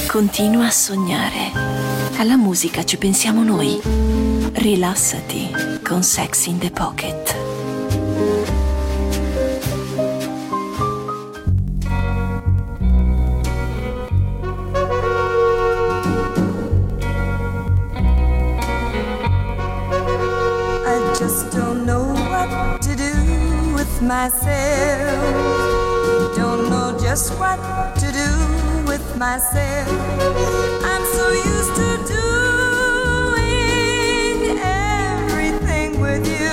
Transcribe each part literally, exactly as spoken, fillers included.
Continua a sognare. Alla musica ci pensiamo noi. Rilassati con Sex in the Pocket. I just don't know what to do with myself. Don't know just what to do with myself. I'm so used to doing everything with you,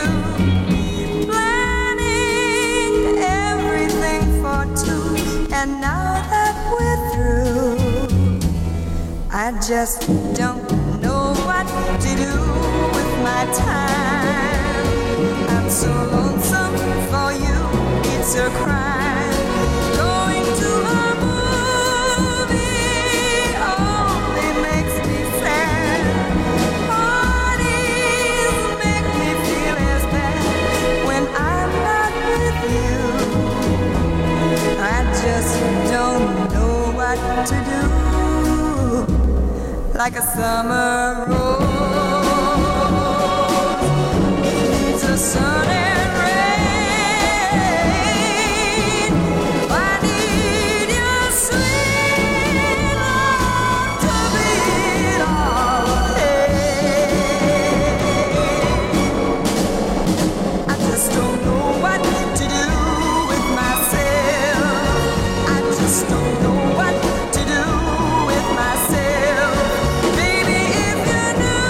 planning everything for two, and now that we're through, I just don't know what to do with my time. I'm so lonesome for you, it's a crime. Going to a movie only makes me sad. Parties make me feel as bad when I'm not with you. I just don't know what to do. Like a summer rose needs a sun and rain. I need your sweet love to beat all pain. I just don't know what to do with myself. I just don't know what to do with myself. Baby, if your new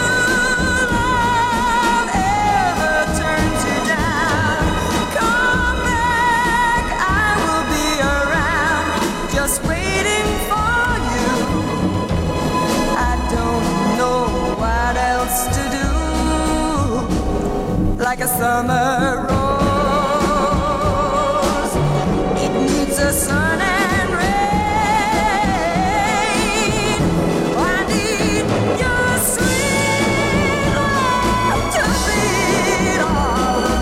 love ever turns you down, come back, I will be around, just waiting for you. I don't know what else to do. Like a summer rose, it needs a sun and rain. I need your sweet love to beat all the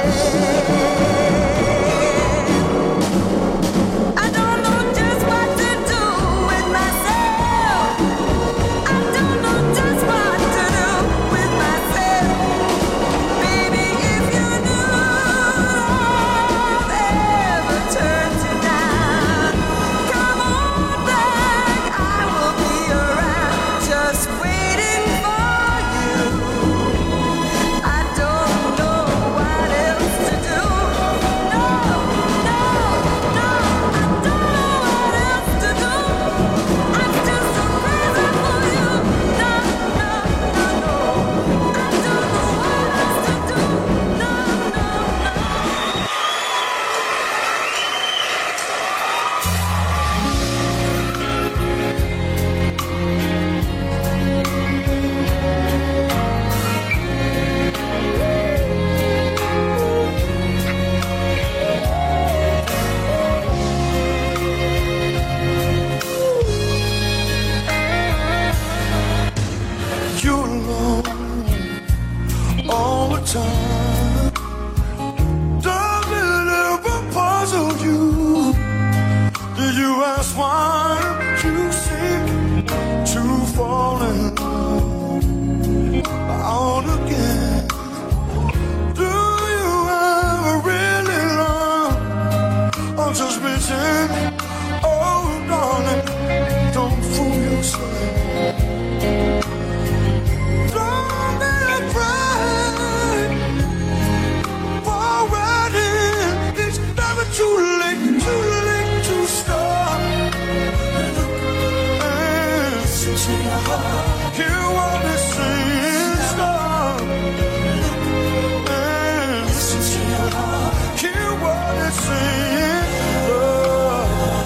pain. I don't know just what to do with myself. I don't know just what to do with myself. Baby, if your new love ever turns you down, come on back, I will be around, just waiting for you. I don't know what else to do. No, no, no, I don't know what else to do. I'm still so crazy for you. No, no, no, no, I don't know what else to do. No, no, no. You're alone all the time. Does it ever puzzle you? Did you ask why you seem to fall in love again? Do you ever really love or just pretend? Oh, darling, don't fool yourself. Don't be afraid. Forward in, it's never too late, too late to start. And listen to your heart, hear what it's saying, stop. And listen to your heart, hear what it's saying, love.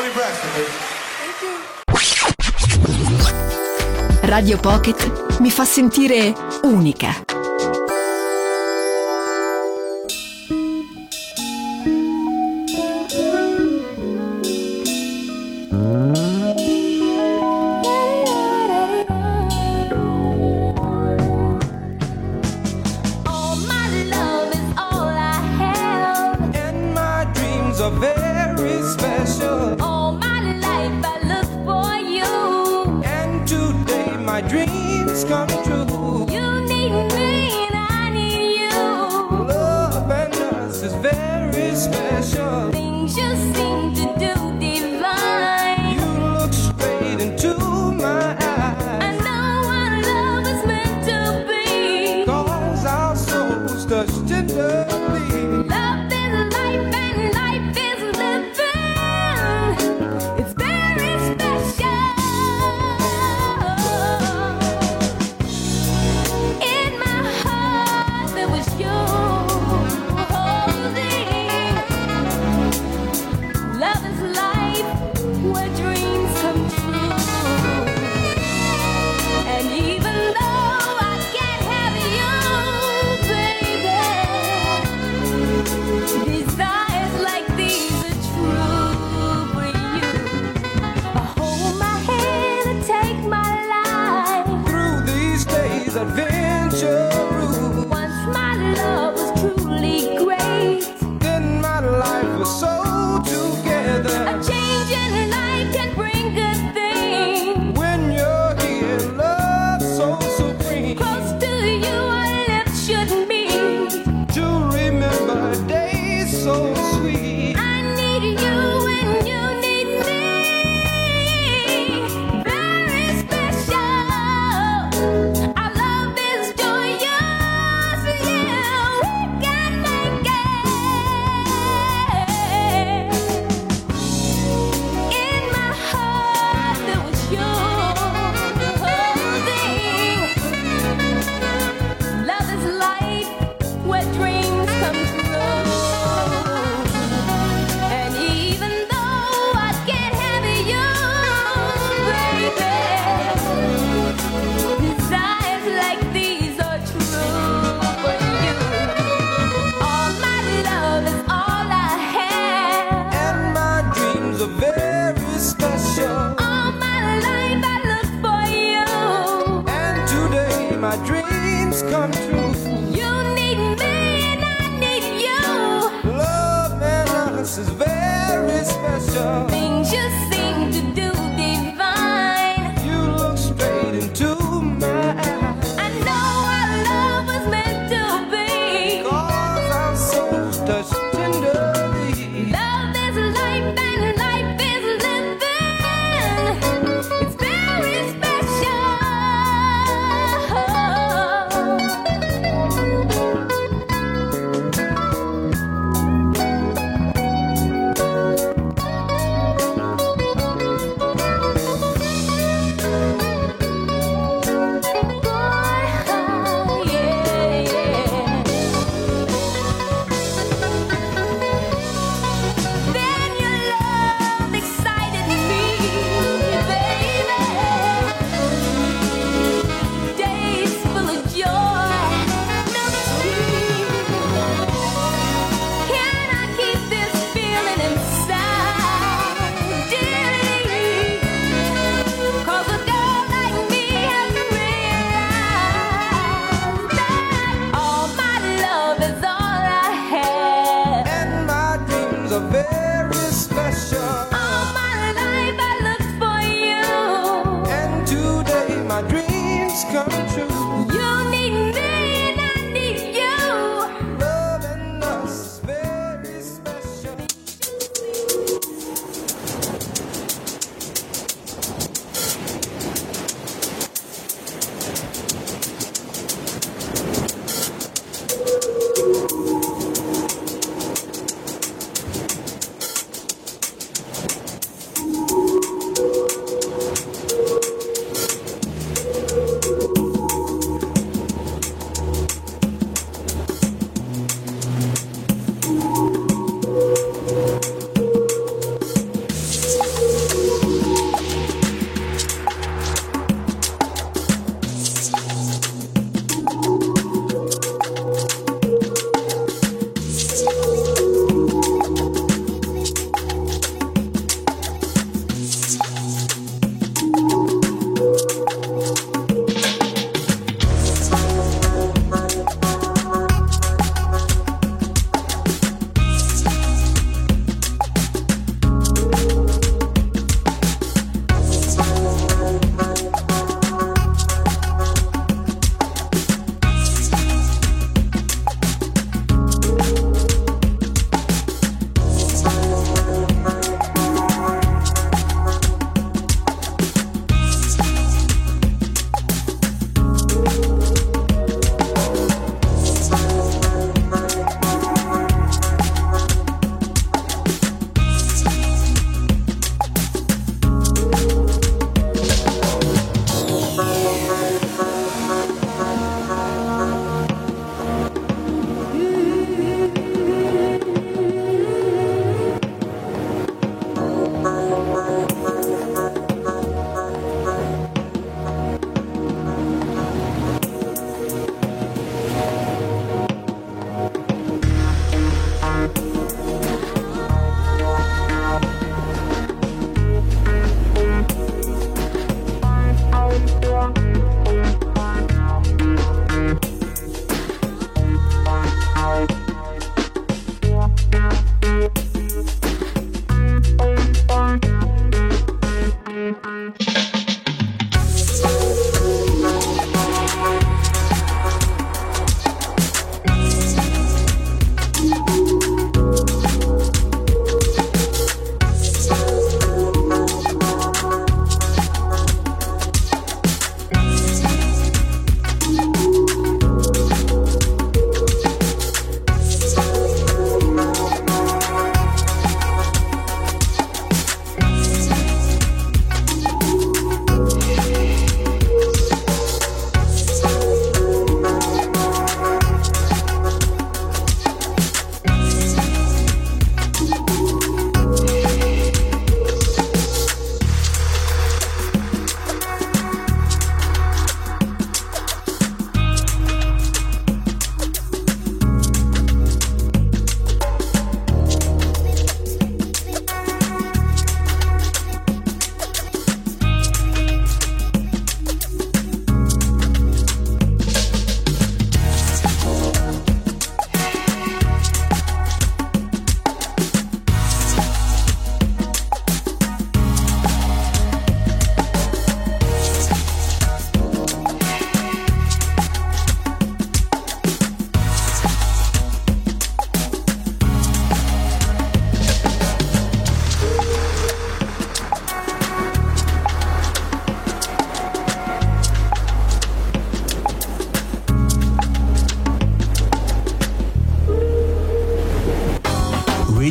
Tony Braxton. Radio Pocket mi fa sentire unica.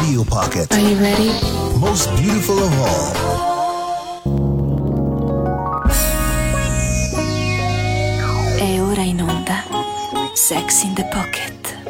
Radio Pocket. Are you ready? Most beautiful of all. È ora in onda Sex in the Pocket.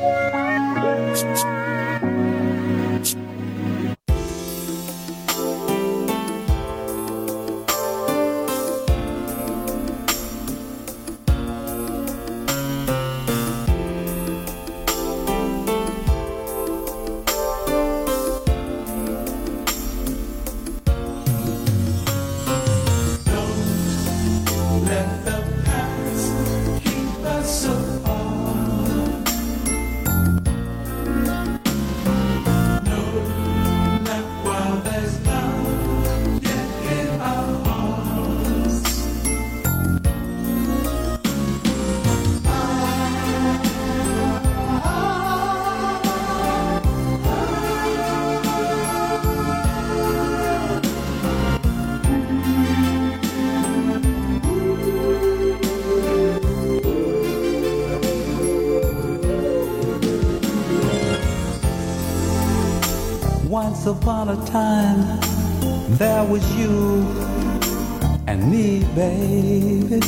Once upon a time, there was you and me, baby.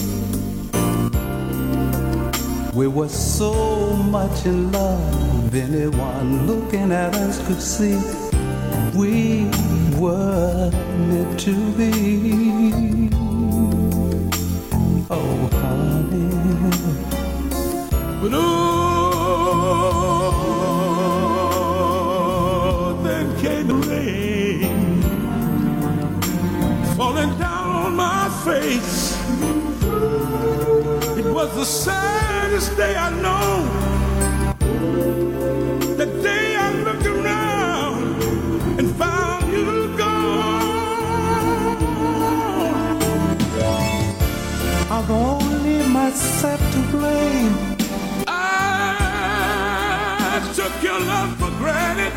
We were so much in love, anyone looking at us could see we were meant to be. Oh, honey. But oh, came the rain falling down on my face. It was the saddest day I know. The day I looked around and found you gone. I've only myself to blame. I took your love for granted.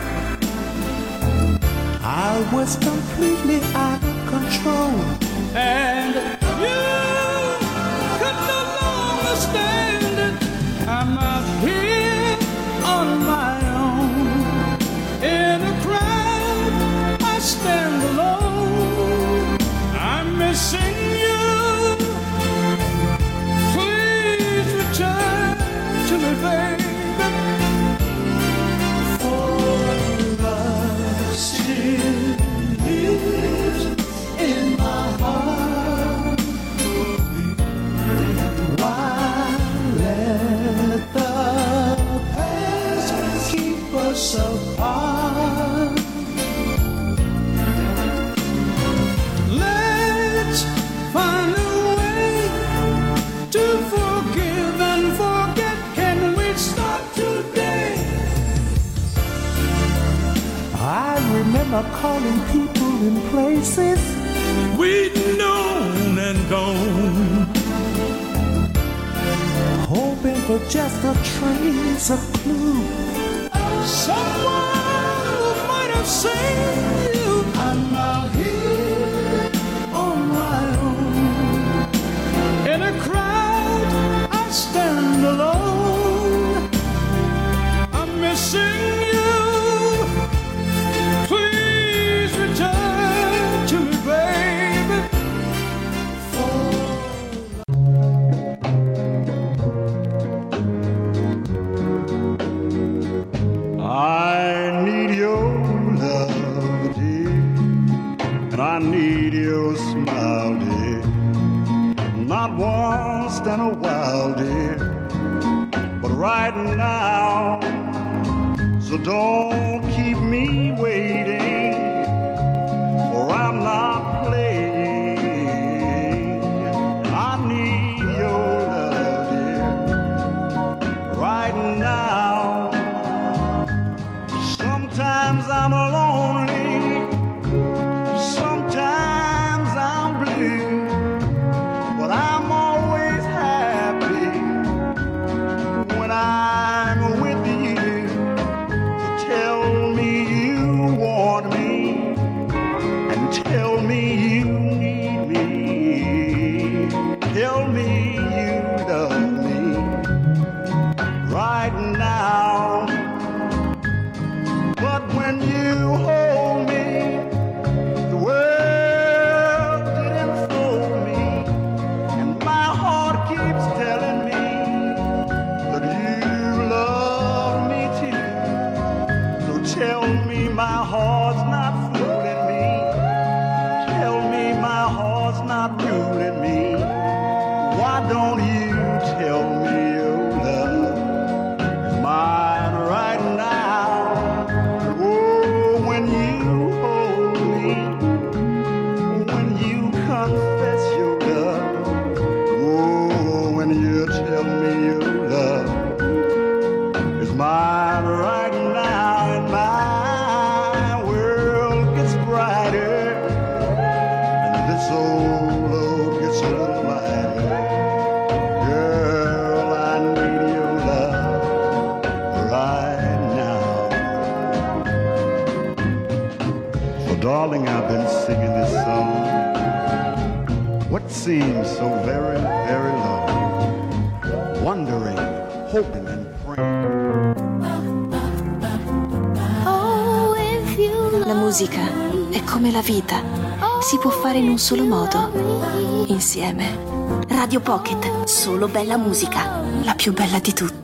I was completely out of control, and you could no longer stand it. I'm out here on my own. In a crowd, I stand alone. I'm missing you. Please return to me, baby. Apart. Let's find a way to forgive and forget. Can we start today? I remember calling people in places we'd known and gone, hoping for just a trace of clue. Someone who might have seen you. I'm out here on my own. In a crowd, I stand alone. I'm missing you. Please return to me, baby. I need your love, dear, and I need your smile, dear. Not once in a while, dear, but right now. So don't keep me waiting, for I'm not playing. I need your love, dear, right now. Sometimes I'm lonely, sometimes I'm blue, but I'm always happy when I'm with you. So tell me you want my heart's not fooling me. Tell me my heart's not ruling me. Why don't you tell me your love is mine right now? Oh, when you hold me, when you confess your love, oh, when you tell me your love is mine right now, and my world gets brighter, and this old load gets a little lighter. Girl, I need your love right now. So darling, I've been singing this song, what seems so very, very long, wondering, hoping and praying. La musica è come la vita, si può fare in un solo modo, insieme. Radio Pocket, solo bella musica, la più bella di tutte.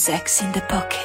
Sex in the Pocket.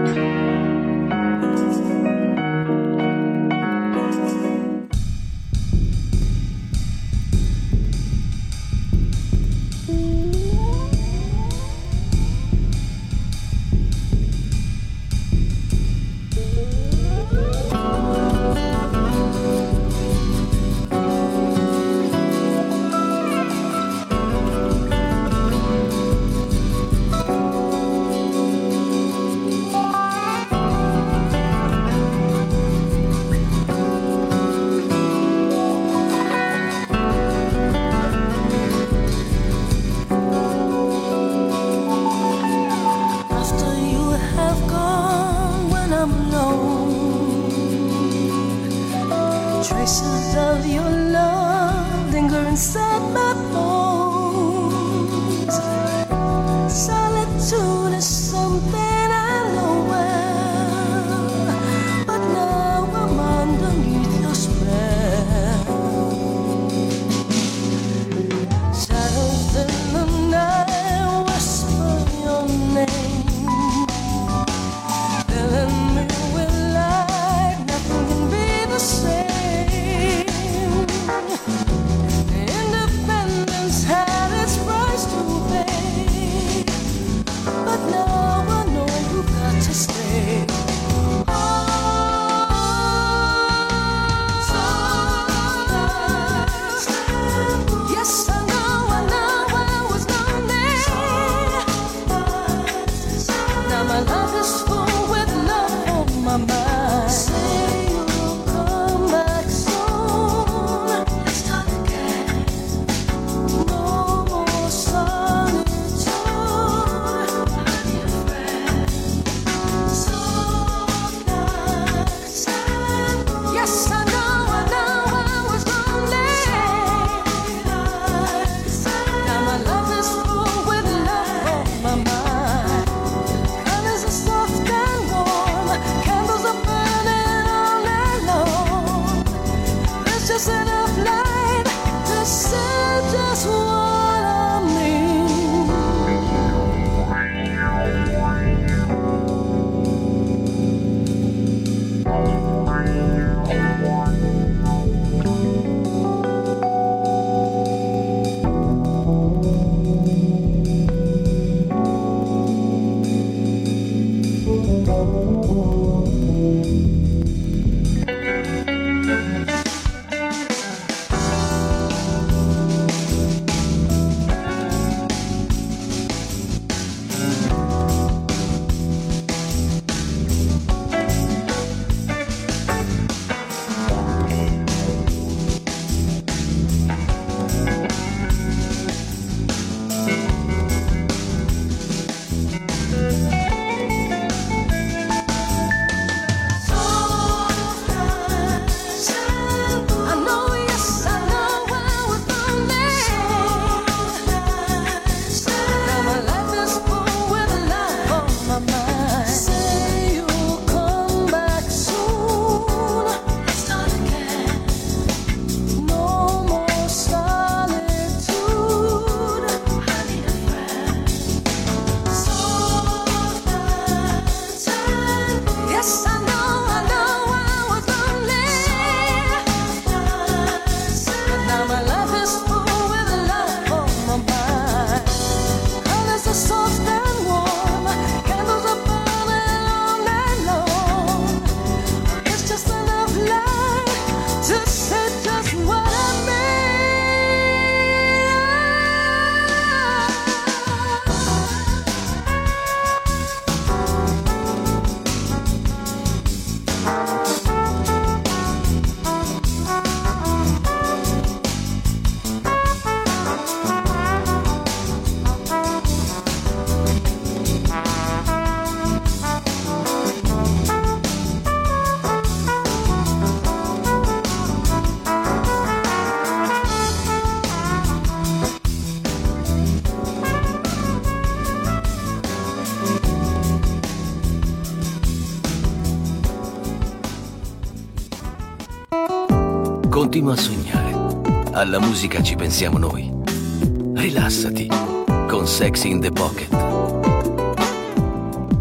Continua a sognare. Alla musica ci pensiamo noi. Rilassati con Sex in the Pocket.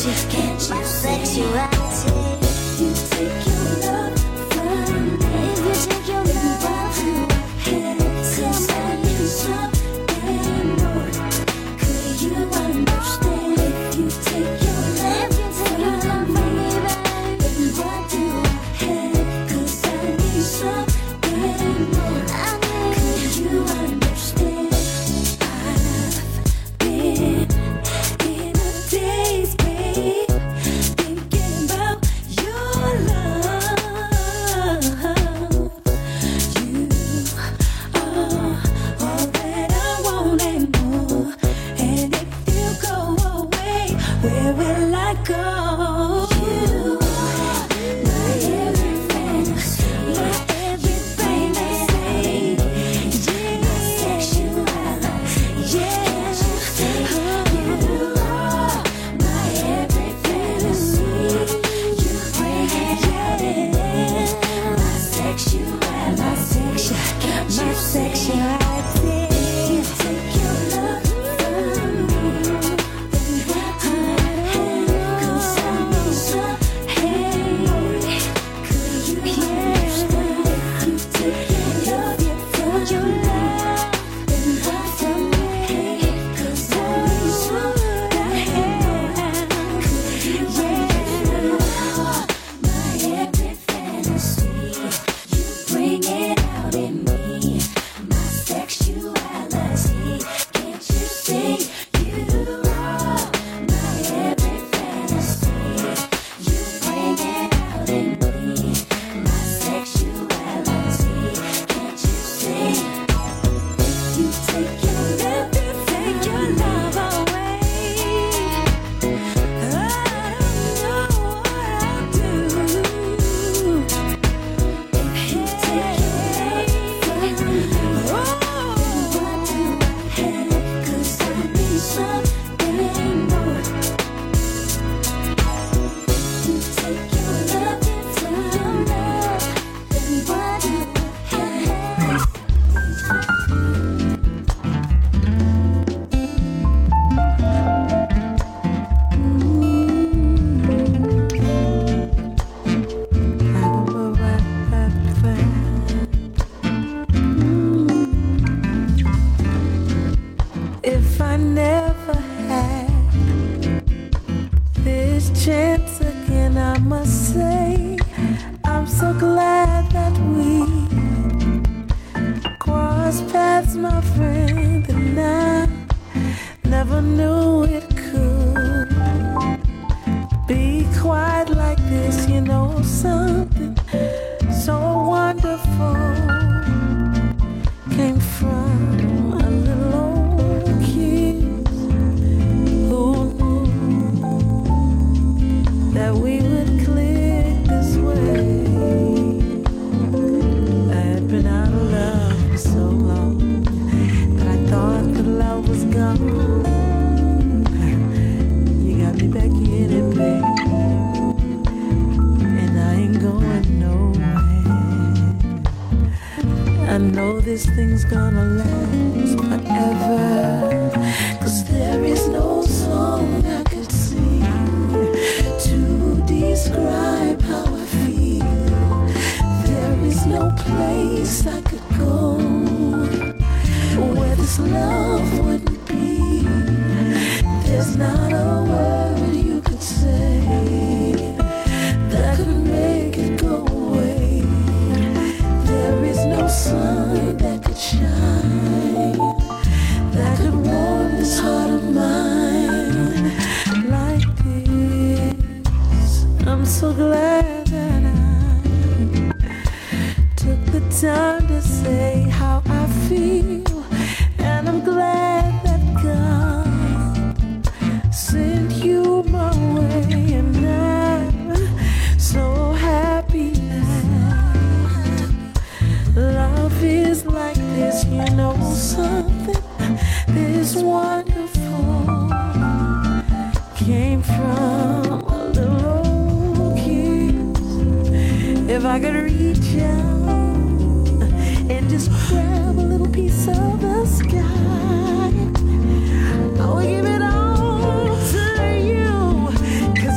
I'll give it all to you.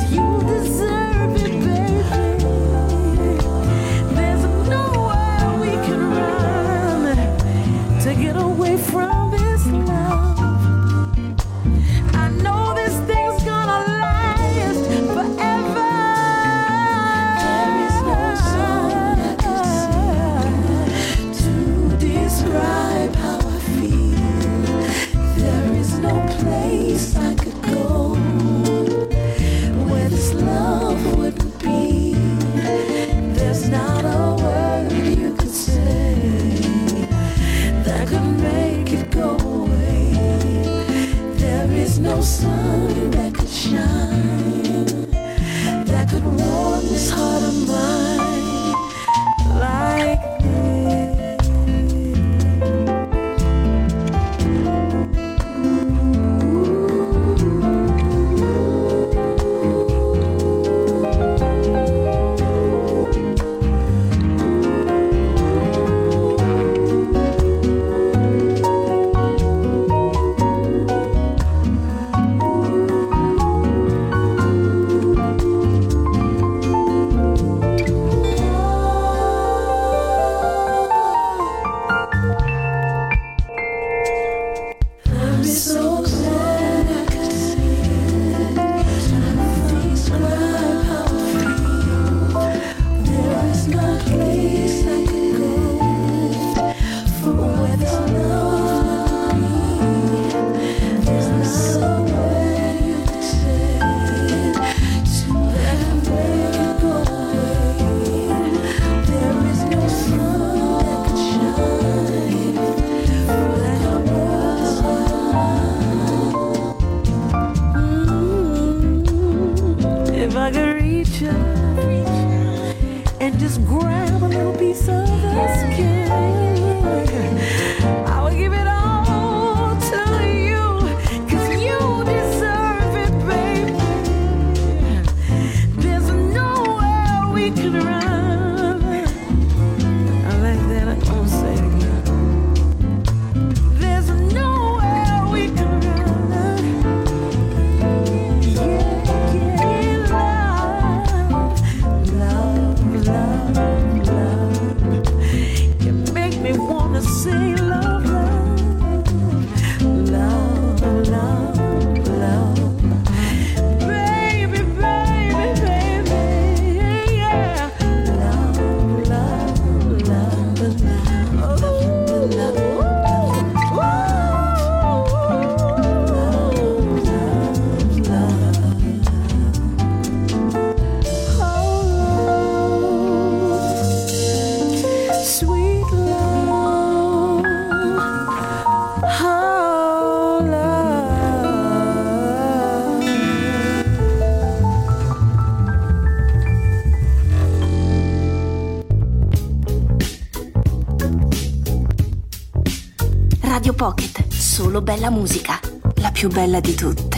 if I could reach her and just grab a little piece of her skin, I would give it all to you, 'cause you deserve it, baby. There's nowhere we could run. I like that, I'm gonna say it again. There's nowhere we could run. Yeah, yeah, love, love, love, love. You make me wanna say love, love, love, love, love. Baby, baby, baby, yeah. Love, love, love, love. Ooh, love, ooh, love, love. Oh, sweet love, oh, love. Radio Pocket, solo bella musica, la più bella di tutte.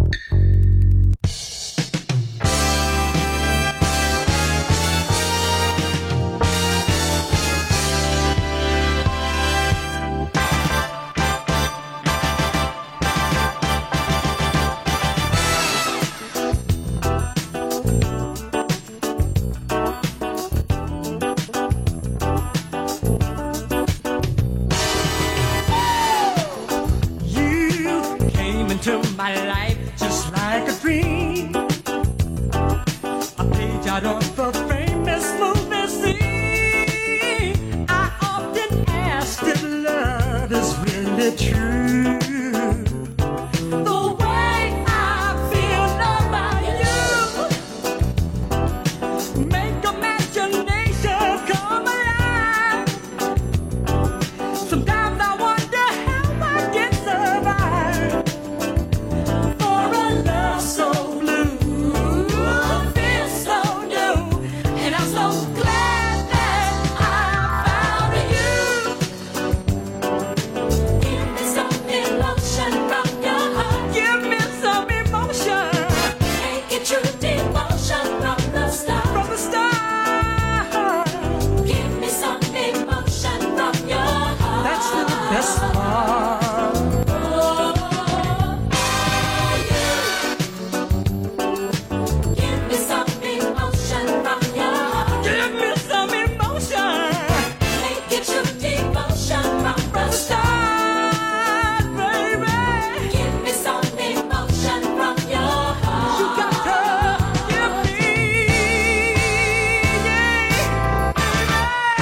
You came into my life just like a dream. A page out of a famous movie scene. I often ask if love is really true. The way I feel about you make imagination come alive. Sometimes I wonder how I can survive for a love so blue, feels so new, and I'm so glad that I found you. Give me some emotion from your heart. Give me some emotion. Make it true devotion from the start. From the start. Give me some emotion from your heart. That's the best part. Oh, you. Give me some emotion from your heart. Give me some emotion. Make it true devotion from the start, baby. Give me some emotion from your heart. You got to give me, yeah, baby.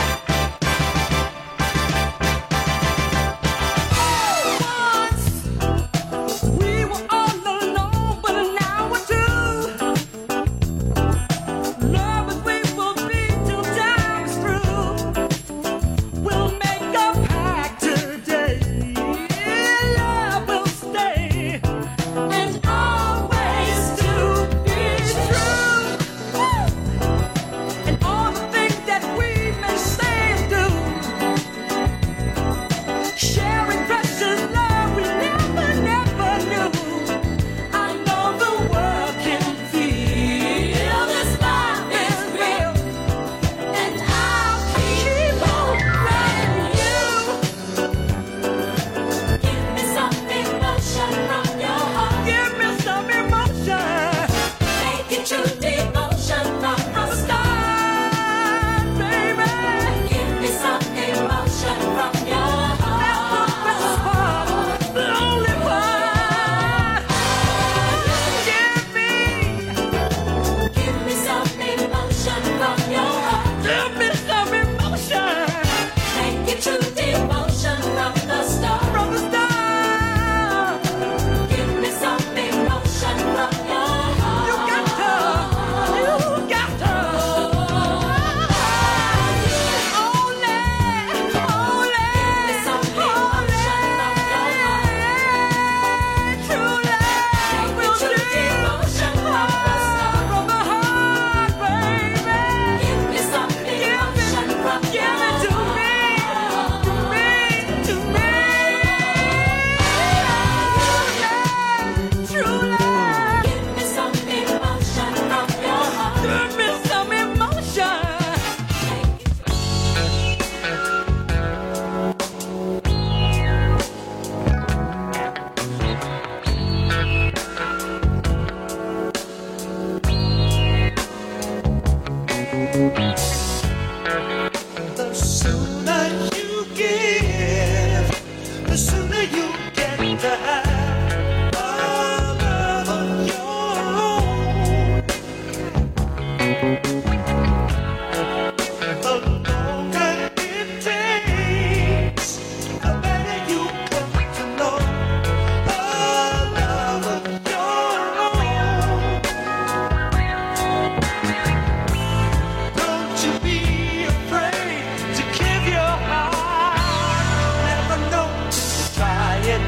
Once we were all alone, but now we're two. Love is we will be till time's through. We'll make a pact today. Love will stay and always to be true. And all the things that we may say and do, sharing precious love we never, never knew. I know the world can feel this love is real, and I'll keep on loving you. Give me some emotion from your heart. Give me some emotion. Make it true devotion from the start, baby. Give me some emotion from your heart. That's the best part, the only part. Give me, give me some emotion from your heart. Give me some emotion. Make it true devotion from the start. From the start. Give me some emotion from your heart. You got to, The sooner you give, the sooner you get to have a love of your own. The longer it takes, the better you come to know a love of your own. Don't you be afraid to give your heart. Never know till you try it.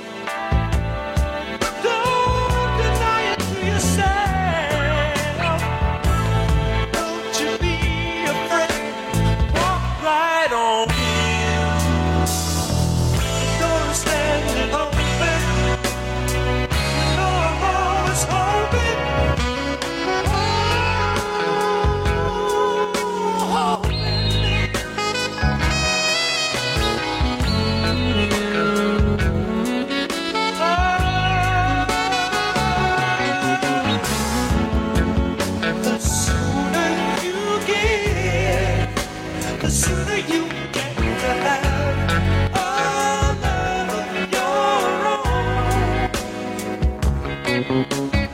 Don't deny it to yourself. Don't you be afraid. Walk right on in. The door is standing open. You know I'm always hoping. The sooner you give, the sooner you get to have a love of your own.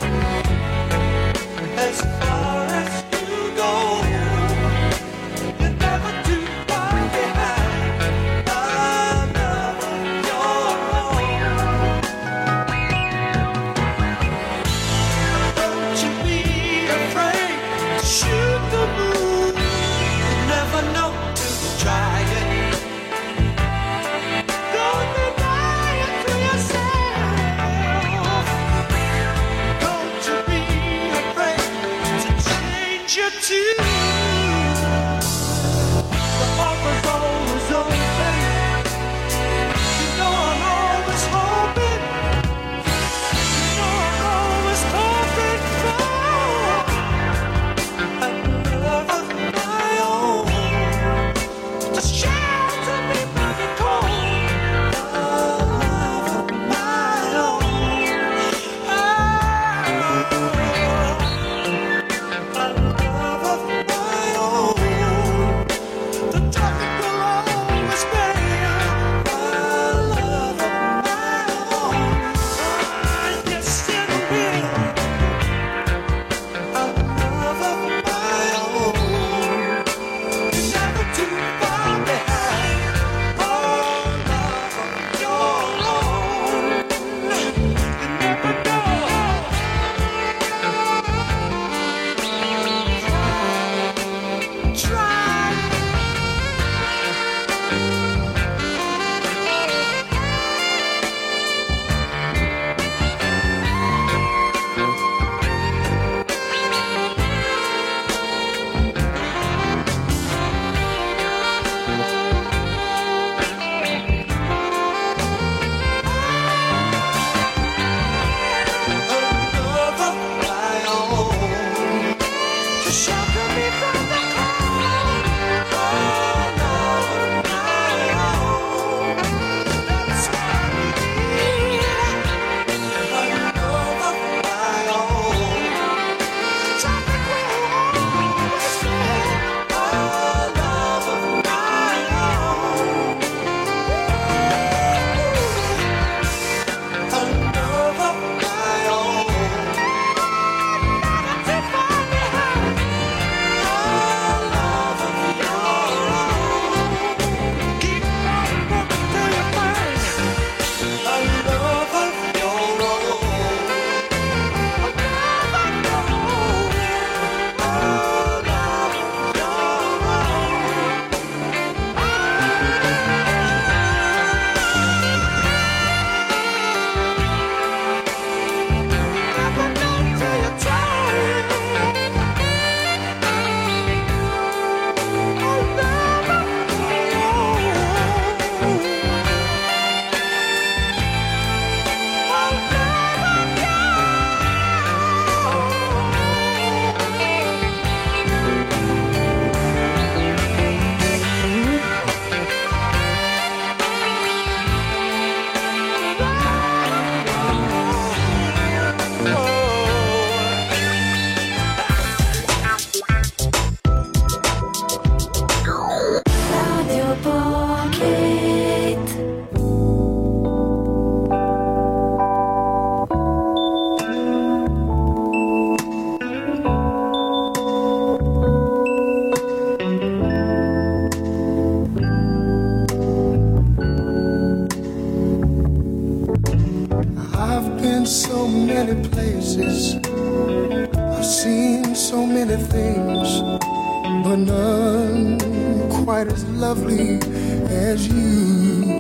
As far as you go, you're never too far behind a love of your own. Don't you be afraid to shoot the moon. You never know till you try it. Don't deny it to yourself. Don't you be afraid to change your tune. The offer's always open. You know I'm always hoping. You know I'm always hoping for a love of my own. To shelter me from the cold. A love of my own. Oh, a love of my own. The topic will always be a love of my own. Ah, yes, it will. A love of my own. You're never too far behind. Oh, love of your own. You never know. Try. A love of my own. To shelter me from the cold. Oh, love of my own. That's what I need. A love of my own. The topic will always be a love of my own. A love of my own. Never too far behind. seen so many things, but none quite as lovely as you.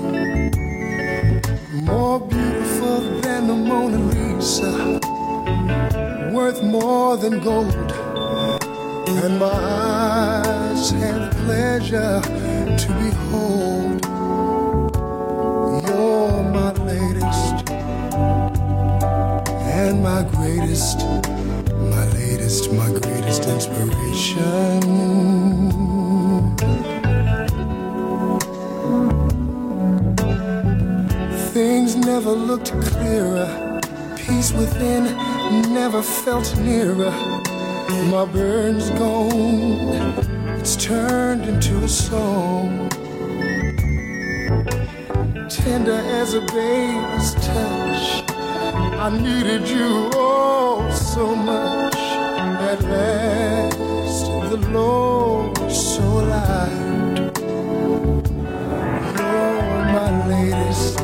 More beautiful than the Mona Lisa, worth more than gold. And my eyes have pleasure to behold. You're my latest and my greatest, my latest, my greatest inspiration. Things never looked clearer, peace within never felt nearer. My burn's gone, it's turned into a song. Tender as a baby's touch, I needed you oh so much. At last the Lord so alive. You're my latest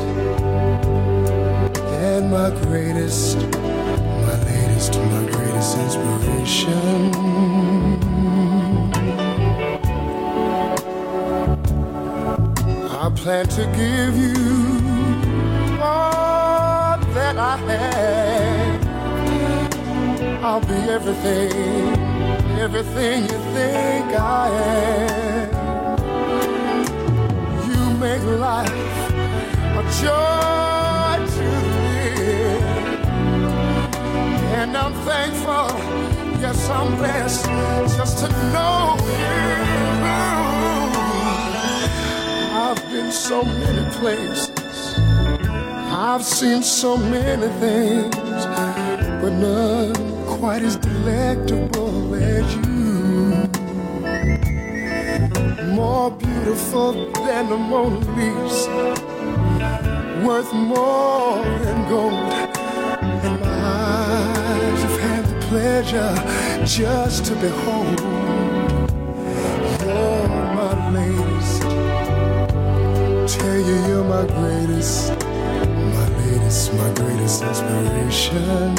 and my greatest, my latest, my greatest inspiration. I plan to give you all that I have. I'll be everything, everything you think I am. You make life a joy to live, and I'm thankful, yes I'm blessed, just to know you. I've been so many places, I've seen so many things, but none quite as delectable as you. More beautiful than the Mona Lisa, worth more than gold. And my eyes have had the pleasure just to behold. You're my latest, tell you you're my greatest, my latest, my greatest inspiration.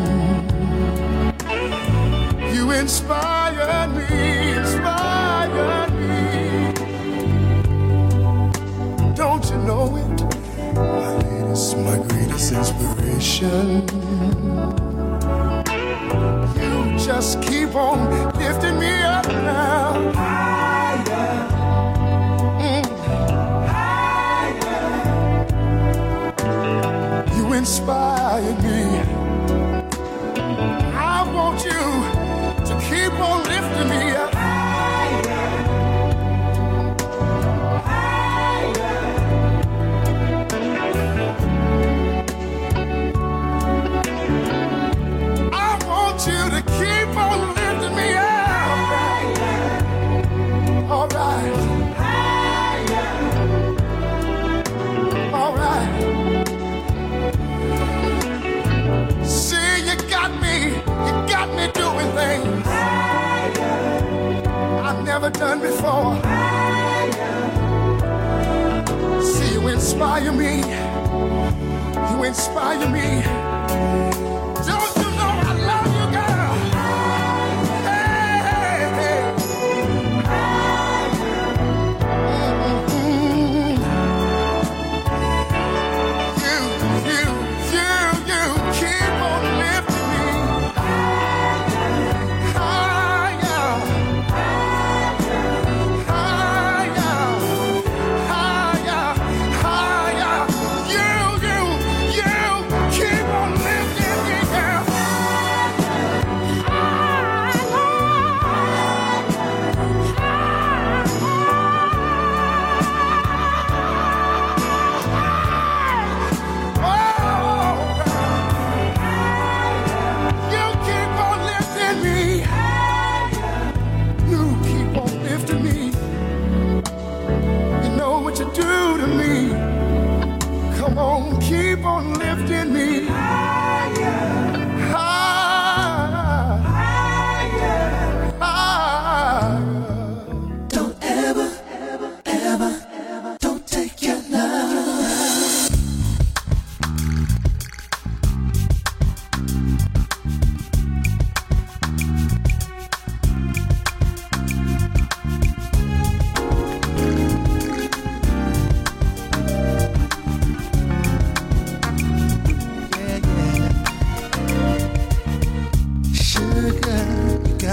You inspire me, inspire me. Don't you know it? My latest, my greatest inspiration. You just keep on lifting me up now. Higher. Inspire me. I want you to keep on lifting me up. Higher, higher. I want you to keep on lifting me up. Higher. All right. Higher. All right. I've never done before. See, you inspire me. You inspire me. Don't you know I love you, girl? Hey, hey, hey. Mm-hmm. You, you, you, you keep on lifting me. Keep on lifting me higher, higher, higher, higher. Don't ever, ever, ever, ever, don't take your love.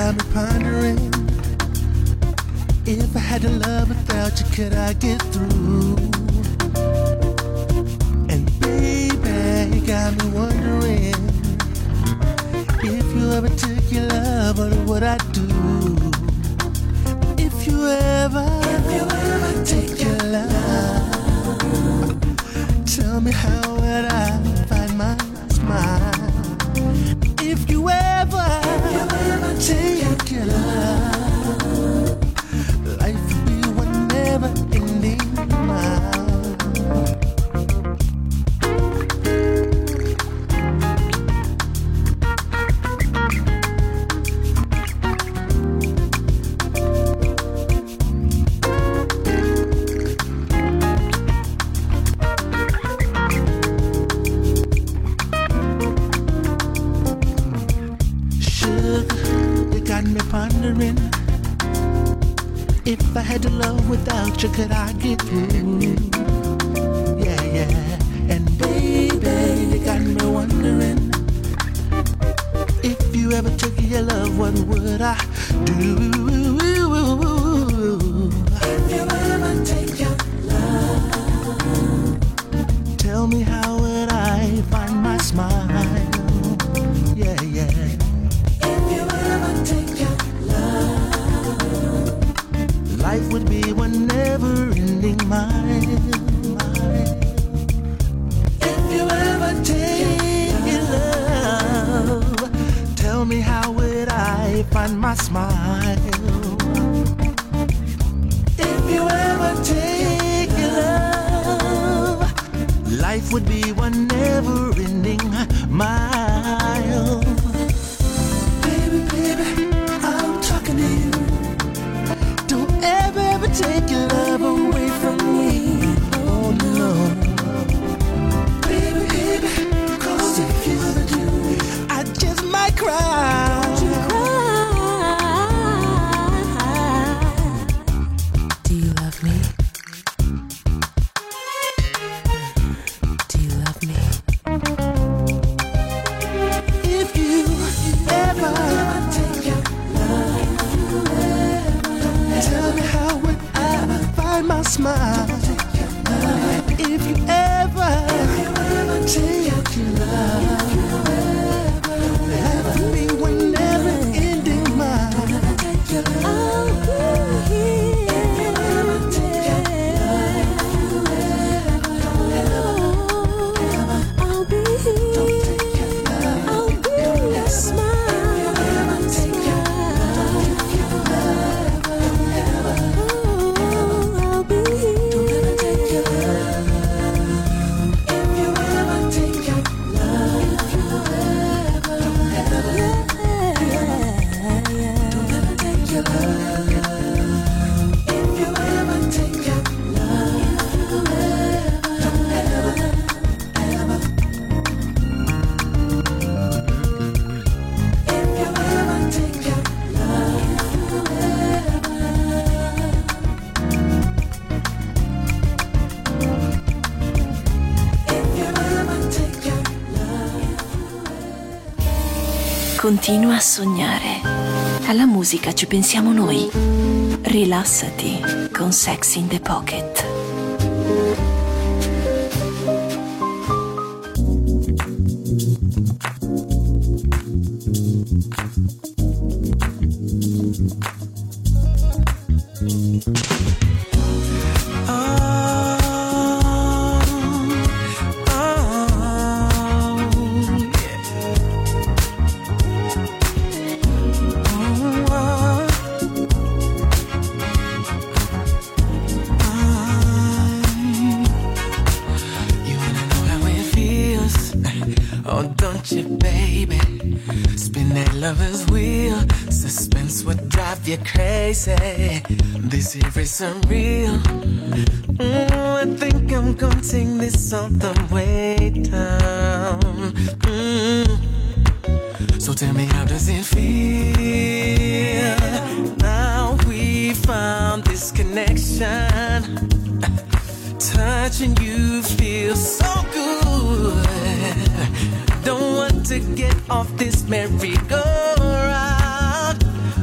got me pondering. If I had to love without you, could I get through? And baby, you got me wondering, if you ever took your love, what would I do? If you ever, if you ever take your love, tell me how would I find my smile? If you ever, if you ever take your love, life would be one never-ending mile. Pondering, if I had to love without you, could I get through? Yeah, yeah. And baby, you got me wondering, if you ever took your love, what would I do? If you ever take your love, tell me how would I find my smile? Yeah, yeah. Life would be one never-ending mile. If you ever take your love, tell me how would I find my smile? If you ever take your love, life would be one never-ending mile. Baby, baby, I'm talking to you. Ever, ever take your love away from me. Oh no. Baby, baby, cause if you ever do, I just might cry. You cry. Do you love me? Do you love me? If you ever take your love, tell me how would I find my smile? If you ever take your love, that would be one never-ending mile. I'll be here. If you ever take your love, I'll be here. I'll be your smile. Continua a sognare. Alla musica ci pensiamo noi. Rilassati con Sex in the Pocket. You crazy, this here is unreal. mm, I think I'm gonna take this all the way down. mm. So tell me, how does it feel? Now we found this connection. Touching you feels so good. Don't want to get off this merry-go-round.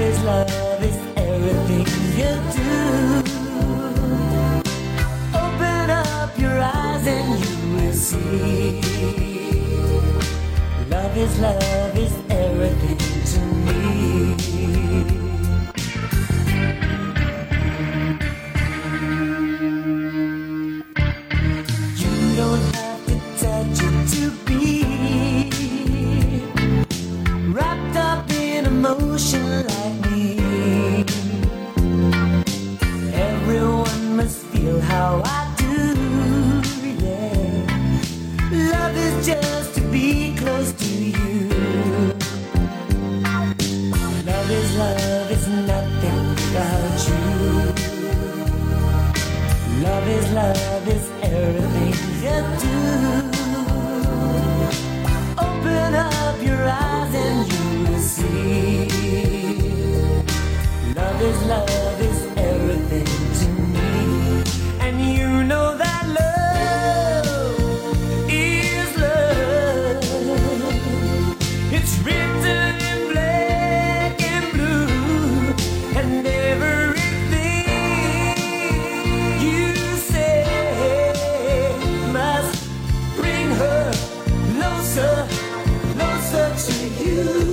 is love is everything you do. Open up your eyes and you will see. Love is love is everything to me. You don't have to touch it to be wrapped up in emotion like me. Everyone must feel how I do, yeah. Love is just to be close to you. Love is love is nothing without you. Love is love is everything you do. Open up your eyes and you will see. Love is love is everything to me. And you know that love is love. It's written in black and blue. And everything you say must bring her closer, closer to you.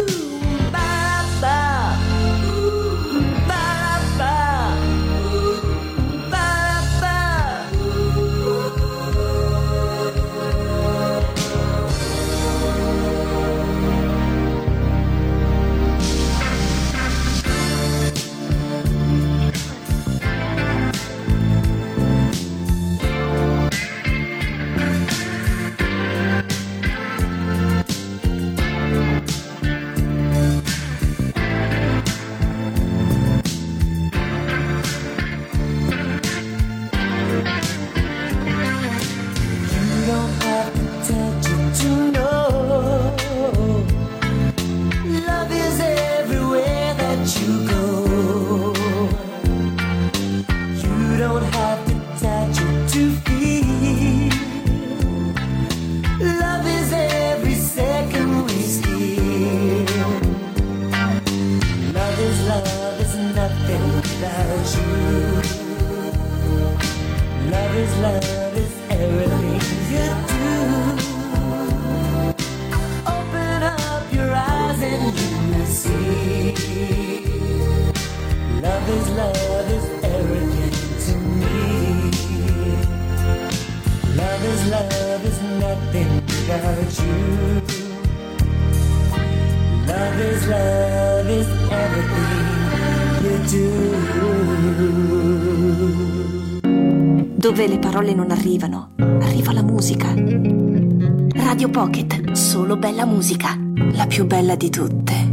Dove le parole non arrivano, arriva la musica. Radio Pocket, solo bella musica, la più bella di tutte.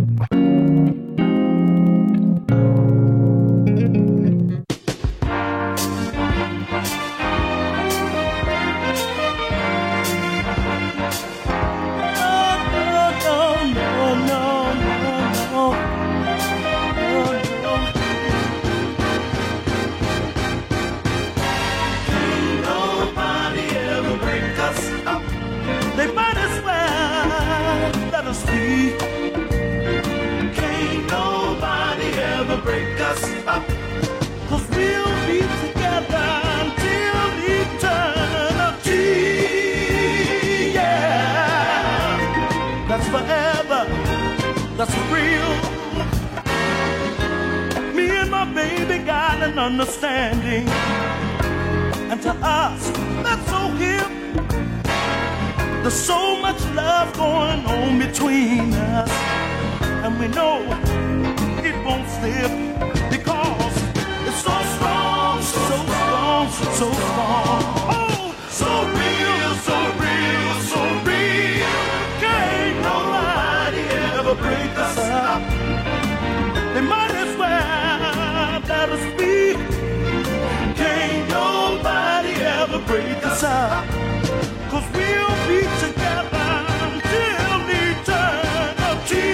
Understanding, and to us that's so hip. There's so much love going on between us, and we know it won't slip because it's so strong, so strong, so strong. Oh, so real, so real, so real. Can't nobody ever break us up. They might as well let us be. Can't nobody ever break us up, 'cause we'll be together until eternity.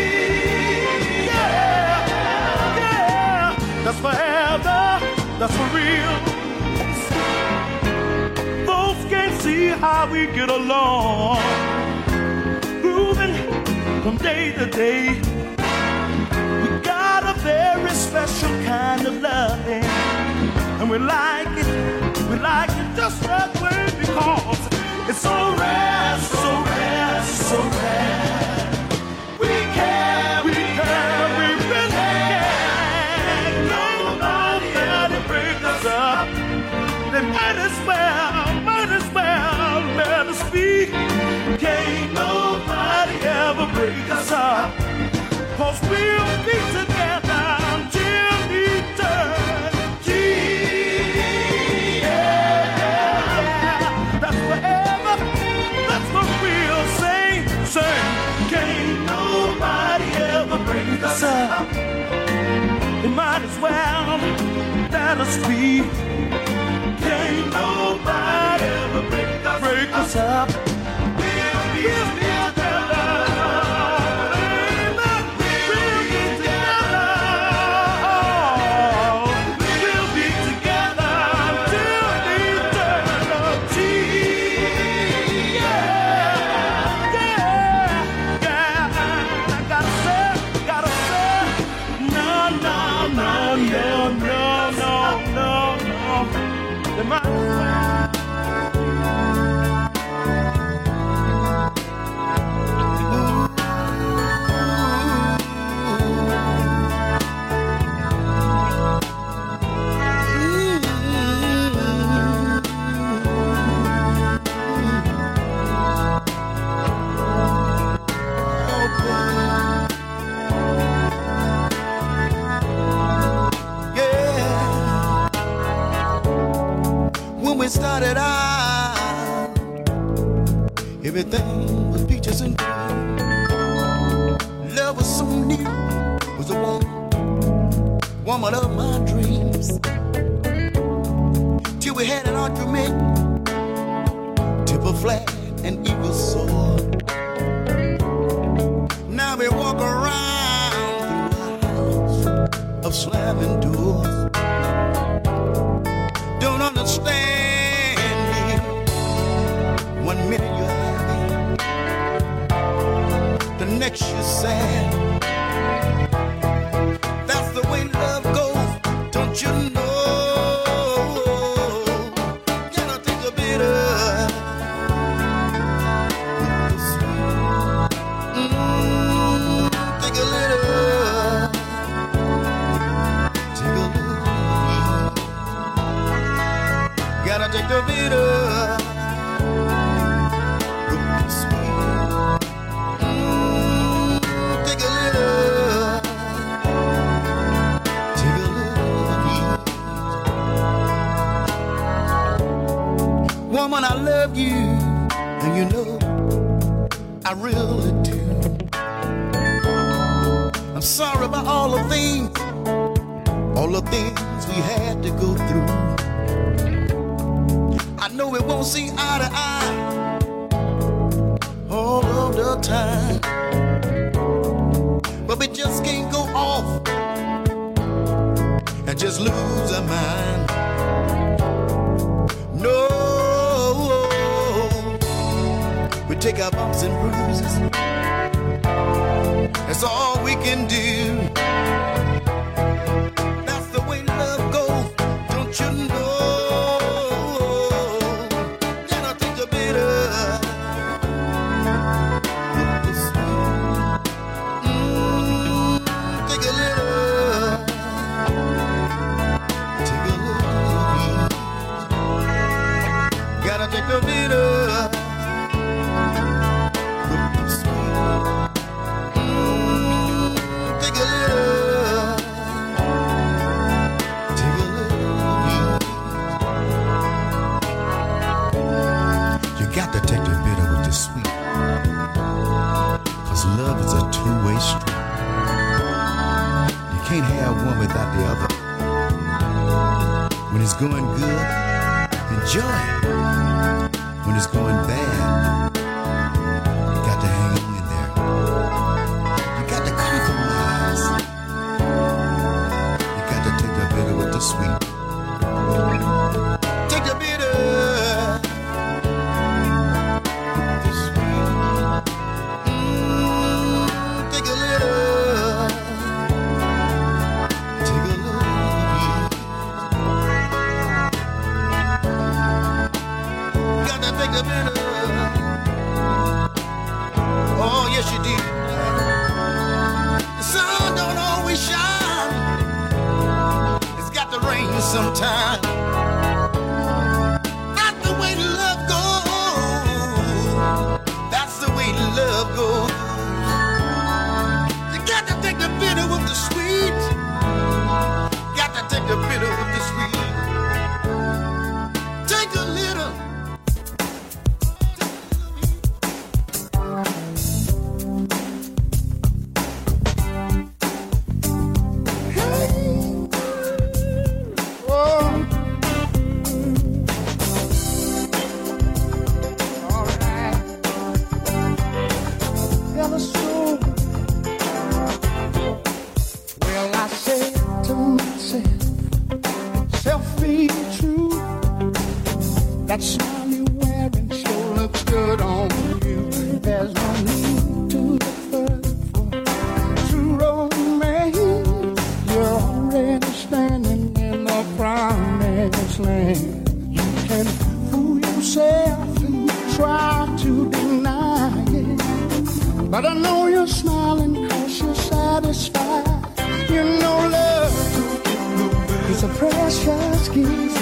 Yeah, yeah, that's forever, that's for real. Folks can't see how we get along, grooving from day to day. very special kind of loving. And we like it, we like it just that way because it's so rare, so rare, so rare. We care, we care, we really care. Nobody ever break us up. They might as well, might as well let us be. Can't nobody ever break us up. Cause we'll be together until eternity. Yeah, that's forever. That's what we'll say. Say, can't nobody ever break us up. They might as well let us be. Can't nobody ever break us, break us up. We'll be together. We'll be together. We'll be together until eternity. Yeah, yeah, yeah. I gotta say, gotta say, no, no, no, no, no, no, no, no. The man. We started out, everything was peaches and cream. Love was so new, was a woman, woman of my dreams. Till we had an argument, tip flat and eagle soar. Now we walk around through a house of slamming doors. Don't understand. One minute you're happy, the next you're sad. That's the way love goes, don't you know? Gotta take a bit of the sweet. Mm, take a little, take a little. Gotta take a bit of. Woman, I love you, and you know I really do. I'm sorry about all the things, all the things we had to go through. I know we won't see eye to eye all of the time, but we just can't go off and just lose our mind. No. We take our bumps and bruises. That's all we can do. That's the way love goes, don't you know? Gotta take a bit of the sweet. Mm, take a little, take a little. Gotta take a bit of. Can't have one without the other. When it's going good, enjoy it. When it's going bad, you got to hang on in there. You got to compromise. You got to take the bitter with the sweet. Take the bitter with the sweet. Mm, take a little. sometimes. That's the way love goes. That's the way love goes. You got to take the bitter with the sweet. Got to take the bitter with the sweet. Take a little. That smile you're wearing sure looks good on you. There's no need to look further for true romance. You're already standing in the promised land. You can fool yourself and try to deny it, but I know you're smiling cause you're satisfied. You know love is a precious gift.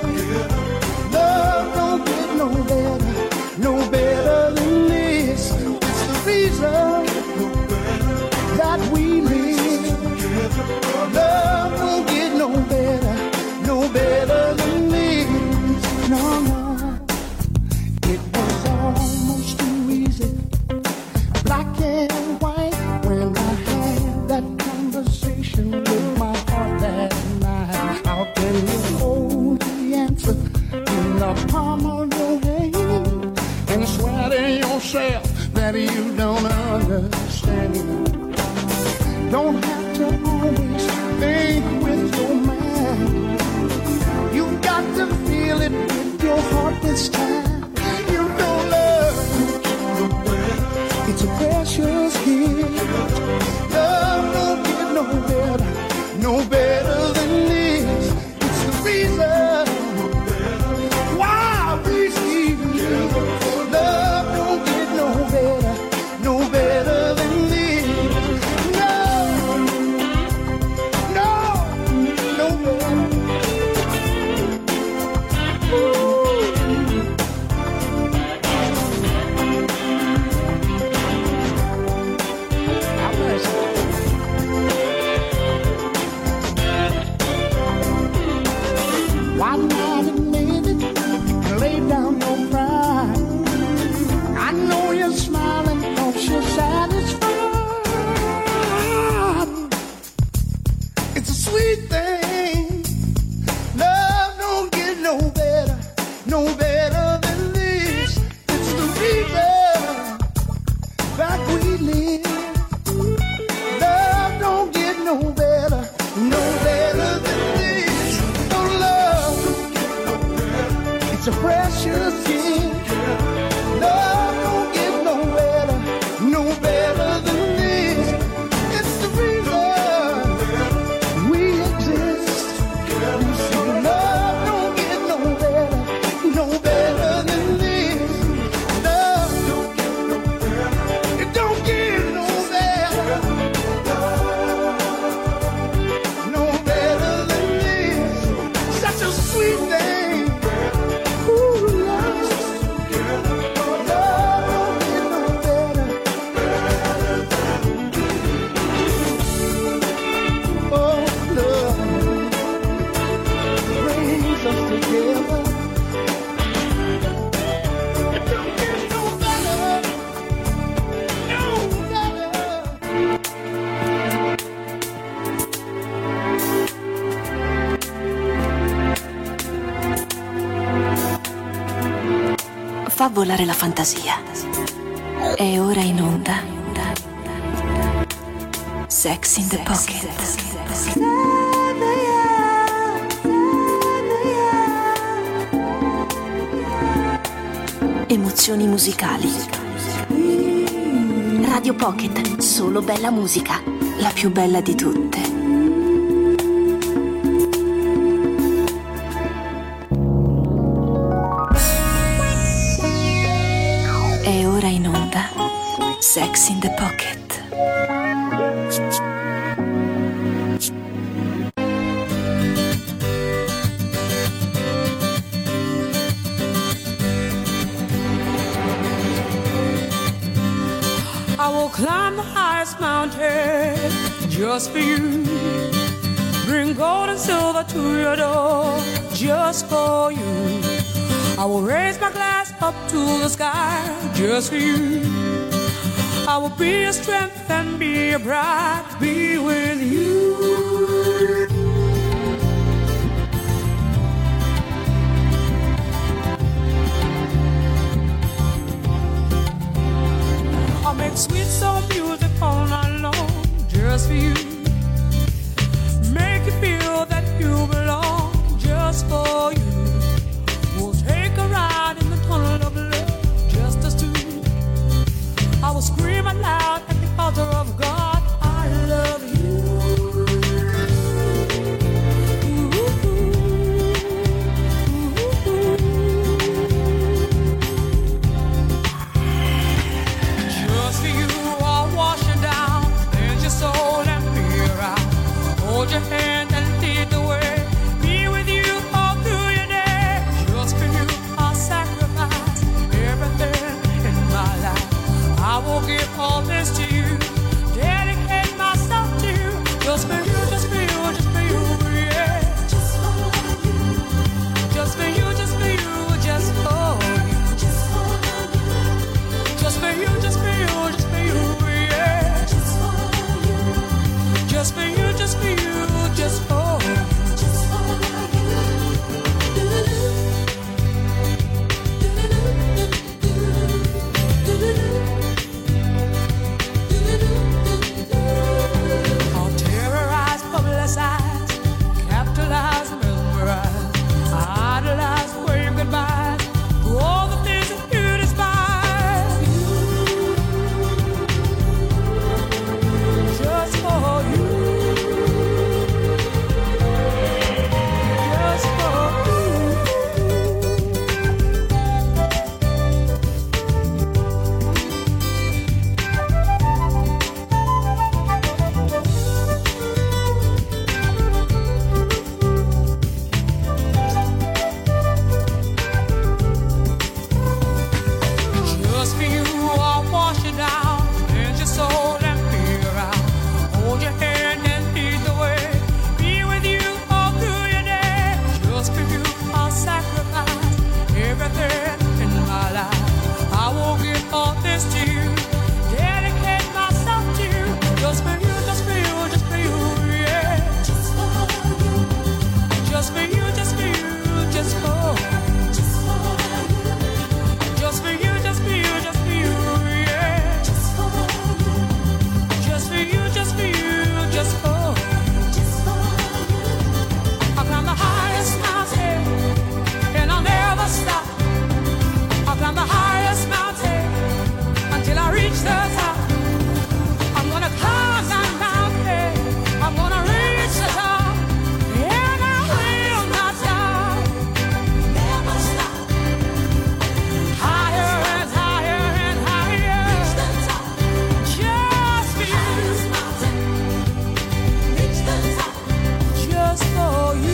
Love don't get no better, no better than this. It's the reason that we live. Love don't get no better, no better than this. No, no. It was almost too easy, black and white, when I had that conversation with my heart that night. How can you hold the answer in the palm of your hand and swear to yourself that you don't understand? Don't have to always think with your mind. You got to feel it with your heart this time. You know love, it's a precious gift. Love don't get no better, no better than this. It's the reason why we see love don't get no better, no better than this. No, no, no better. Ooh. Why not admit it? Lay down your pride. I know you're smiling cause you're satisfied. It's a sweet thing. Love don't get no better, no better than this. It's the reason that we live. Love don't get no better, no better than this. No love, it's a precious gift. Love don't get no better, no better than this. It's the reason we exist. You see, love don't get no better, no better than this. Love don't get no better, it don't get no better, no better than this. Such a sweet thing. Ooh, love. Fa volare la fantasia. È ora in onda Sex in the Pocket. Emozioni musicali. Radio Pocket, solo bella musica, la più bella di tutte. È ora in onda Sex in the Pocket. climb the highest mountain just for you. Bring gold and silver to your door just for you. I will raise my glass up to the sky just for you. I will be your strength and be your pride, be with you. I'll make sweet soul music all night long just for you. Make you feel that you belong just for you. We'll take a ride in the tunnel of love just us two. I will scream aloud at the altar of God, I love you. Just for you, I'll wash you down, cleanse your soul and fear out. Hold your hand and lead the way. Be with you all through your day. Just for you, I'll sacrifice everything in my life. I will give all this to you, dedicate myself to you. Just for you, just for you, just for you, yeah. Just for you. Just for you, just for you, just for you. Just for you. Just for you, just for you, just for you, yeah. Just for you. Just for you, just for you, just for you. Just for I'll terrorize, publicize, capitalize, mesmerize, idolize, wave goodbye to all the things that you despise. Just for you. Just for Just for you, I'll wash you down, cleanse your soul and fear out. Hold your hand and lead the way. Be with you all through your day. Just for you, I'll sacrifice everything in my life. I will give all this to you, dedicate myself to you. Just for you, just for you, just for you, yeah. Just for you. Just for you, just for you, just for you. Just for you. Just for you, just for you, just for you, yeah. Just for you. Just for you, just for you, just for you. Just for you. I'll climb the highest mountain and I'll never stop. I'll climb the highest mountain until I reach the top. I'm gonna climb that mountain. I'm gonna reach the top. And I will not stop. Never stop. Higher and higher and higher. Reach the top. Just for you. Highest mountain. Reach the top. Just for you.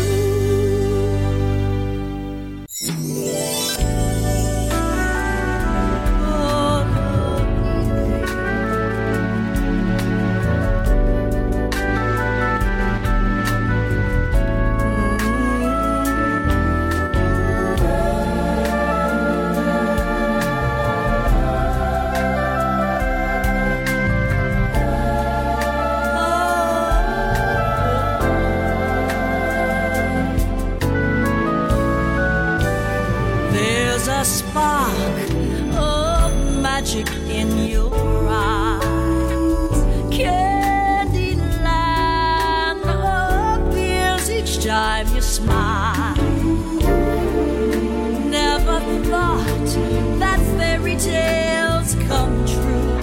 There's a spark of magic in your eyes. Candyland appears each time you smile. Never thought that fairy tales come true,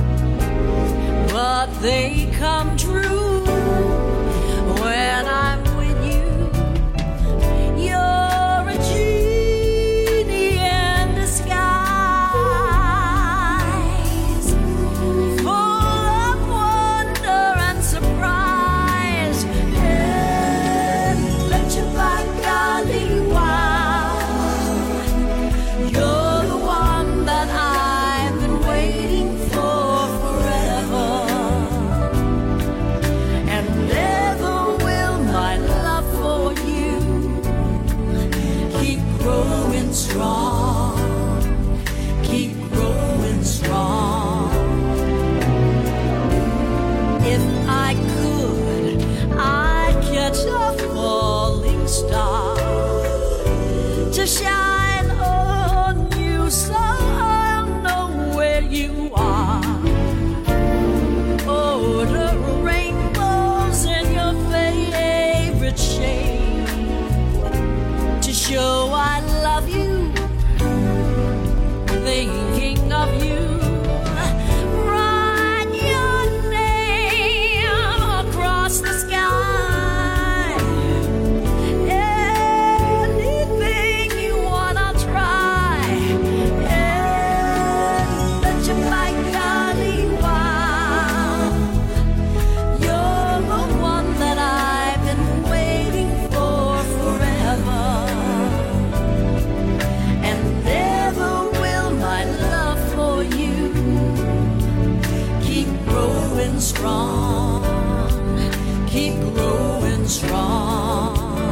but they come true when I'm with you. You're a genie in disguise, full of wonder and surprise. And let your back golly wow. You're the one that I've been waiting for forever. keep growing strong.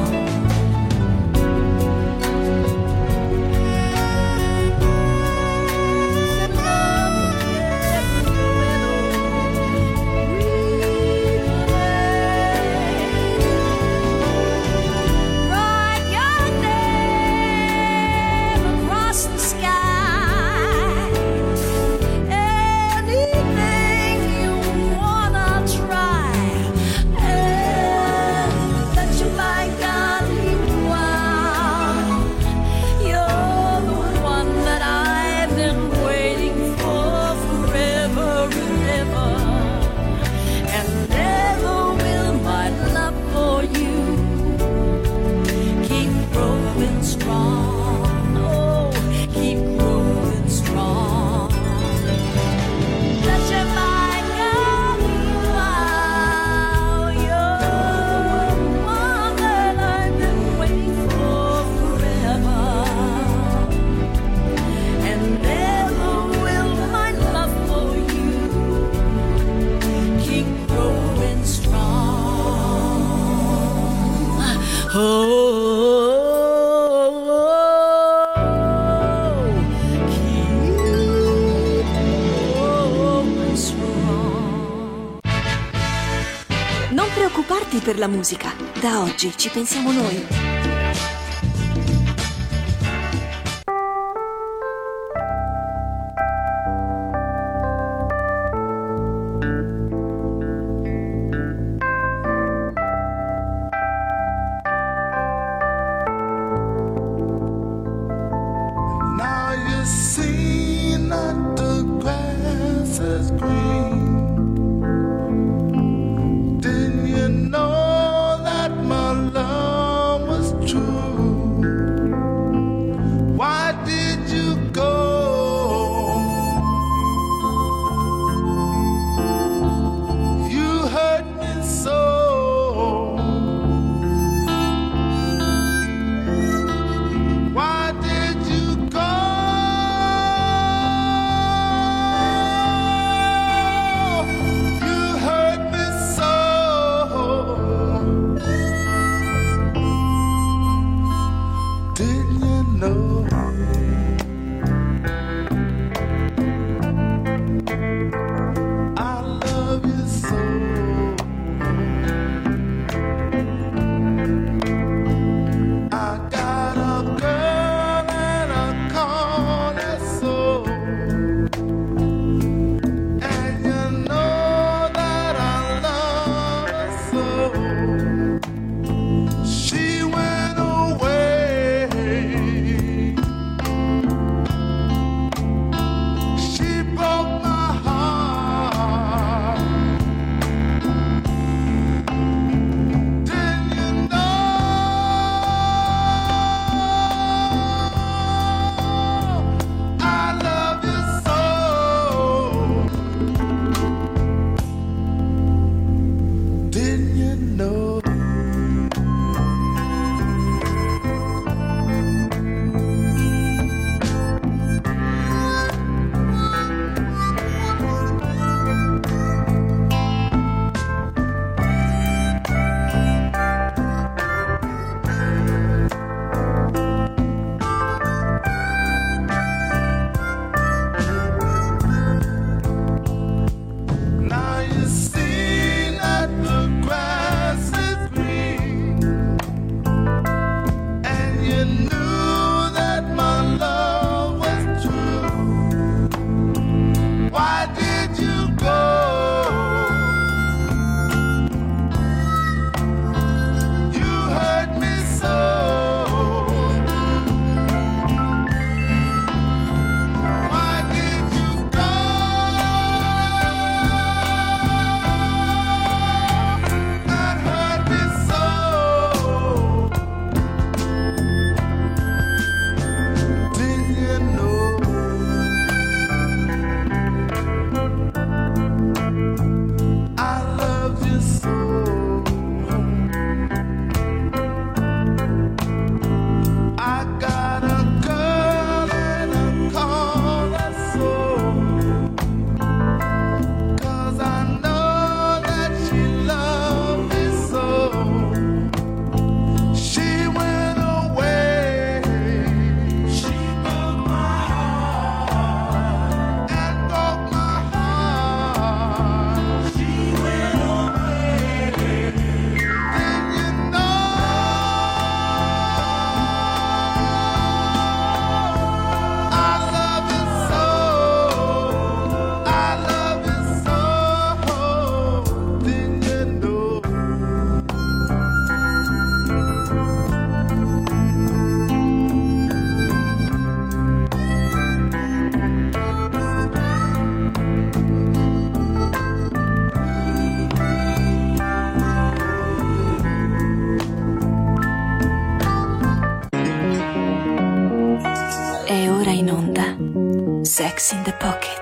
Non preoccuparti per la musica, da oggi ci pensiamo noi. Didn't you know that my love was Sex in the Pocket.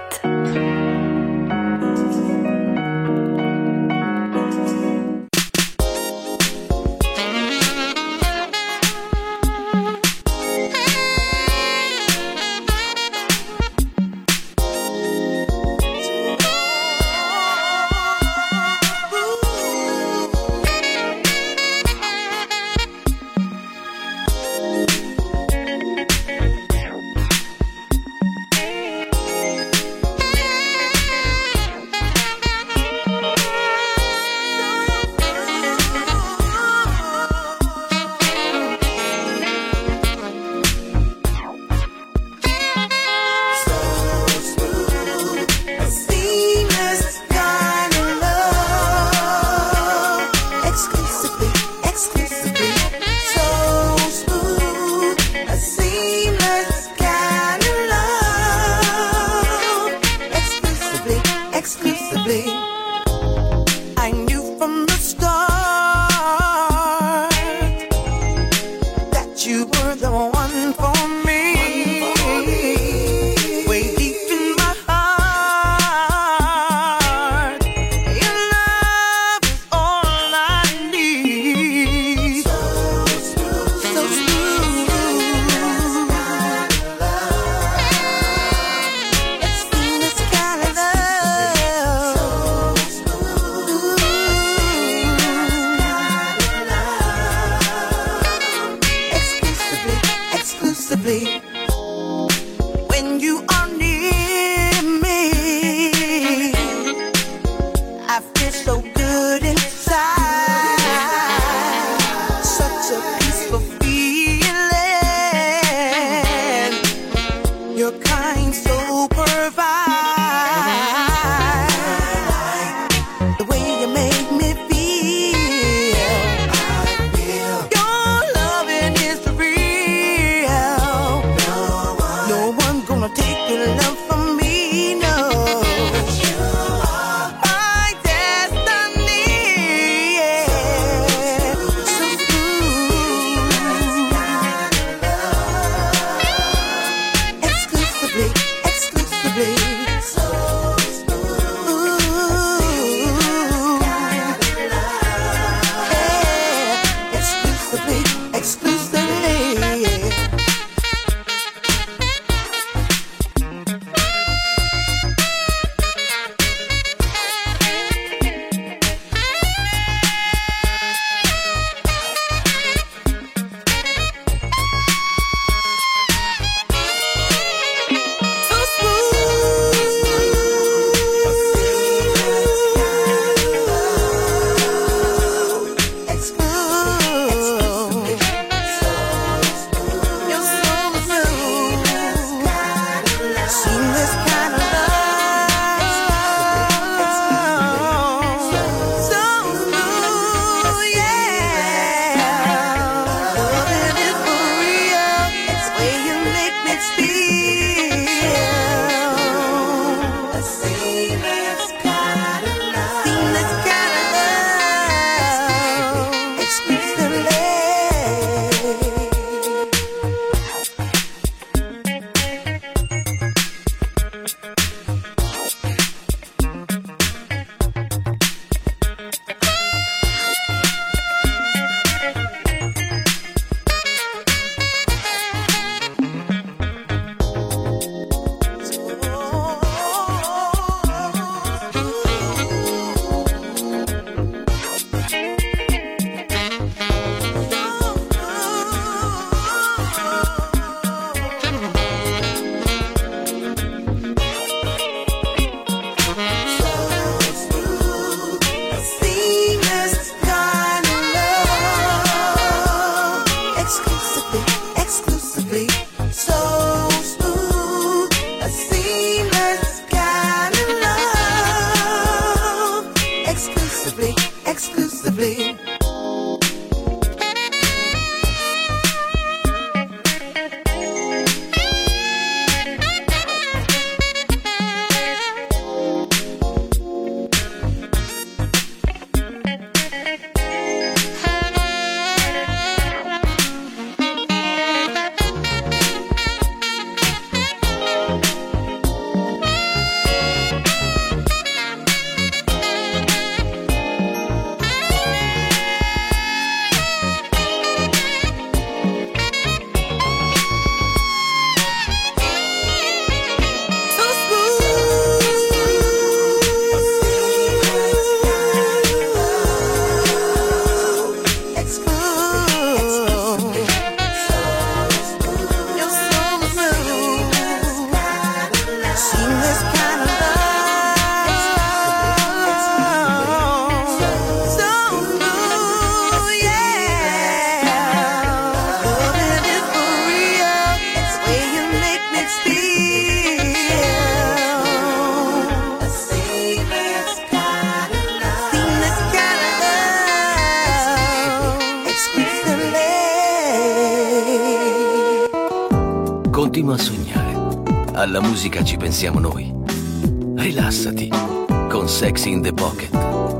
Continua a sognare. Alla musica ci pensiamo noi. Rilassati con Sexy in the Pocket.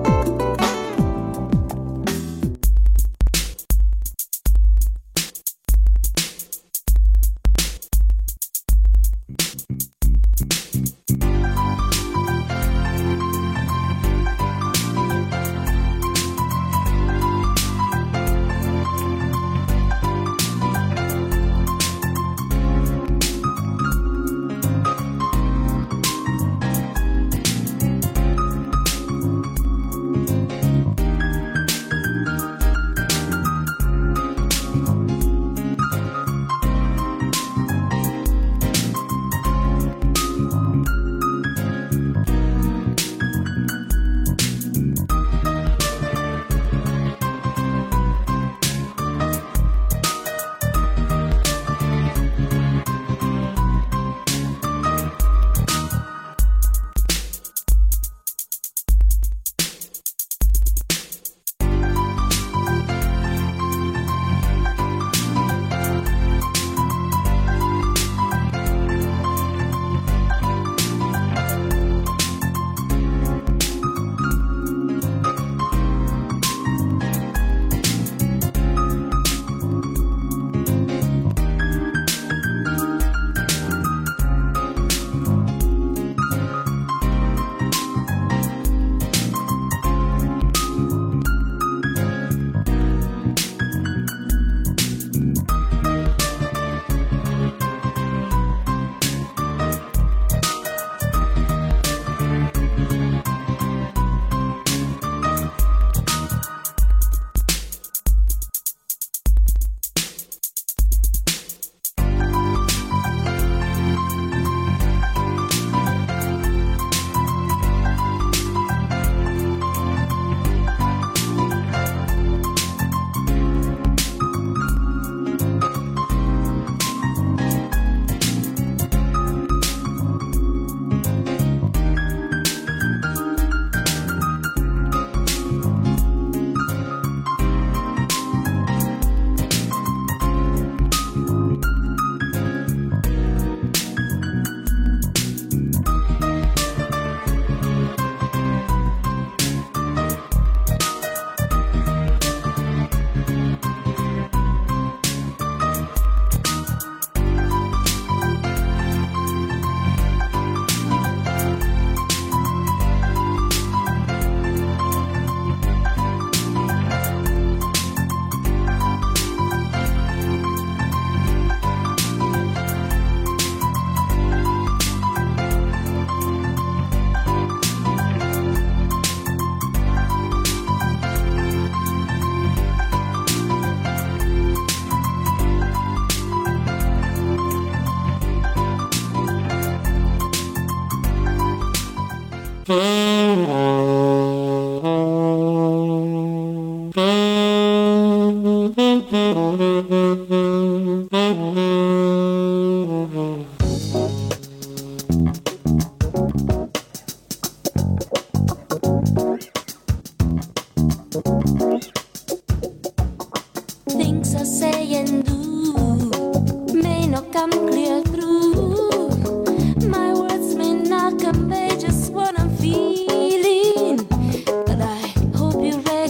Things I say and do may not come clear through. My words may not convey just what I'm feeling, but I hope you're ready.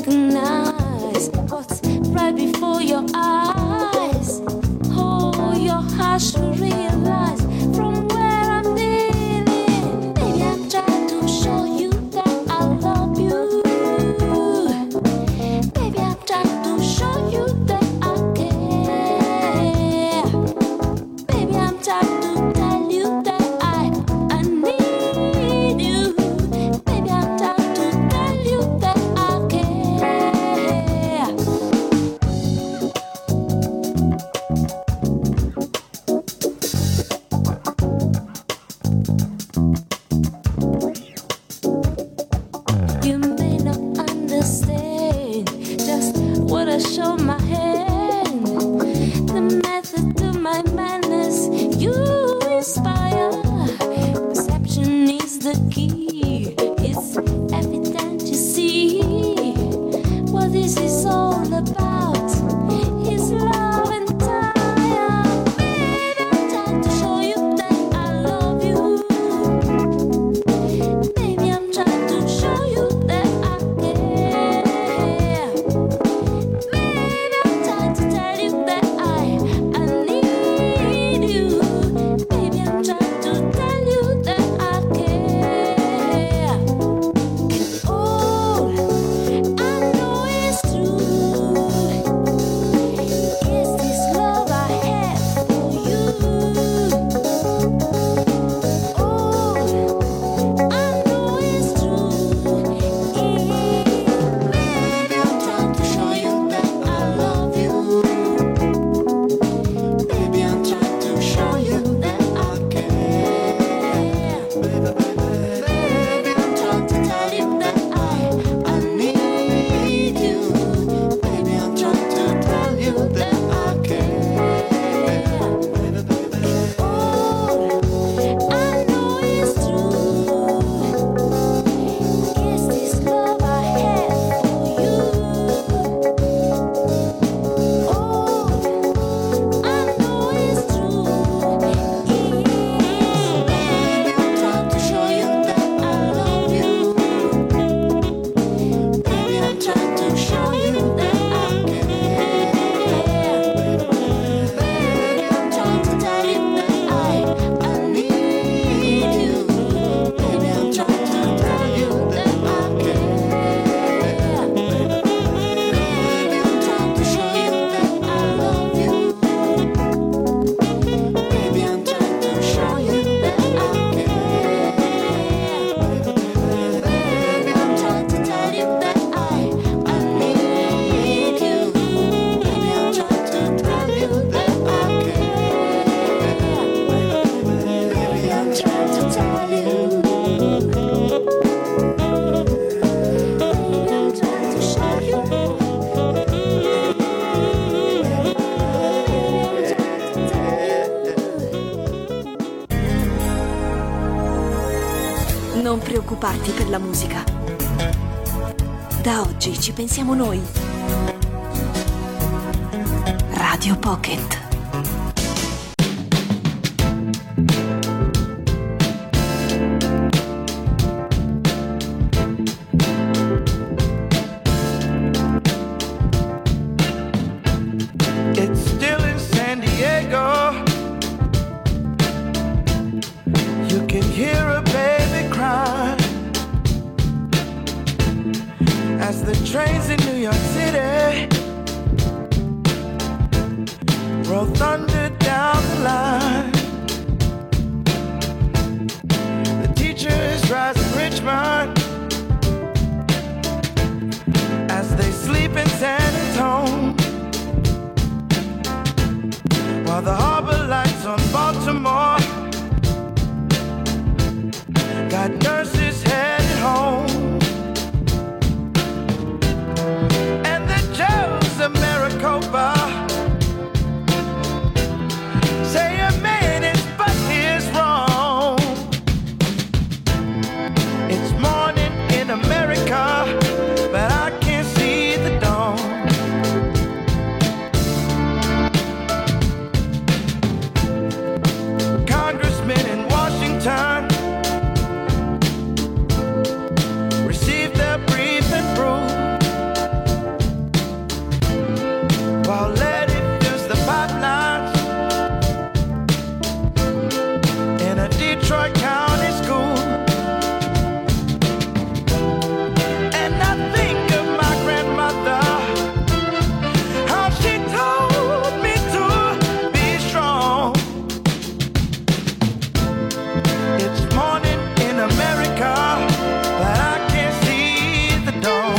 preoccuparti per la musica. Da oggi ci pensiamo noi. Radio Pocket. Trains in New York City roll thunder down the line. The teachers rise in Richmond as they sleep in San Antonio, while the harbor lights on Baltimore got nurses headed home. Maricopa say a man is but his wrong. It's morning in America, but I can't see the dawn. Congressmen in Washington receive their brief and brew, while Letty fills the pipelines in a Detroit County school. And I think of my grandmother, how she told me to be strong. It's morning in America, but I can't see the dawn.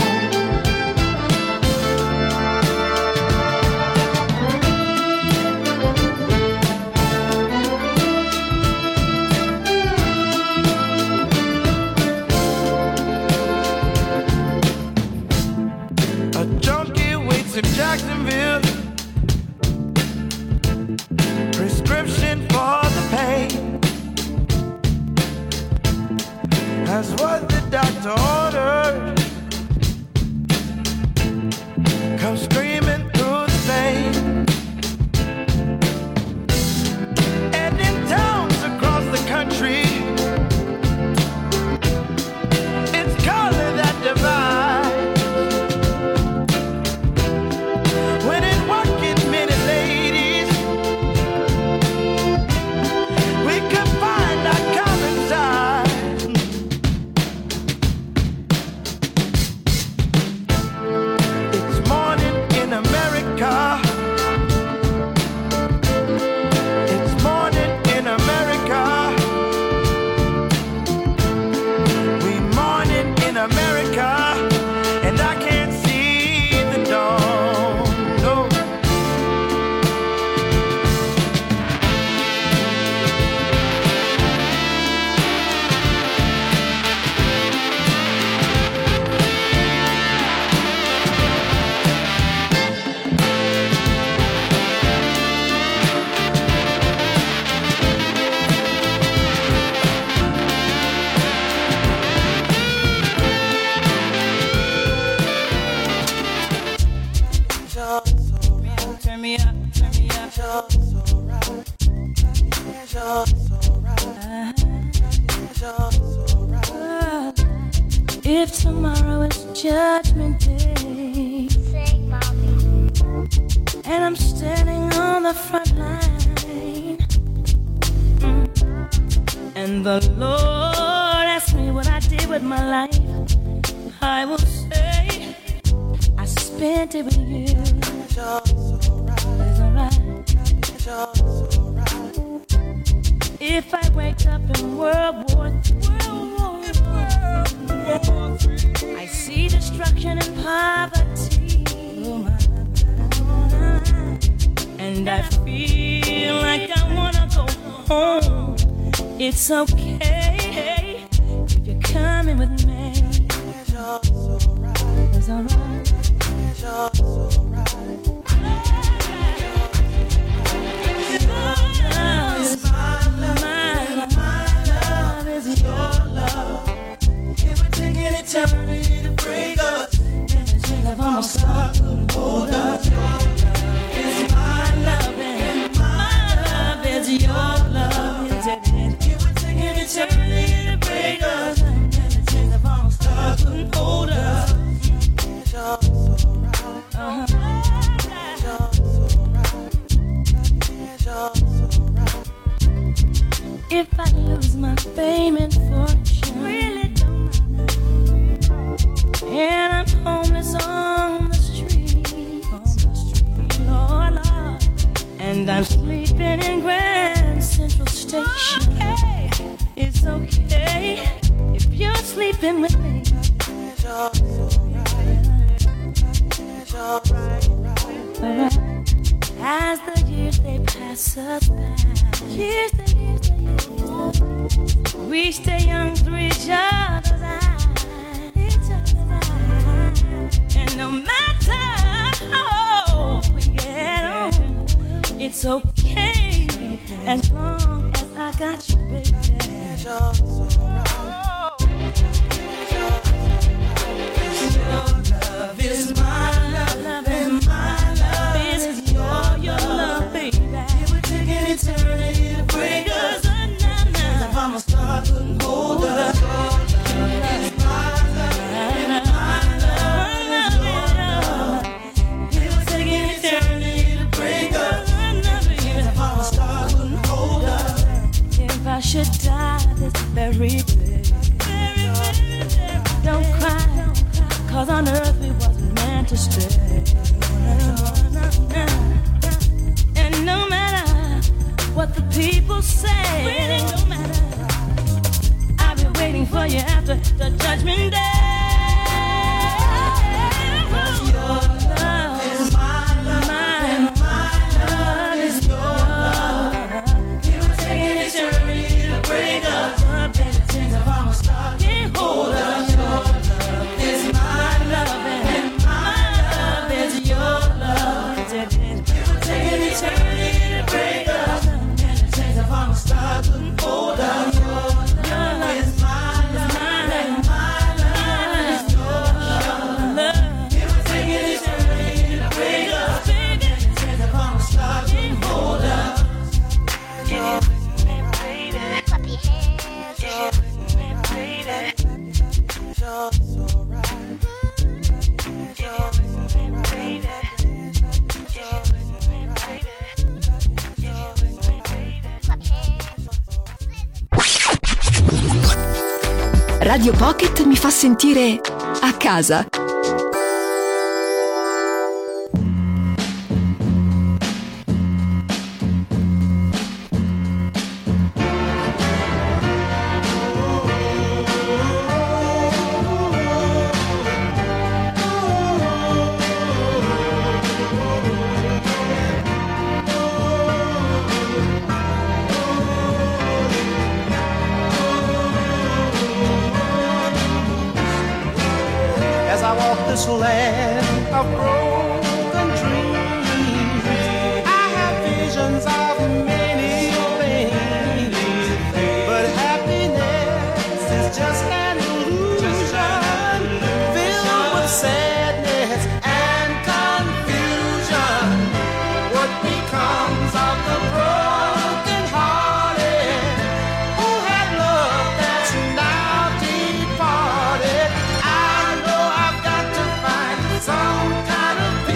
In Jacksonville, prescription for the pain. That's what the doctor ordered. Come screaming through the pain. And in towns across the country, it's color that divides. If tomorrow is Judgment Day, sing, mommy, and I'm standing on the front line, mm. and the Lord asks me what I did with my life, I will say I spent it with you. It's alright. If I wake up in World War Three, I see destruction and poverty, and I feel like I wanna go home. It's okay if you're coming with me. It's alright. It's alright. My love, my love is your love. eternity to break us. If I'm a star, couldn't hold us. Your love is my love, and my love is your love. It would take an eternity to break us. If I'm a star, couldn't hold us. Uh-huh. If I lose my fame and fortune, really don't matter. And I'm homeless on the street, on the street, Lord, Lord. And I'm sleeping in Grand Central Station. Okay. It's okay if you're sleeping with me. Alright. As the years they pass us by, years the years the years, we stay young through each other's eyes, each other's eyes. And no matter how we get on, it's okay as long as I got you, baby. Your love is my love, and my love is your, your love, baby. It would take an eternity to break us. If I'm a star, couldn't hold us. Your love is my love, and my love is your love. It would take an eternity to break us. If I'm a star, couldn't hold us. If I should die this very day, don't cry, cause on earth we wasn't meant to stay. And no matter what the people say, really don't matter, I'll be waiting for you after the judgment day. Your love is my love, and my love is your love. It will take an eternity to break us. If I'm a star, can't hold us. Your love is my love, and my love is your love. It will take an eternity to break us. If I'm a star, couldn't hold us. Your love is my love, and my love is your love. It will take an eternity to break us. If I'm a star, couldn't hold us. Your baby, clap your hands, your baby. You're so right. You're baby. You're baby. Radio Pocket mi fa sentire a casa. This land of broken dreams, I have visions of many things, but happiness is just an illusion, filled with sadness and confusion. What becomes of the broken hearted who had love that's now departed? Some kind of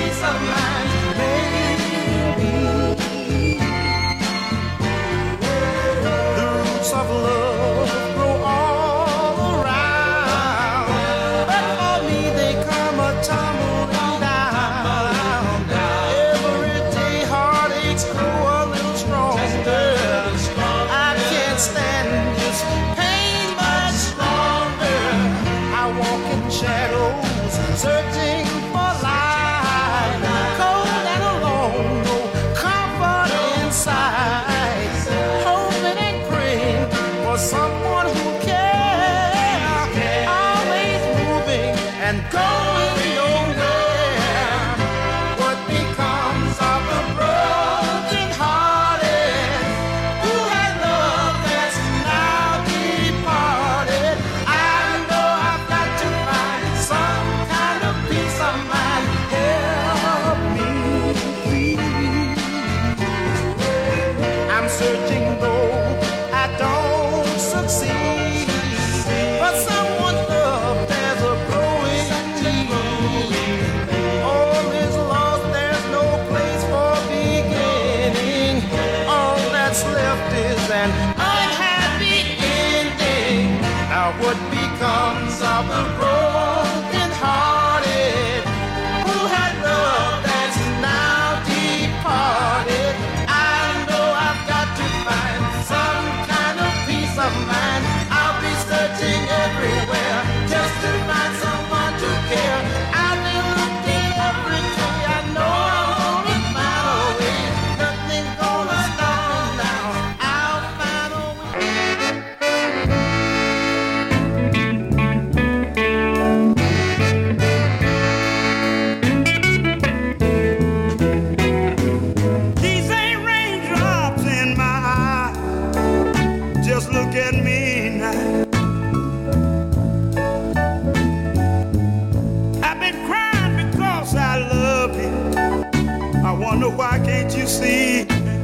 why can't you see?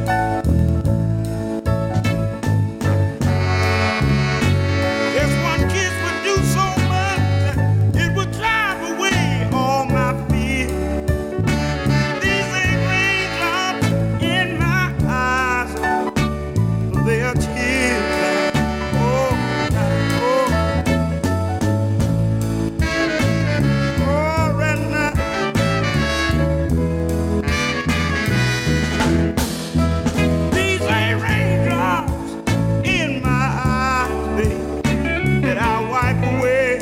Just one kiss would do so much, it would drive away all my fear. These ain't raindrops in my eyes, they are tears. Oh, oh, oh, right now. These ain't raindrops in my eyes, baby, that I wipe away.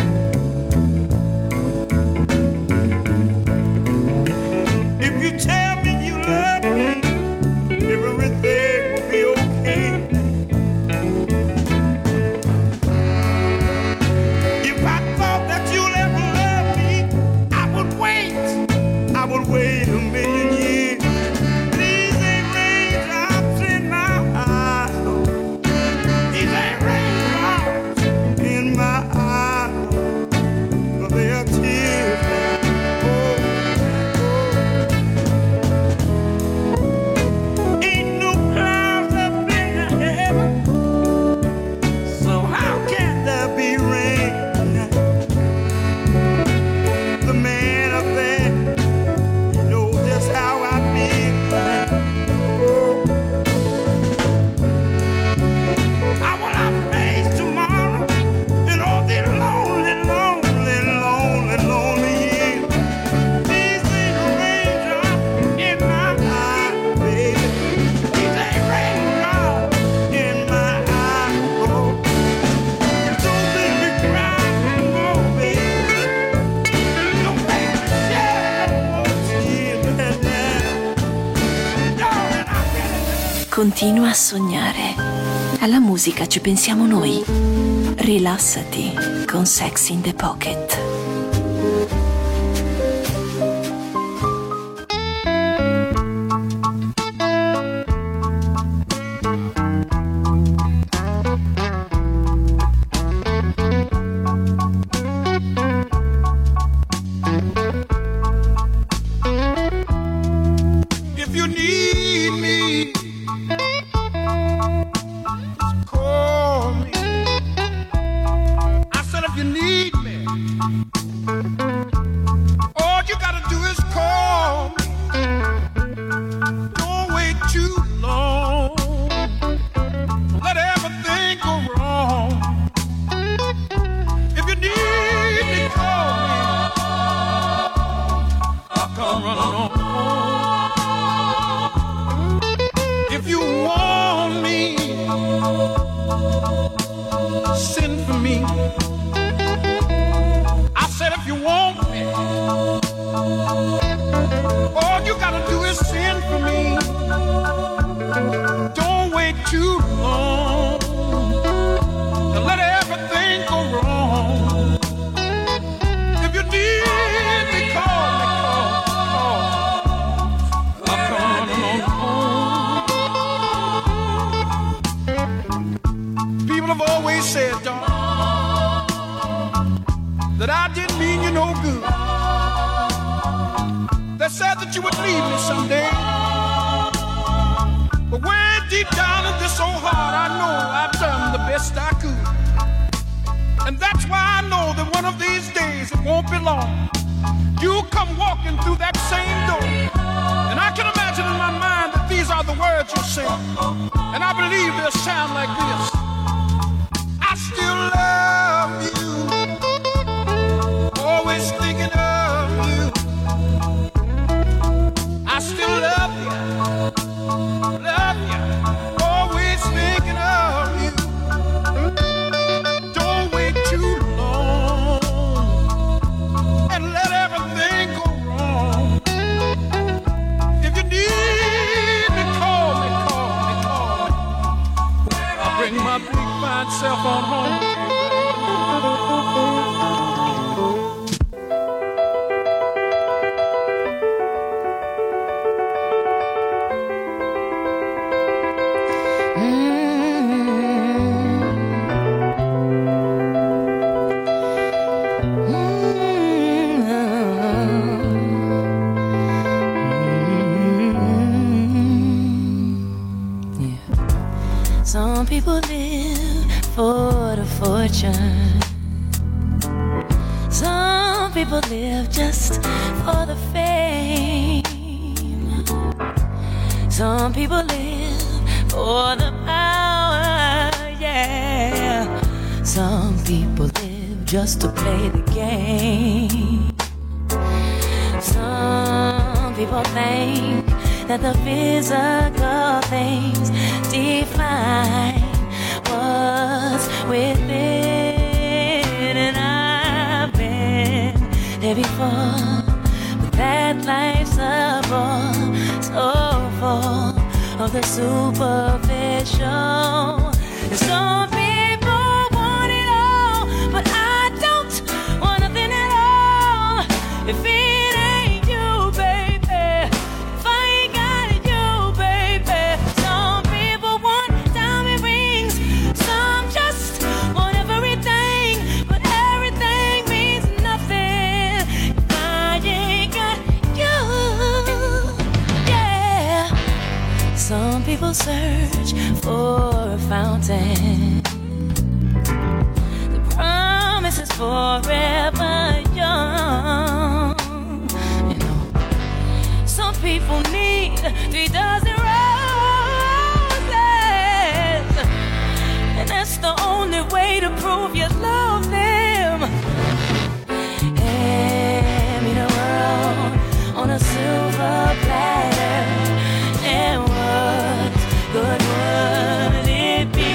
If you tell me you love me, everything will be okay. If I thought that you'll ever love me, I would wait. I would wait a million years. These ain't raindrops in my eyes. These ain't raindrops in my eyes. But they are tears. Oh, oh. Ain't no clouds up in the heaven, so how can there be rain? The man up there, he knows just how I feel. Oh, how will I face tomorrow and all the lonely, lonely, lonely, lonely years? These ain't raindrops in my eyes, baby. These ain't raindrops in my eyes. Oh, don't make me cry no more, baby. Don't make me shed no more tears, baby. Darling, I really Continua a sognare. Alla musica ci pensiamo noi. Rilassati con Sex in the Pocket. If you need me, call me. I said if you need me, all you gotta do is call me. Don't wait too long. Let everything go wrong. If you need me, call me. I'll come running on. If you want me, send for me. I said if you want me, all you gotta do is send for me. Don't wait too long and let everything go wrong. If you need me, call me, call, call. I'll come running on home. People have always said, John, that I didn't mean you no good. They said that you would leave me someday. But way deep down in this old heart, I know I've done the best I could. And that's why I know that one of these days, it won't be long, you'll come walking through that same door. And I can imagine in my mind that these are the words you say. And I believe they'll sound like this. I still love you, always thinking of you. I still love you, love you, always thinking of you. Don't wait too long and let everything go wrong. If you need me, call me, call me, call me. I'll bring my big fine self on home. people live for the fortune. Some people live just for the fame. Some people live for the power, yeah. Some people live just to play the game. Some people think that the physical things define what's within, and I've been there before, but that life's a bore, so full of the superficial. And some people want it all, but I don't want nothing at all. If it ain't you, baby, if I ain't got you, baby. Some people want diamond rings, some just want everything, but everything means nothing if I ain't got you. Yeah. Some people search for a fountain. The promise is forever young. You know, some people need three dozen roses, and that's the only way to prove you love them. Hand me the world on a silver platter, and what good would it be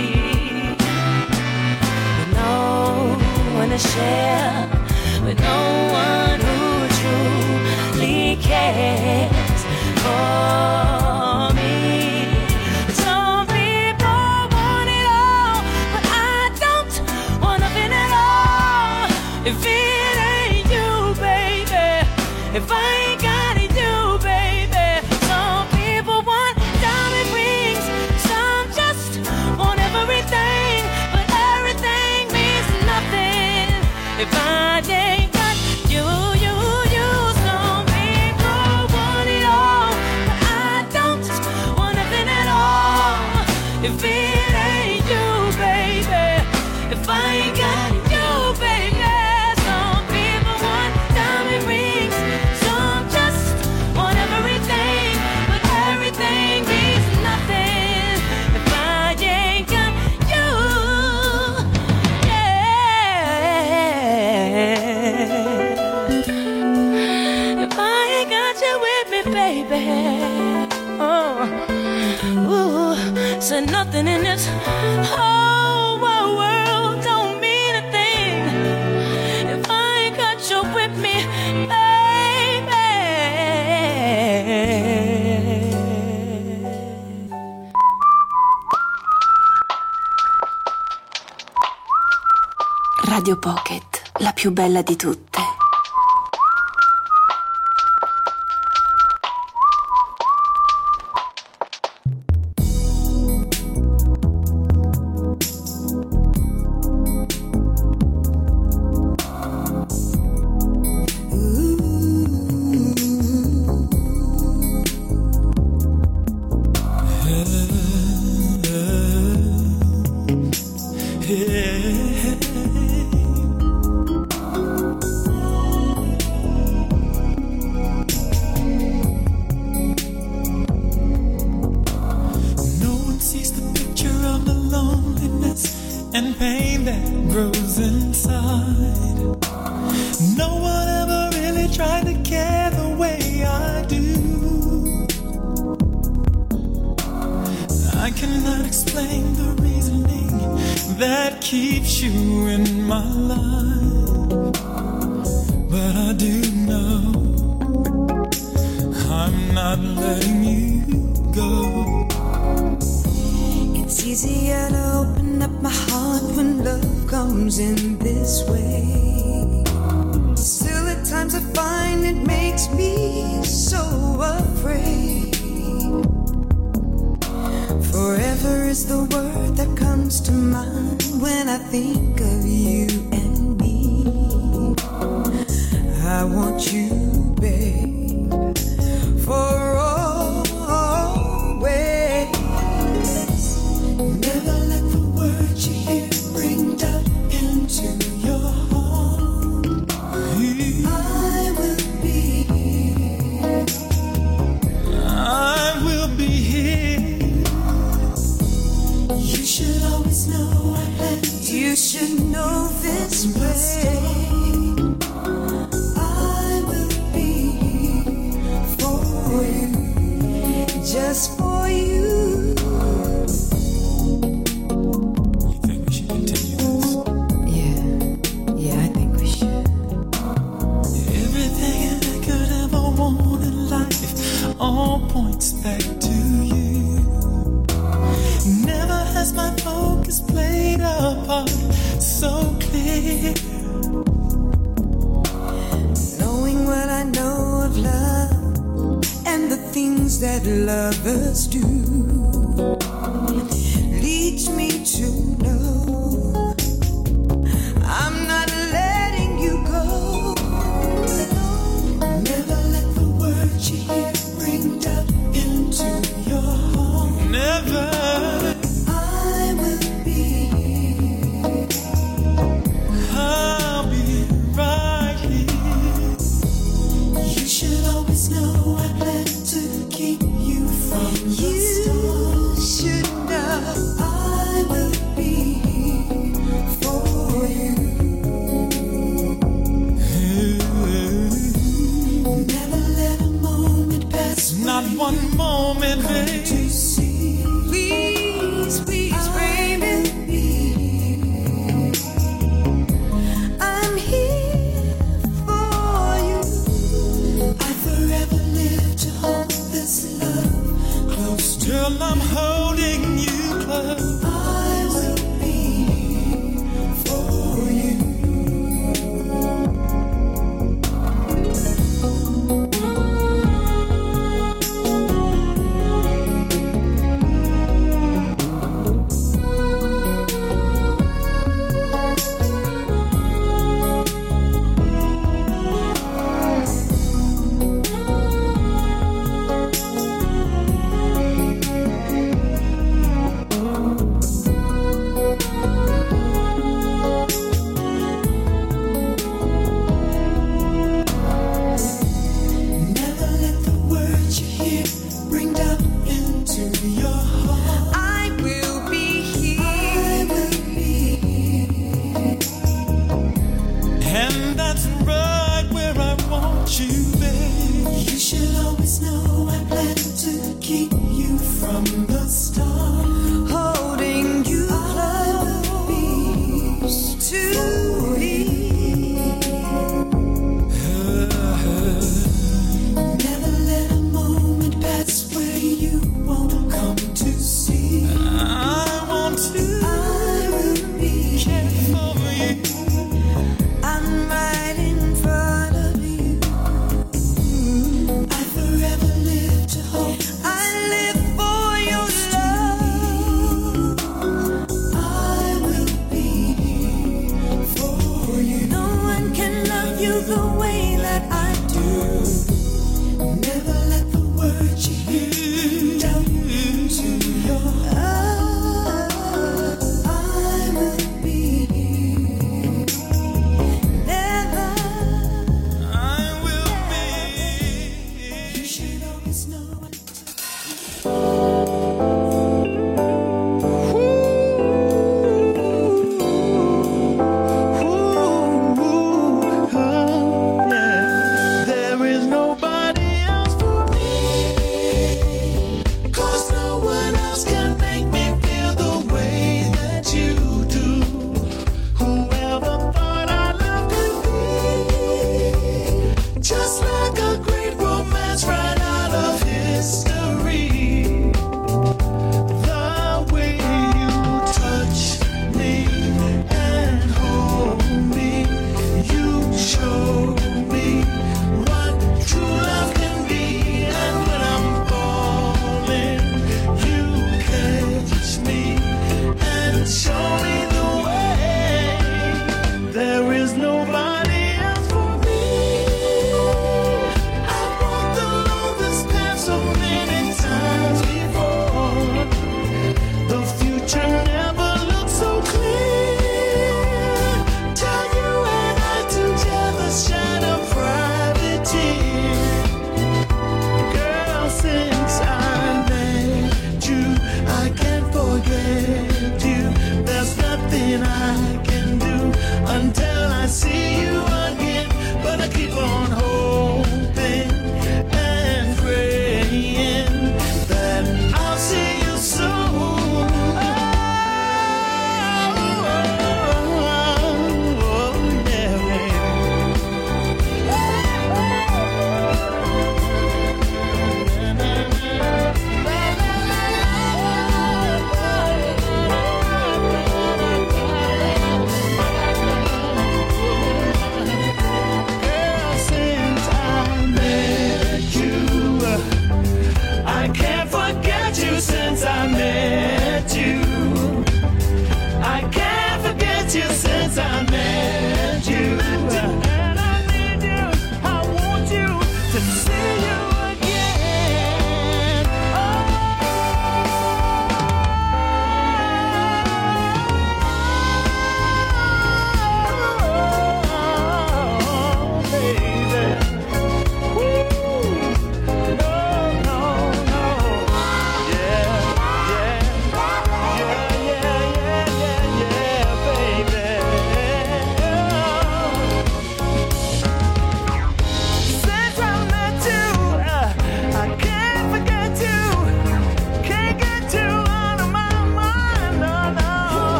with no one to share, with no one who truly cares for me? Some people want it all, but I don't want nothing at all. If it ain't you, baby, if I ain't got it, you, baby. Some people want diamond rings, some just want everything, but everything means nothing if I ain't got you, you, you. Some people want it all, but I don't want nothing at all. If it ain't you, baby, if I ain't got you, baby. Some people want diamond rings, some just want everything, but everything means nothing if I ain't got you. Yeah. If I ain't got you with me, baby. Oh, ooh, so nothing in this whole wide world don't mean a thing if I ain't got you with me, baby. Radio Pocket, la più bella di tutte. For always, never I live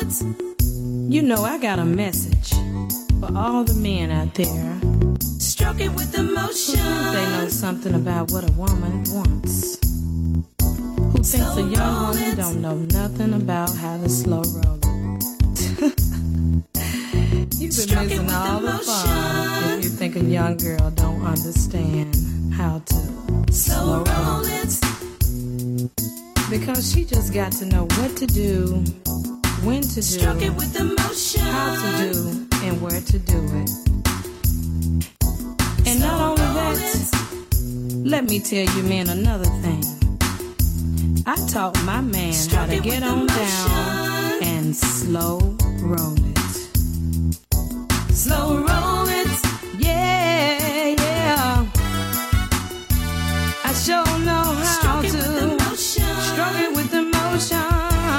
You know I got a message for all the men out there. Stroke it with emotion. Who think they know something about what a woman wants. Who thinks Slow a young roll woman it. don't know nothing about how to slow roll it. You've been Stroke it missing with all the fun emotion. if you think a young girl don't understand how to Slow slow roll roll it. it. Because she just got to know what to do, when to do, Stroke it with emotion. how to do, and where to do it. And not only that, let me tell you men another thing. I taught my man how Stroke to it get with on emotion. down and slow roll it. Slow roll it. Yeah, yeah. I sure know how Stroke it to with emotion. stroke it with emotion.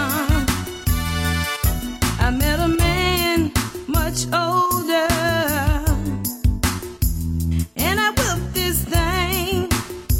I met a man much older, and I whipped this thing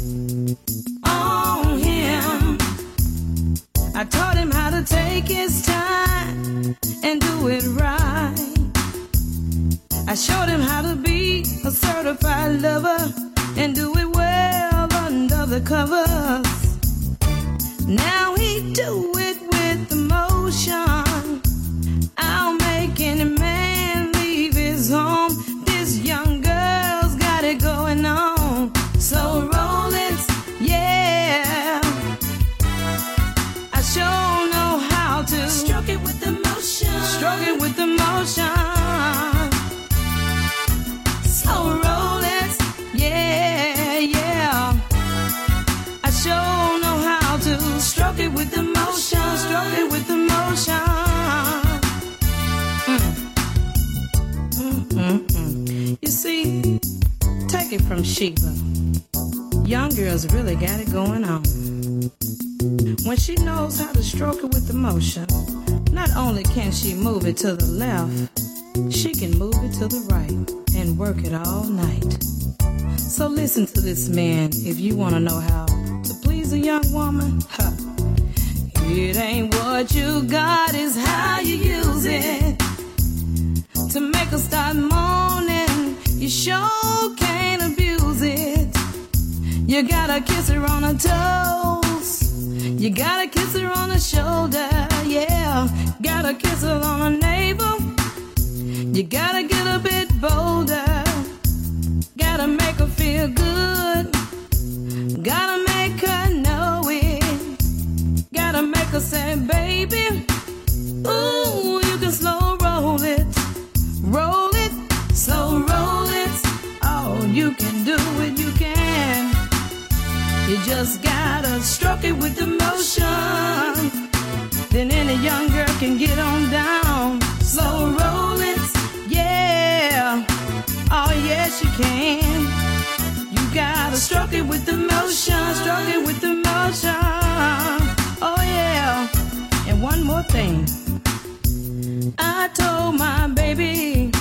on him. I taught him how to take his time and do it right. I showed him how to be a certified lover and do it well under the covers. Now he do it with emotion. I'll make any man leave his home. This young girl's got it going on. So roll it, yeah. I sure know how to Stroke it with emotion. stroke it with emotion. So roll it, yeah, yeah. I sure know how to Stroke it with emotion. stroke it with emotion. Mm. Mm, mm, mm. You see, take it from Sheba. Young girls really got it going on. When she knows how to stroke it with emotion, not only can she move it to the left, she can move it to the right and work it all night. So listen to this man if you want to know how to please a young woman. Huh. It ain't what you got, it's how you use it. To make her start moaning, you sure can't abuse it. You gotta kiss her on her toes. You gotta kiss her on her shoulder, yeah. Gotta kiss her on her navel. You gotta get a bit bolder. Gotta make her feel good. Gotta make her know it. Gotta make her say, baby, ooh, you can slow roll it. Roll it, slow roll it. Oh, you can do it, you can. You just gotta stroke it with emotion. Then any young girl can get on down. Slow roll it, yeah. Oh, yes, you can. You gotta stroke it with emotion. Stroke it with emotion. Oh, yeah. And one more thing. I told my baby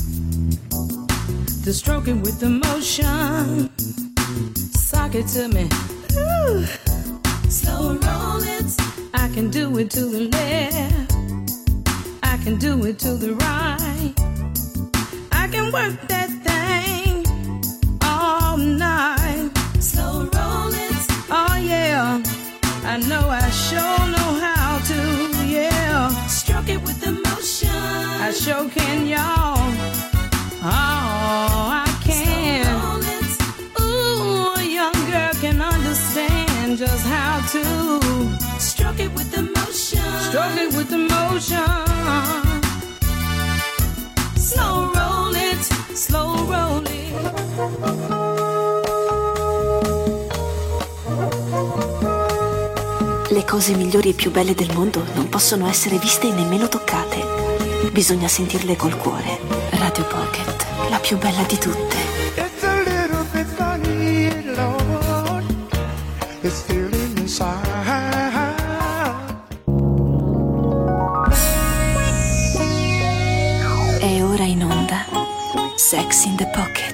to stroke it with emotion. Sock it to me. Ooh. Slow roll it. I can do it to the left. I can do it to the right. I can work that thing all night. Slow roll it. Oh yeah, I know I sure know how to, yeah. Stroke it with emotion. I sure can, y'all. Oh, I can. Slow roll it. Ooh, a young girl can understand just how to Stroke it with emotion. stroke it with emotion. Slow roll it. Slow roll it. Le cose migliori e più belle del mondo non possono essere viste e nemmeno toccate. Bisogna sentirle col cuore. Radio Pocket, la più bella di tutte. It's a little bit funny, Lord. It's feeling inside. È ora in onda Sex in the Pocket.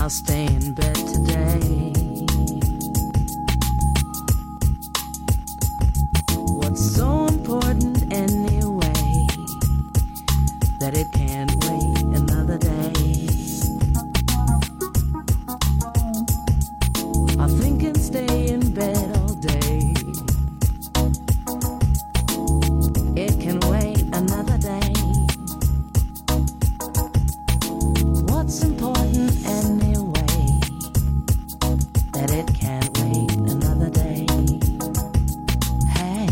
I'll stay in bed today. What's so important anyway that it can't wait another day? I think and stay in bed all day. It can wait another day. What's important anyway that it can't wait another day? Hey.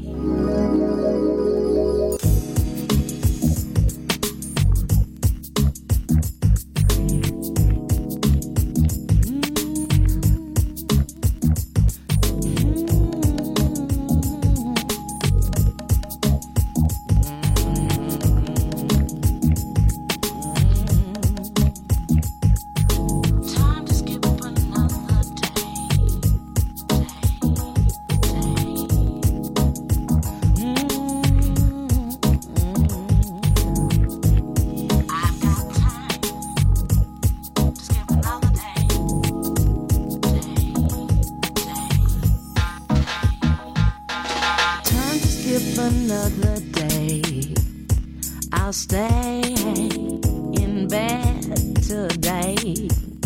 Another day, I'll stay in bed today.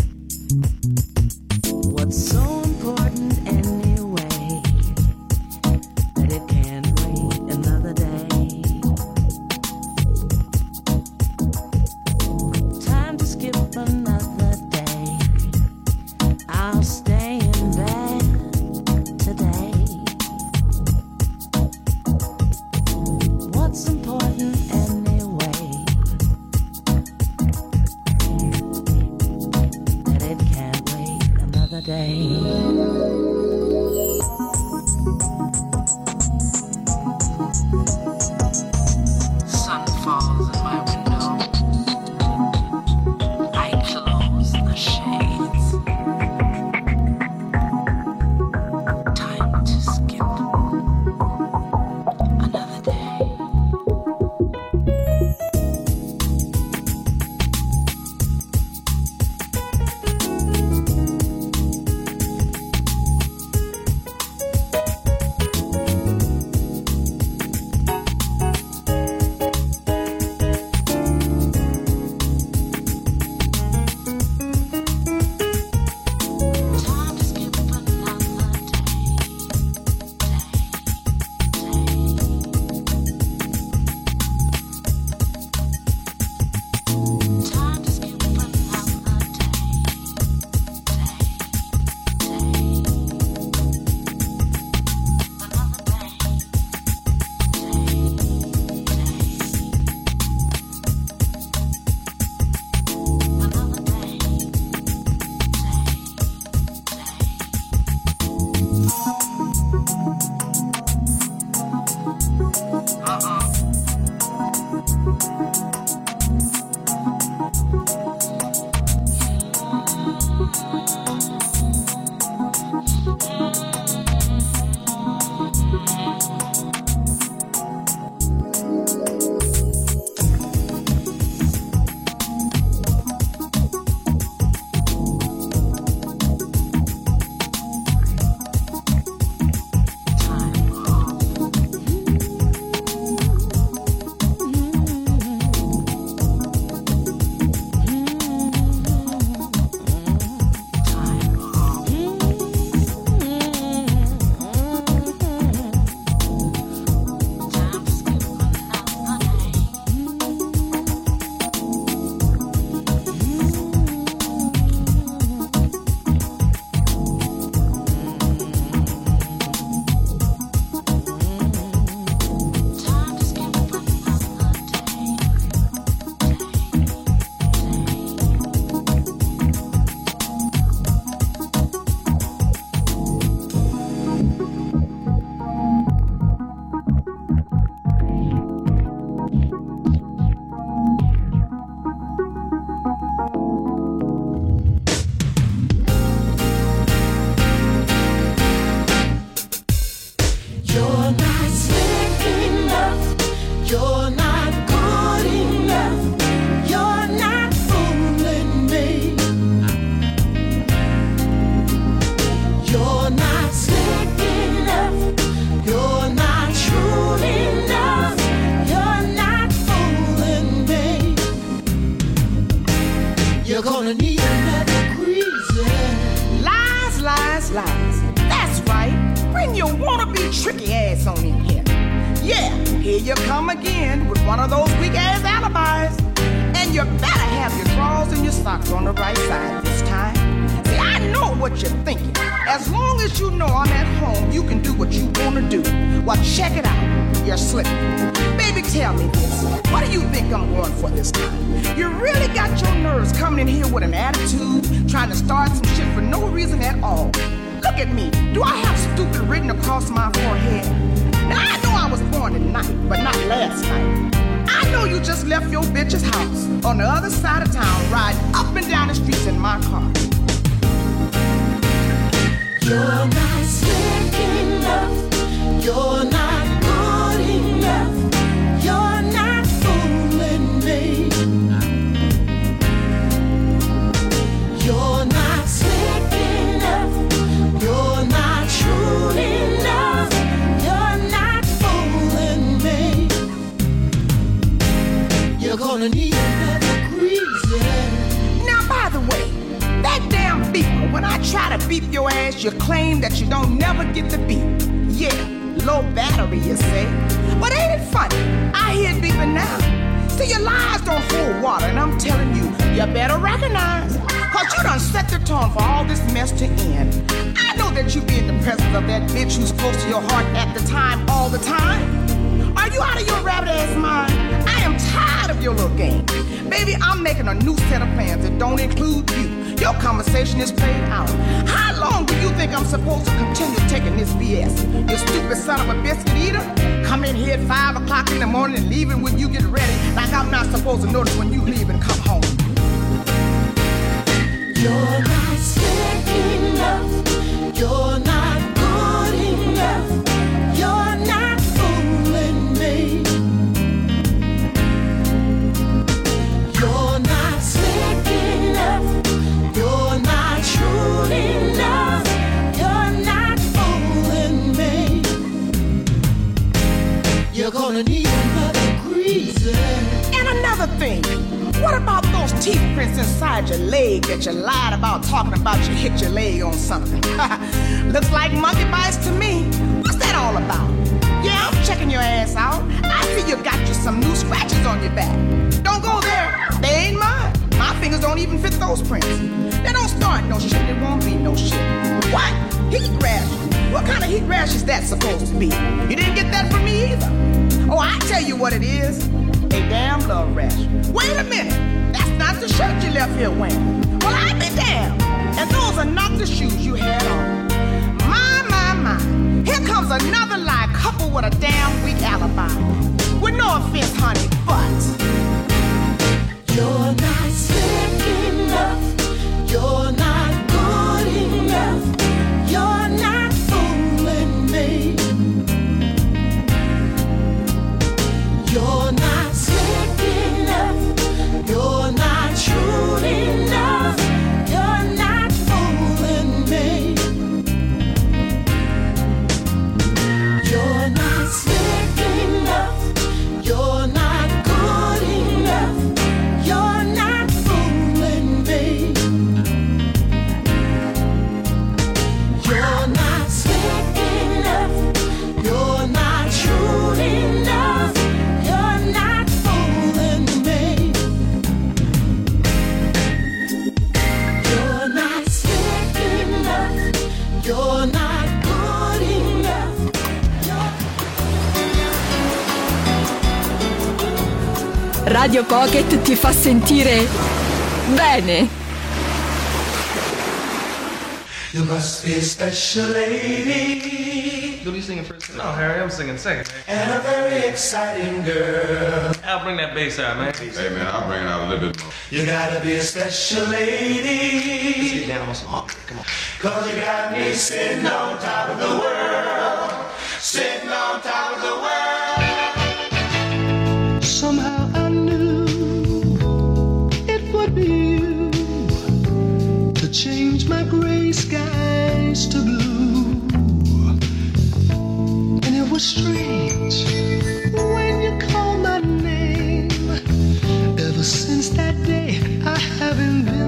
What's so important anyway that it can't wait another day? Time to skip another day. I'll stay in bed today. What's important anyway that it can't wait another day? Sun falls in my window. I close the shades. Time to skip another day. You're gonna need another greaser. Lies, lies, lies. That's right. Bring your wannabe tricky ass on in here. Yeah, here you come again with one of those weak ass alibis. And you better have your drawers and your socks on the right side this time. See, I know what you're thinking. As long as you know I'm at home, you can do what you wanna do. Well, check it out. You're slipping. Baby, tell me this. What do you think I'm going for this time? You really got your nerves coming in here with an attitude, trying to start some shit for no reason at all. Look at me. Do I have stupid written across my forehead? Now, I know I was born tonight, but not last night. I know you just left your bitch's house on the other side of town, riding up and down the streets in my car. You're not slick enough. You're not good enough. You're not fooling me. You're not slick enough. You're not true enough. You're not fooling me. You're gonna need another greaser. Now, by the way, that damn beeper, when I try to beep your ass, you claim that you don't never get the beep. Yeah, low battery, you say. But ain't it funny? I hear it beeping now. See, your lies don't hold water, and I'm telling you, you better recognize. Cause you done set the tone for all this mess to end. I know that you be in the presence of that bitch who's close to your heart at the time, all the time. Are you out of your rabbit ass mind? I am tired of your little game. Baby, I'm making a new set of plans that don't include you. Your conversation is played out. How long do you think I'm supposed to continue taking this B S? You stupid son of a biscuit eater? Come in here at five o'clock in the morning and leaving when you get ready, like I'm not supposed to notice when you leave and come home. You're not slick enough. You're not good enough. You're not fooling me. You're not slick enough. You're not true enough. You're not fooling me. You're gonna need another greaser. And another thing, what about those teeth prints inside your leg that you lied about talking about you hit your leg on something? Looks like monkey bites to me. What's that all about? Yeah, I'm checking your ass out. I see you got you some new scratches on your back. Don't go there. They ain't mine. My fingers don't even fit those prints. They don't start no shit. There won't be no shit. What? Heat rash? What kind of heat rash is that supposed to be? You didn't get that from me either. Oh, I tell you what it is. A damn love rash. Wait a minute. That's not the shirt you left here wearing. Well, I be damned. And those are not the shoes you had on. My, my, my. Here comes another lie coupled with a damn weak alibi. With no offense, honey, but you're not slick enough. You're not good enough. You're not fooling me. You're not slick enough. You're not true enough. You're not fooling me. You're not slick enough. You're not good enough. You're not fooling me. You're not slick enough. You're not true enough. You're not fooling me. You're not slick enough. You're not good enough. Radio Pocket ti fa sentire bene. You must be a special lady. What are you singing first? No, Harry, I'm singing second. And a very exciting girl. I'll bring that bass out, man. Hey, man, I'll bring it out a little bit more. You gotta be a special lady. Let's get down on some honky. Come on. Cause you got me sitting on top of the world. Sitting on top of the world. Somehow I knew it would be you to change my gray skies to blue. And it was strange when you called my name. Ever since that day I haven't been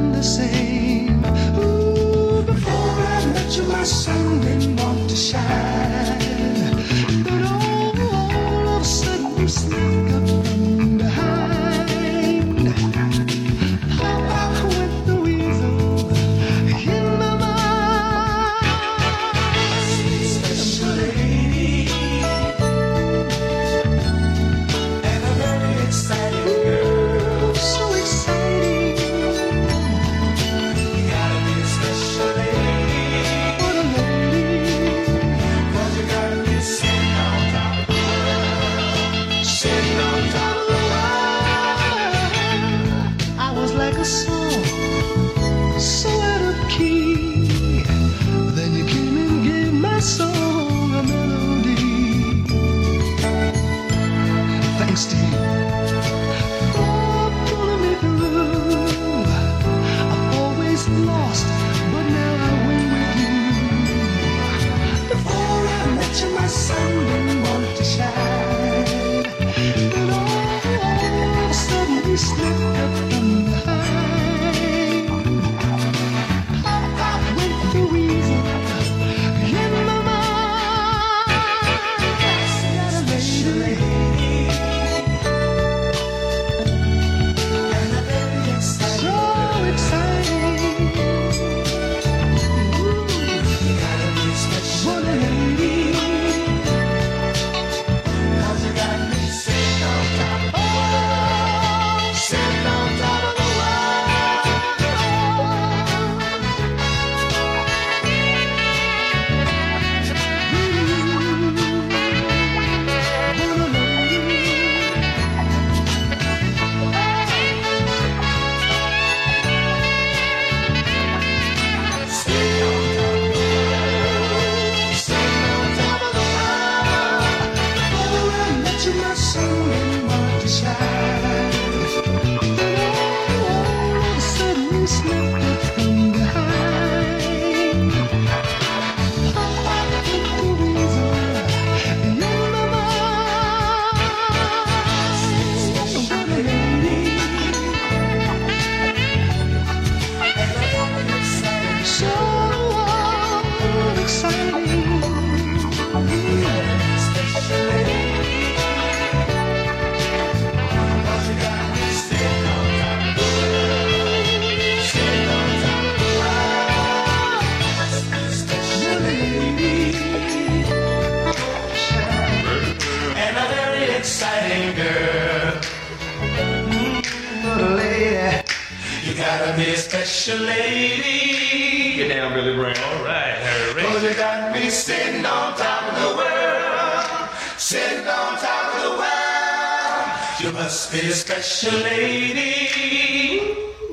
special lady. Get down, Billy Brown. All right, Harry. Cause you got me sitting on top of the world. Sitting on top of the world. You must be a special lady.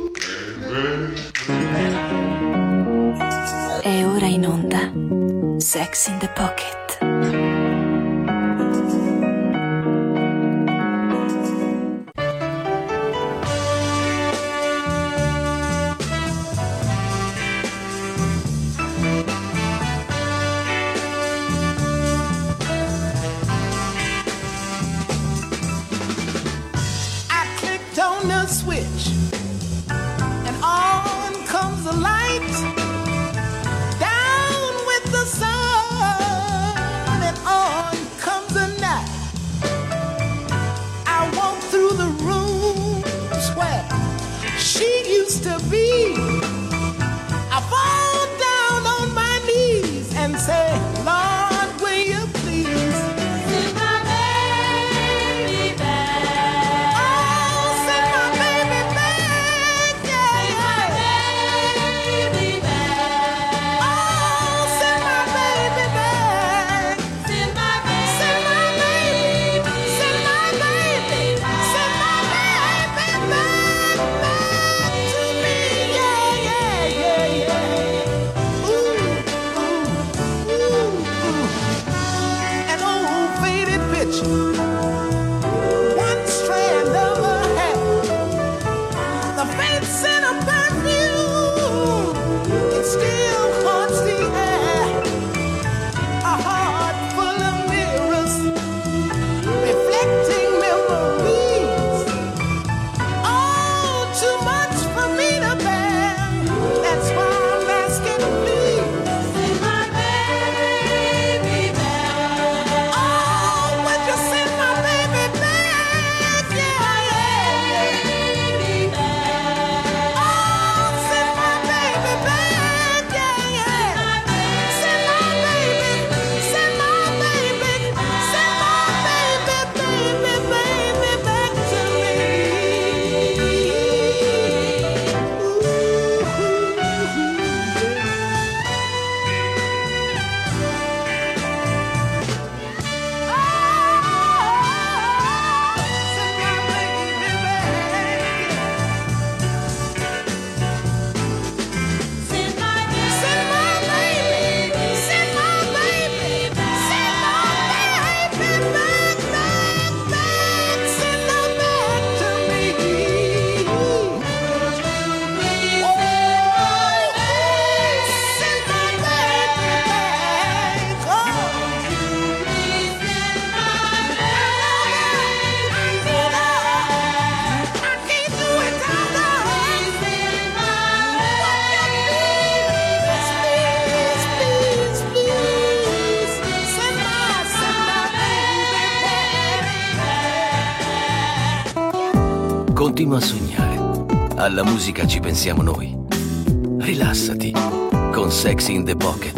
E ora in onda Sex in the Pocket. Switch and on comes the light, down with the sun and on comes the night. I walk through the rooms where she used to be. I fall down on my knees and say, Lord, will you please send my baby back? Oh, send my baby back, yeah, yeah. Baby back. Oh, send my baby back. Send my baby. Send my baby. Send my baby. Send my baby back, back to me, yeah, yeah, yeah, yeah. Ooh, ooh, ooh, ooh. An old faded picture, one strand of her hair, the faint scent of perfume, it still haunts the air. A heart full of mirrors, reflecting memories. Oh, too much for me to bear. That's why I'm asking, please send my baby back. Oh, would you send my baby back? Yeah, yeah, baby back. Oh, send my baby back. Yeah, yeah. Send my baby. Send my baby. Send my baby, baby, baby back to me. Continua a sognare. Alla musica ci pensiamo noi. Rilassati con Sex in the Pocket.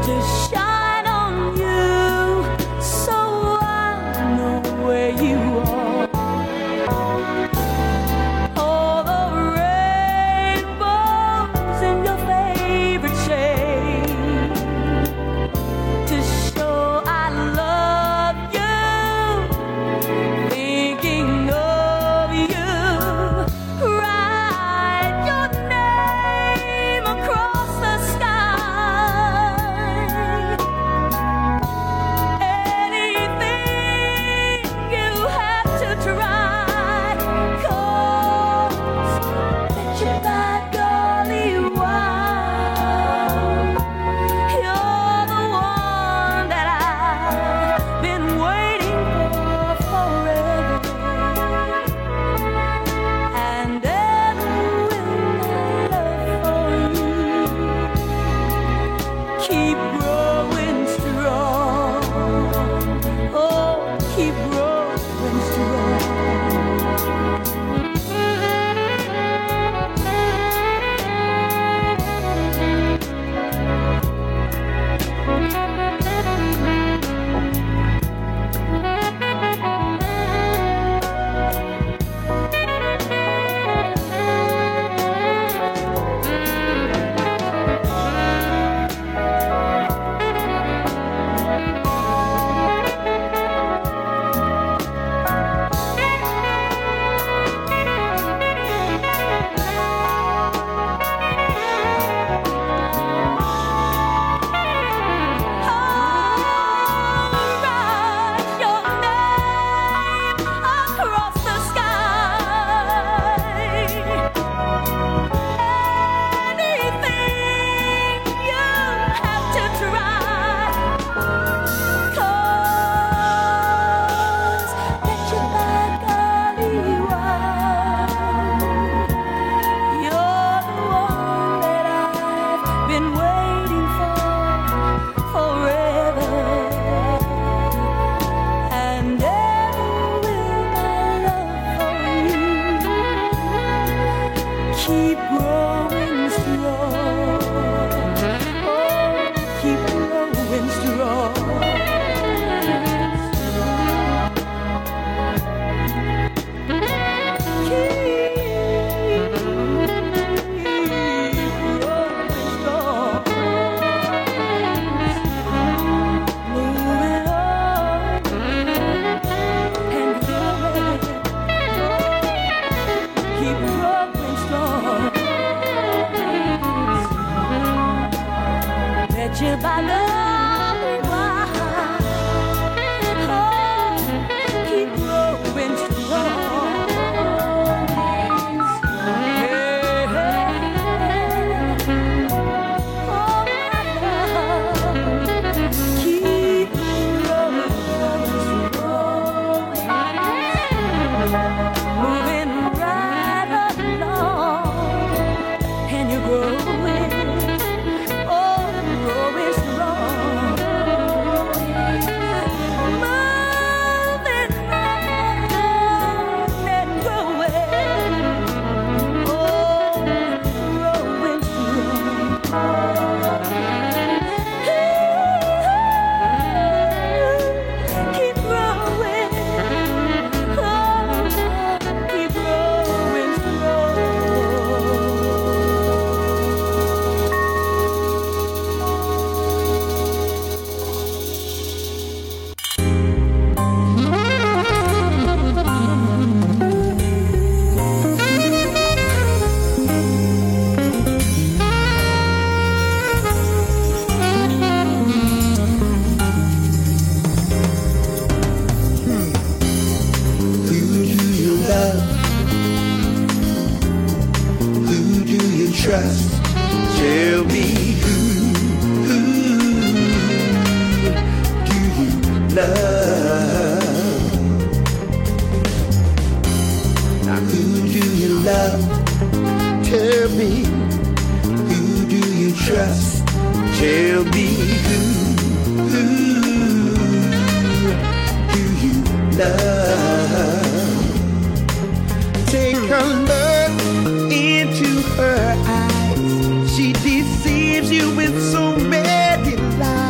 She deceives you with so many lies.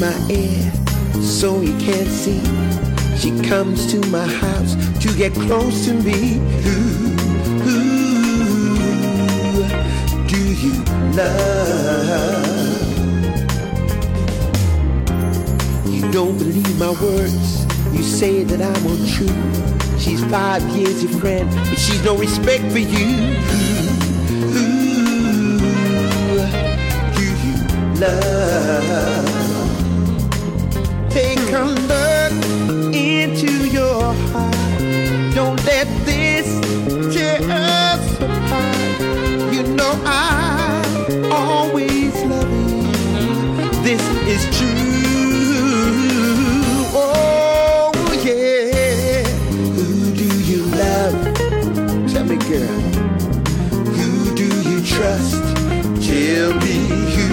my ear so you can't see. She comes to my house to get close to me. Who, who do you love? You don't believe my words. You say that I'm untrue. She's five years your friend, but she's no respect for you. Who, who do you love? Take a look into your heart. Don't let this tear us apart. You know I always love you. This is true. Oh yeah. Who do you love? Tell me, girl. Who do you trust? Tell me who.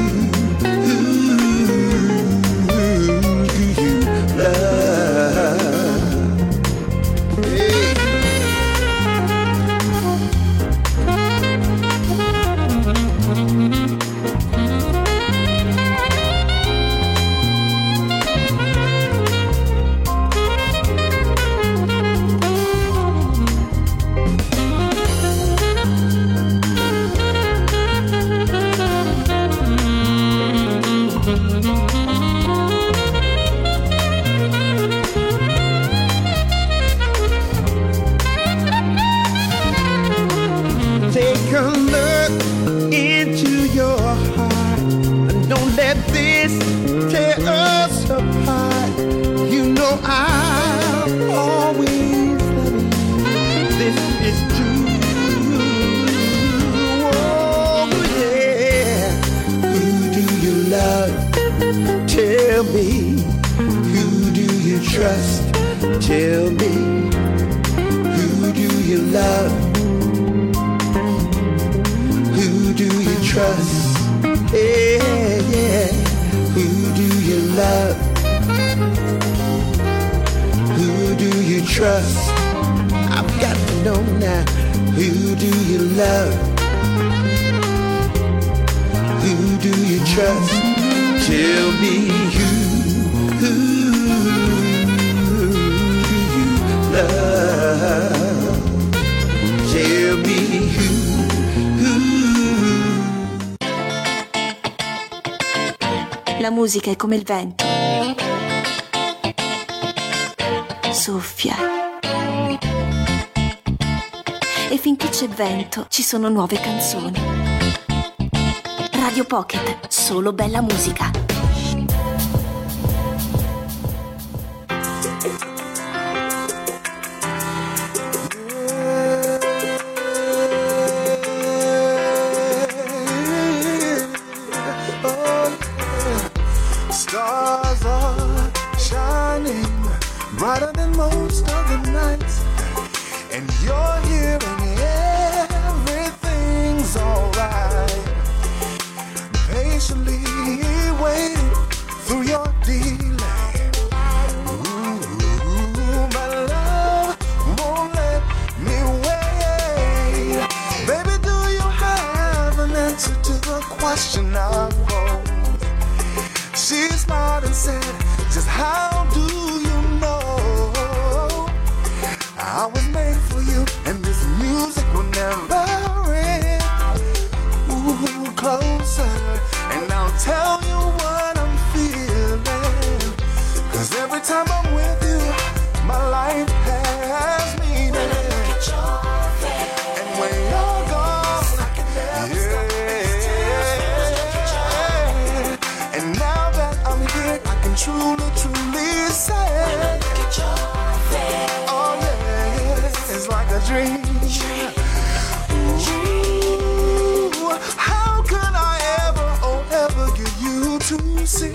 Trust, tell me, who do you love? Who do you trust? Yeah, yeah. Who do you love? Who do you trust? I've got to know now. Who do you love? Who do you trust? Tell me who, who love. Tell me who, who. La musica è come il vento. Soffia. E finché c'è vento, ci sono nuove canzoni. Radio Pocket, solo bella musica. Brighter than most of the nights, and you're here and everything's alright. Patiently waiting through your delay. Ooh, my love won't let me wait. Baby, do you have an answer to the question I posed? She smiled and said, just how do you I was made for you, and this music will never end. Ooh, closer, and I'll tell you what I'm feeling. Cause every time I'm with you, my life has meaning. When I look at your face, and when you're gone, I can never stop. And now that I'm here, I can truly, truly say, when I look at your face, oh yeah, it's like a dream. Ooh, how could I ever, oh ever get you to see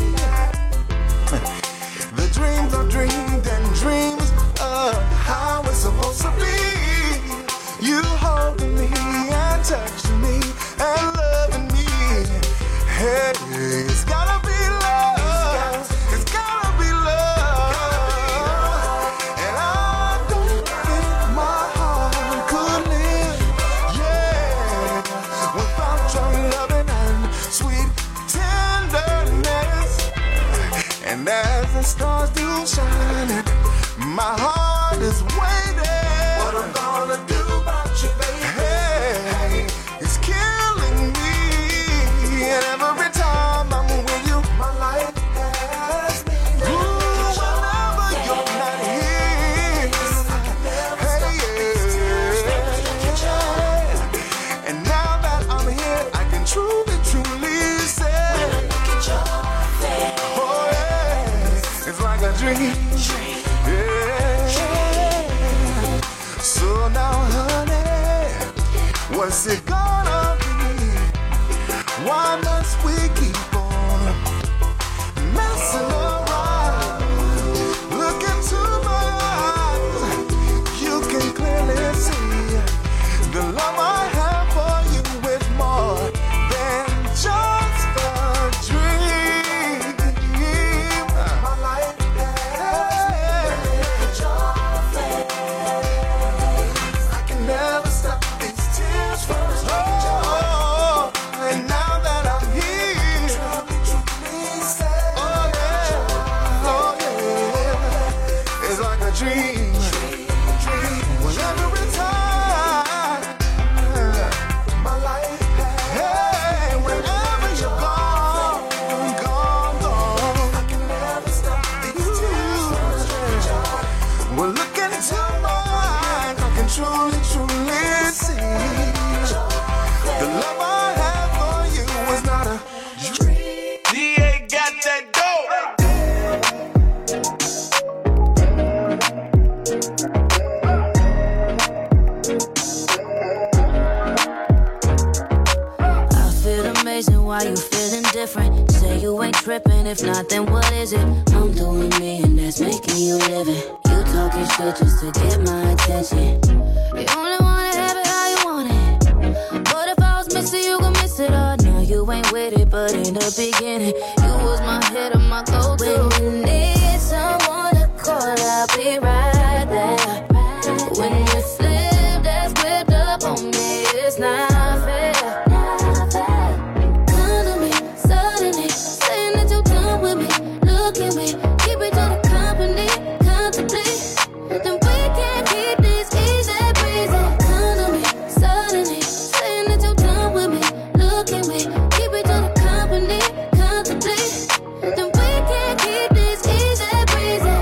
the dreams I've dreamed and dreams of how it's supposed to be. You holding me and touching me and loving me. Hey, it's gotta be love. It's gotta be love. And I don't think my heart could live, yeah, without your loving and sweet tenderness. the stars do shine. My heart is waiting. What I'm gonna do about you, baby? Hey, it's killing me. And every time I'm with you, my life has been. Ooh, whenever you're not here. Hey, yeah. And now that I'm here, I can truly, truly say, oh yeah, it's like a dream. So now, honey, what's it gonna be? Why must we keep on messing around? Look into my eyes, you can clearly see the love I have for you is more than just a dream. My life has been your face. I can never stop these tears from flowing. Oh, and now that I'm here, truly say, oh yeah, oh yeah, it's like a dream. When every time my life has, hey, whenever you're gone, gone, gone, I can never stop these tears from. Well, look into my eyes, I can truly, truly see the love I have for you is not a dream. D A got that dope. I feel amazing, why you feeling different? Say you ain't tripping, if not then what is it? I'm doing me and that's making you living. You talking shit just to get my attention. You only wanna have it how you want it. But if I was missing, you gon' miss it all. Now you ain't with it, but in the beginning, you was my head of my go-to. When you need someone to call, I'll be right there. When you slip that script up on me, it's not fair. Come to me, suddenly, saying that you're done with me. Look at me, keep it to the company, contemplate. Then we can't keep this easy breezy. Come to me, suddenly, saying that you're done with me. Look at me, keep it to the company, contemplate. Then we can't keep this easy breezy.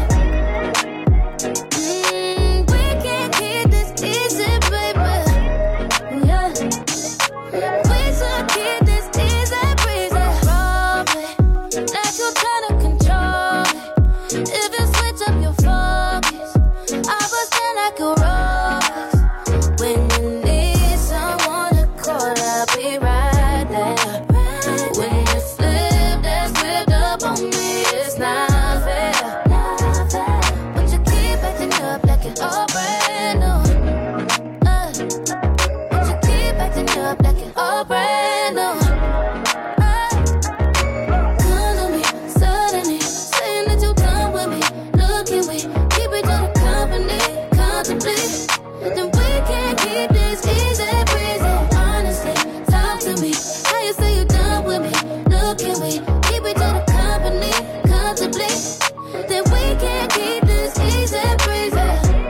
Mm, we can't keep this easy, baby. Yeah. We should keep this easy breezy. Roll it, like you're trying to control it. If you switch up your focus, I was stand like a rose. When you need someone to call, I'll be right there. When you slip that script up on me, it's not fair. But you keep acting up like it's all brand new. Uh, but you keep acting up like it's all brand new. Uh, come to me, suddenly, saying that you're done with me. Look at me, keep it to the company, contemplate. Then we can't keep this easy breezy. Honestly, talk to me. How you say you're done with me? Look at me, keep it to the company, contemplate. Then we can't keep this easy breezy.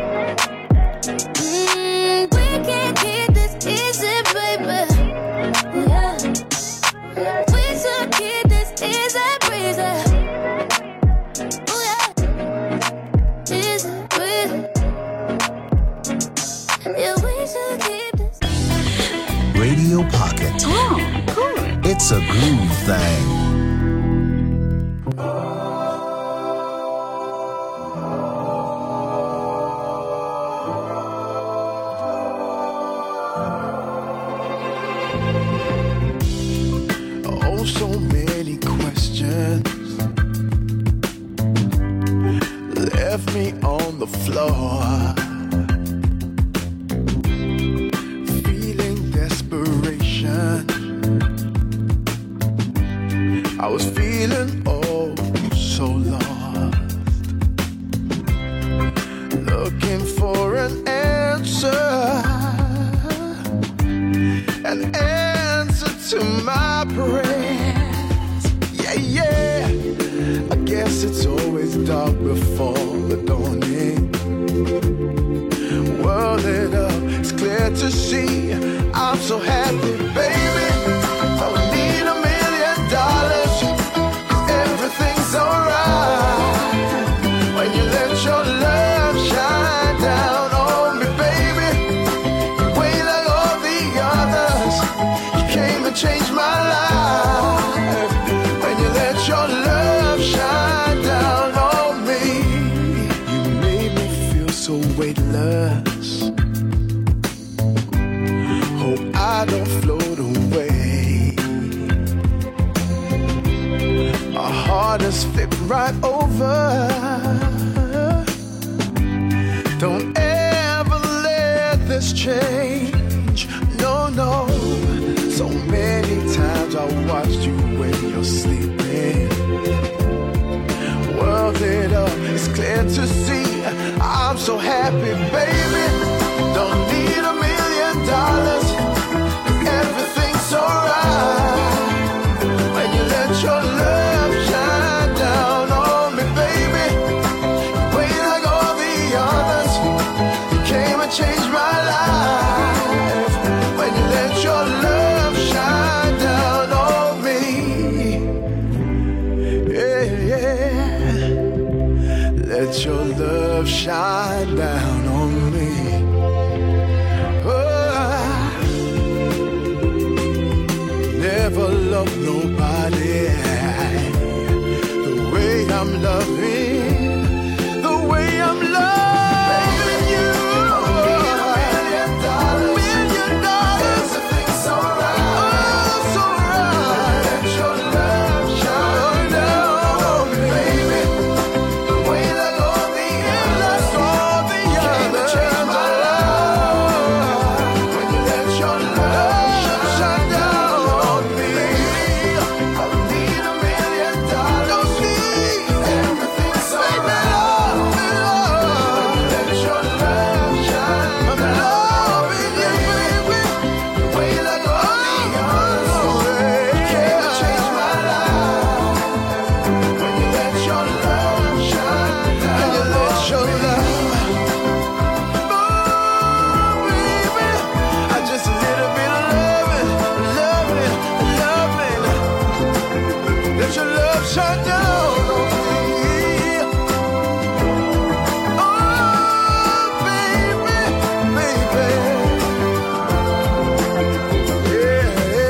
Mm, we can't keep this easy, baby. Yeah. We should keep this easy breezy. Oh yeah, easy breezy. Yeah, we should keep this. Radio Pocket. Oh, cool. It's a groove thing. Oh, so many questions left me on the floor, feeling desperation. I was feeling oh so lost, looking for an answer, an answer to my prayers. Yeah, yeah, I guess it's always dark before the dawning. World lit up, it's clear to see. I'm so happy, baby. Don't need a million dollars, 'cause everything's alright when you let your love shine down on me, baby. You way like all the others, you came and changed my life when you let your love shine down on me. You made me feel so weightless. Hope I don't float away. Our heart is flipped right over. Don't ever let this change. No, no. So many times I watched you when you're sleeping. World lit up, it's clear to see. I'm so happy, baby. Don't need a million dollars, everything's alright when you let your love shine down on me, baby. Way like all the others, you came and changed my life when you let your love shine down on me. Yeah, yeah. Let your love shine down on me. Never love nobody the way I'm loving, the way I'm loving you. Million dollars, million dollars, everything's alright. Oh, so right. Let your love shine down on me, baby. The way like all the others, all the others, change my life when you let your love shine down. Shut down on me. Oh, baby, baby. Yeah.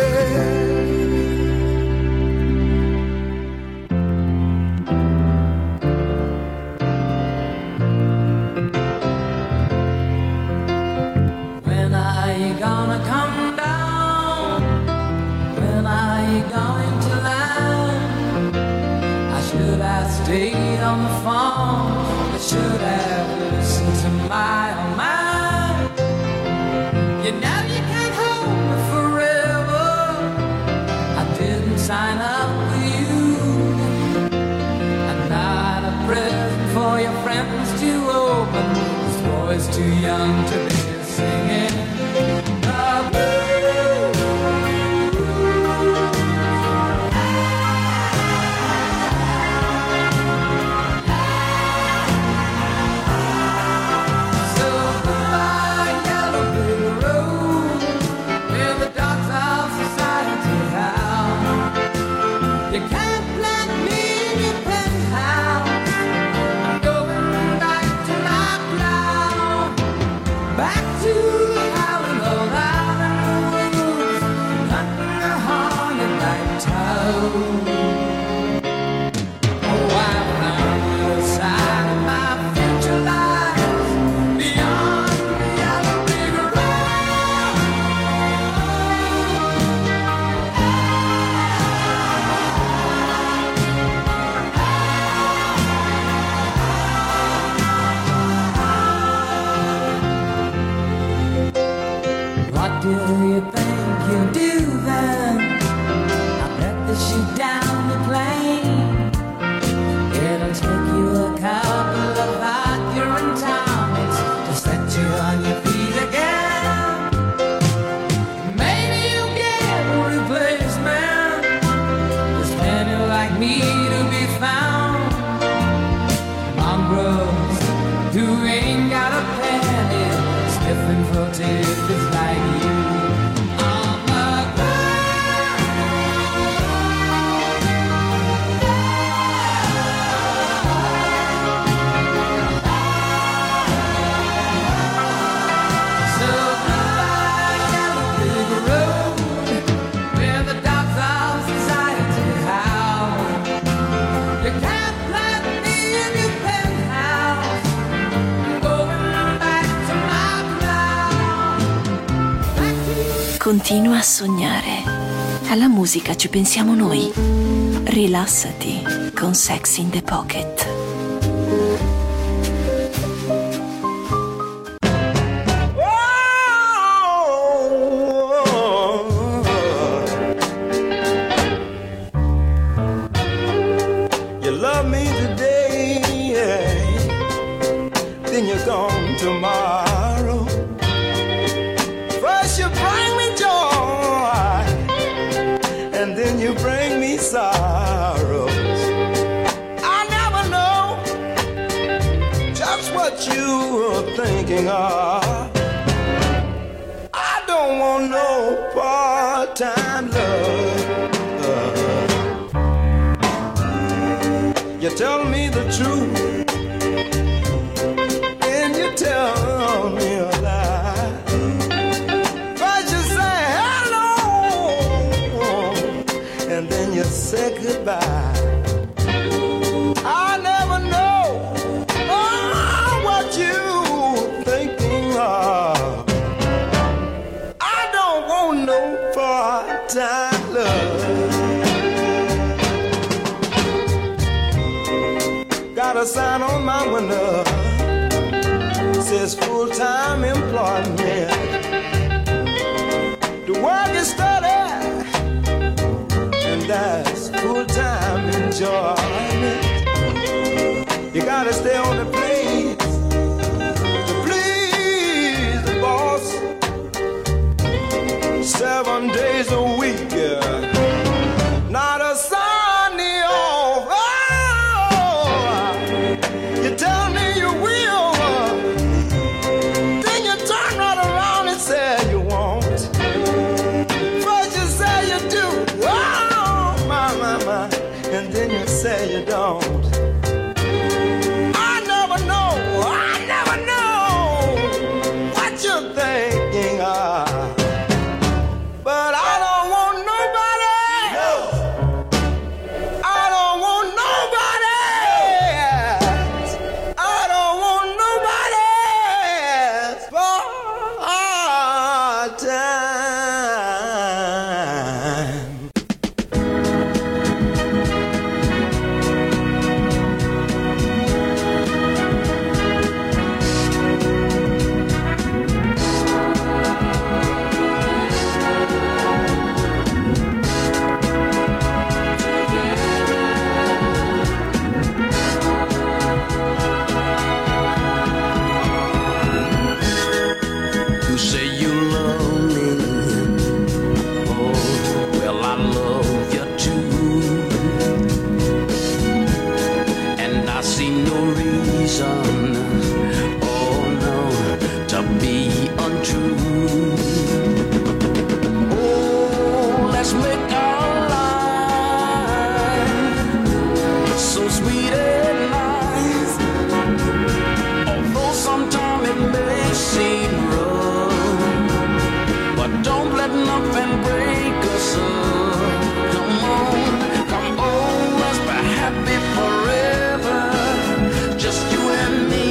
When are you gonna come down? When are you going to land? Should I stayed on the phone? I should have listened to my own mind. You know you can't hold me forever. I didn't sign up with you. I'm not a present for your friends to open. This boy's too young to be singing the blues. You can't let me in your penthouse. I'm going back to my cloud, back to the house. Continua a sognare. Alla musica ci pensiamo noi. Rilassati con Sex in the Pocket. You love me today, then you're gone tomorrow. First you bring me joy, and then you bring me sorrows. I never know just what you're thinking of. I don't want no part-time love. You tell me the truth, and you tell me a lie. First you say hello, and then you say goodbye. I never know oh, what you thinking of. I don't want no part-time love. Got a sign on my window, says full-time employment. The work is steady, and that's full-time enjoyment. You gotta stay on the place to please the boss. Seven days a week, yeah. Not a Sunday off. You tell me you will, then you turn right around and say you won't. First you say you do, oh my, my, my, and then you say you don't. I never know, I never know what you're thinking of. But I don't want nobody, no. I don't want nobody. I don't want nobody part-time. You say you love me, oh, well I love you too, and I see no reason, oh no, to be untrue. Oh, let's make our life so sweet and nice, although sometimes it may seem rough, but don't let nothing break us up. Come on, come on, let's be happy forever. Just you and me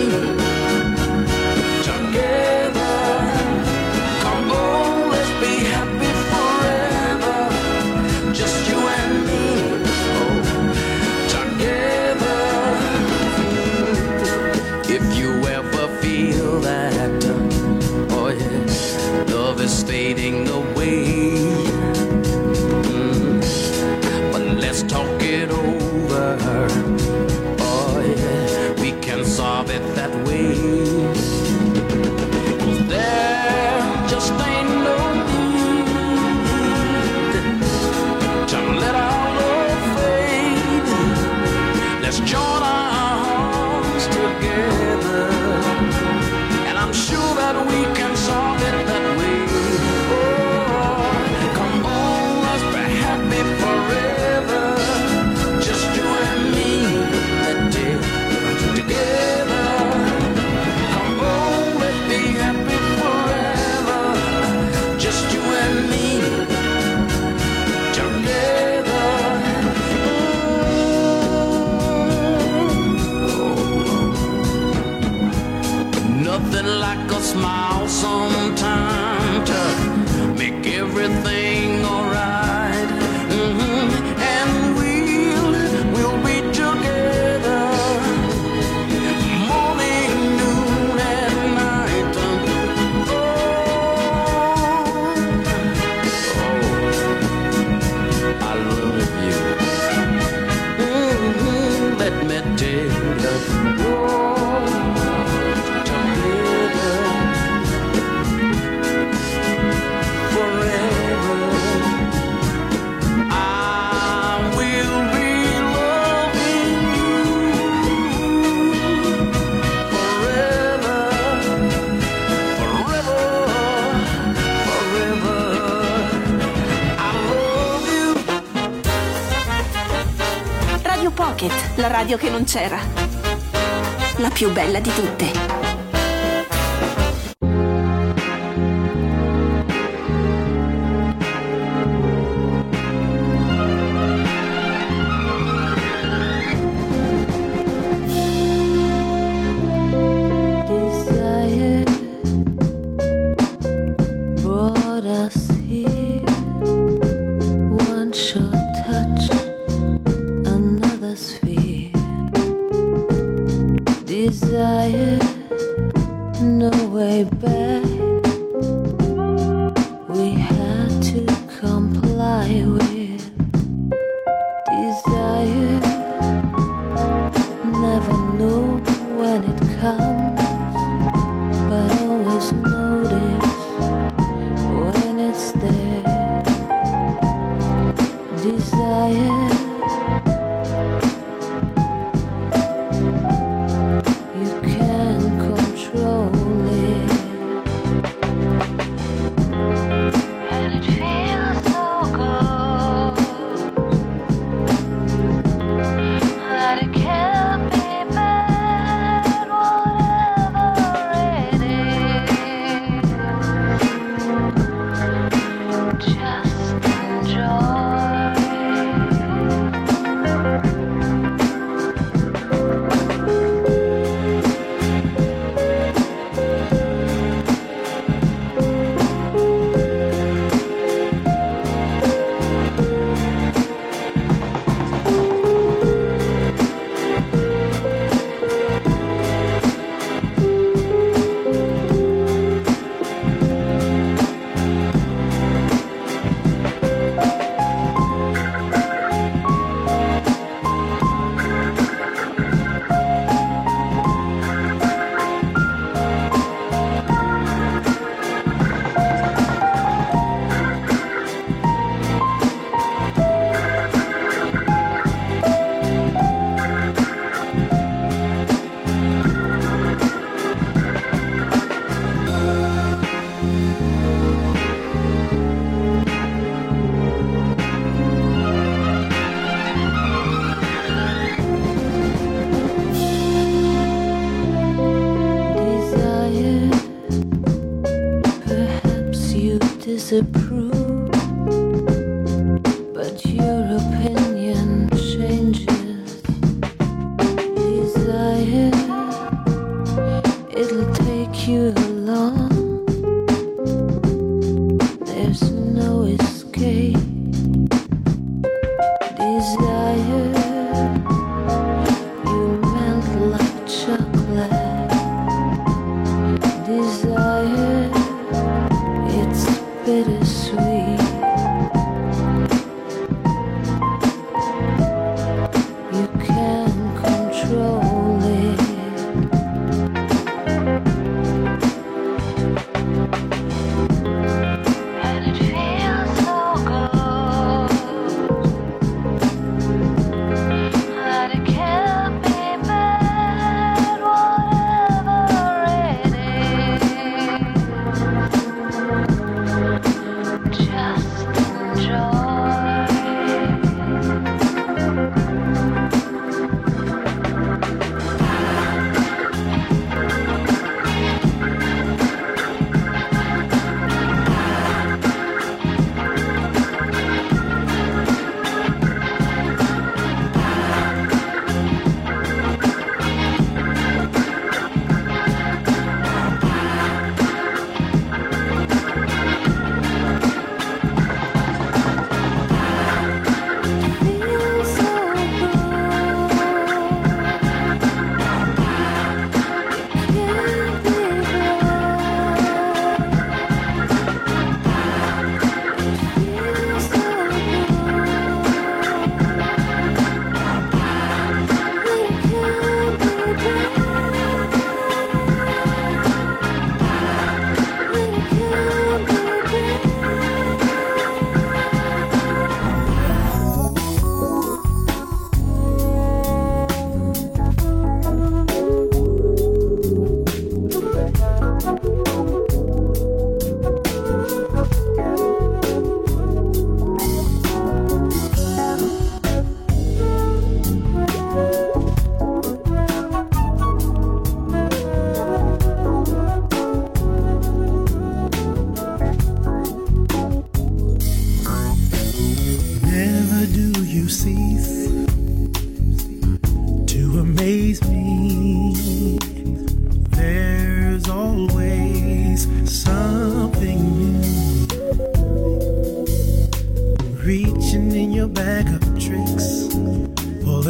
together. Come on, let's be happy forever. Just you and me, oh, together. If you ever feel that, oh yeah, love is fading away, mm, but let's talk it over. Oh yeah, we can solve it that way. There just ain't no need to let our love fade. Let's join our hearts together, and I'm sure that we can solve it that way. Oh, come on, let's be happy forever. Just you and me, that day together. Come on, let's be happy forever. Just you and me together. Nothing like a smile sometime to make everything alright. Mm-hmm. And we'll, we'll be together morning, noon, and night. Oh, oh, I love you. Mm-hmm. Let me tell you. Pocket, la radio che non c'era. La più bella di tutte. Disapprove, but your opinion changes. Desire, it'll take you along. There's no escape. Desire, you melt like chocolate. Desire, it's bittersweet.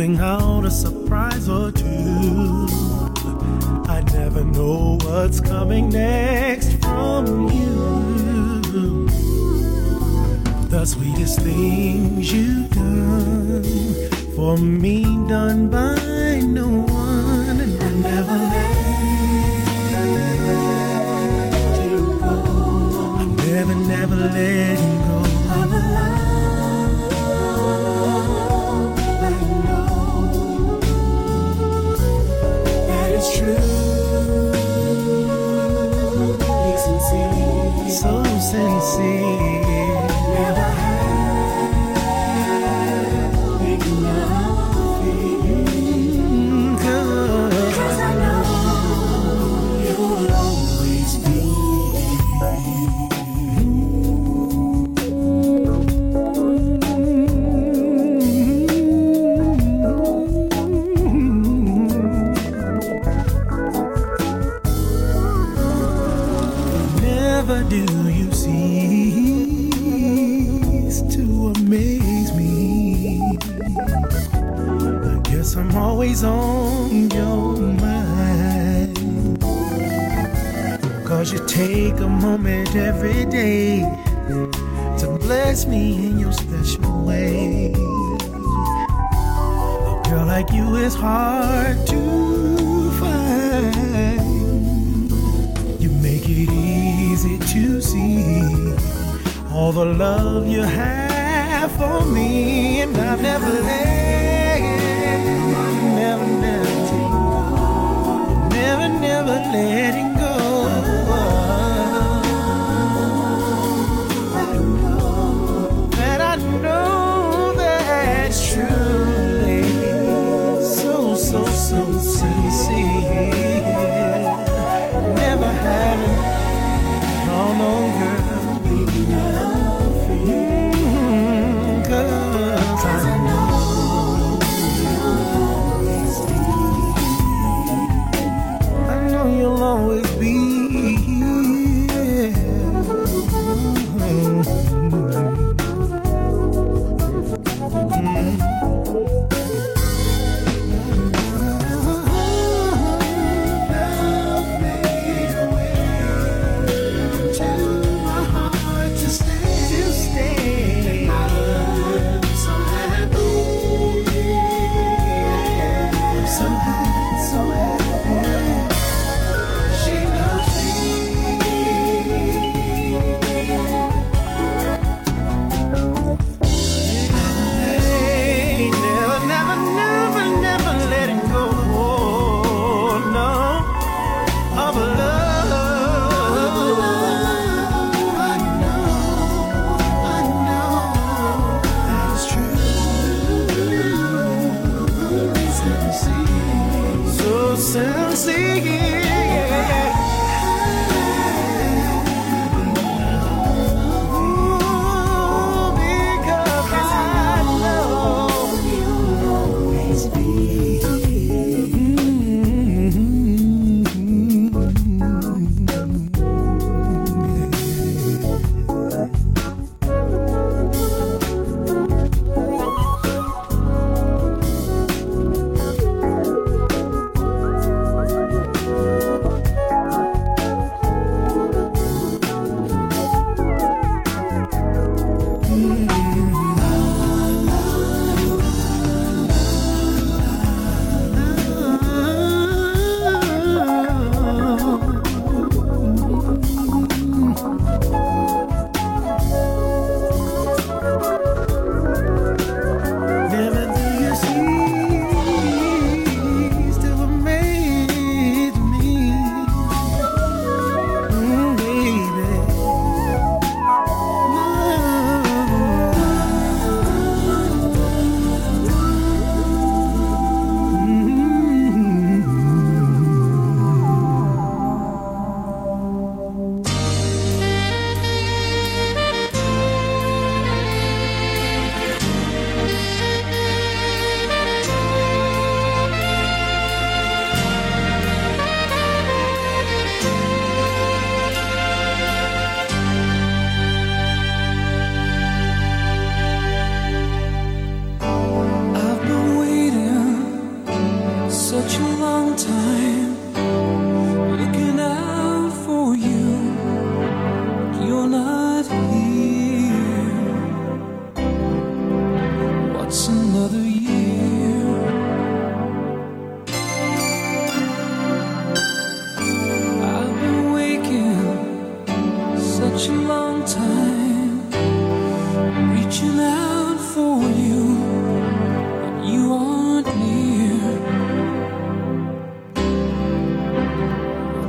pulling out a surprise or two. I never know what's coming next from you. The sweetest things you've done for me, done by no one, and I never let you go. I'm never, never letting go. So sincere, never had enough feeling, 'cause I know you'll always be. Never do you cease to amaze me. I guess I'm always on your mind, 'cause you take a moment every day to bless me in your special way. A girl like you is hard to find. You make it easy to see all the love you have for me, and I've never let, never, never, never, never letting go. That I know that's truly so, so, so sincere. Never having, no, no, girl. You'll always be.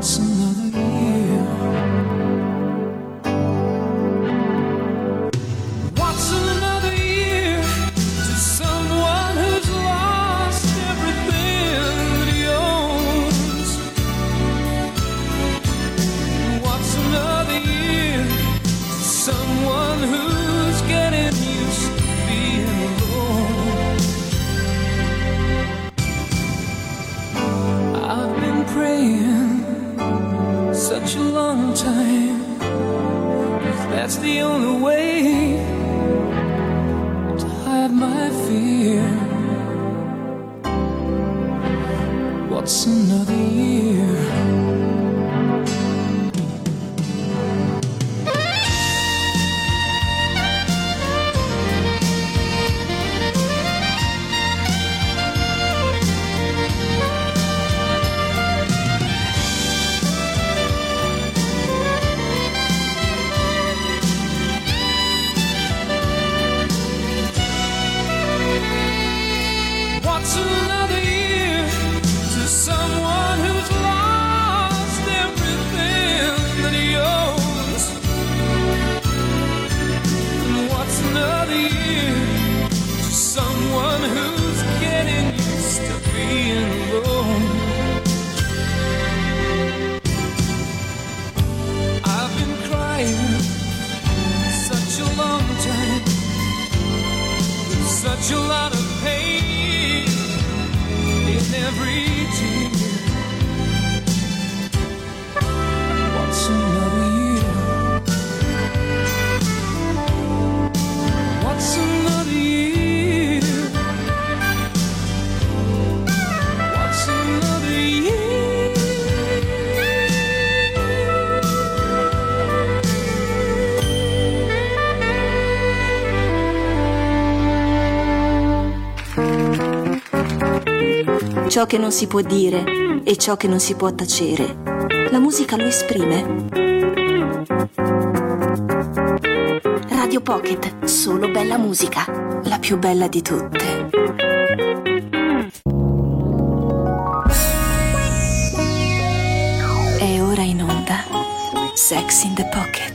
What's another year? What's another year to someone who's lost everything that he owns? What's another year to someone who's getting used to being alone? I've been praying such a long time, 'cause that's the only way to hide my fear. What's another year? What's another year to someone who's lost everything that he owns? And what's another year to someone who's getting used to being alone? I've been crying such a long time, such a lot of pain in every tear. What's another year? What's another year? What's another year? Ciò che non si può dire e ciò che non si può tacere, la musica lo esprime. Radio Pocket, solo bella musica, la più bella di tutte. È ora in onda Sex in the Pocket.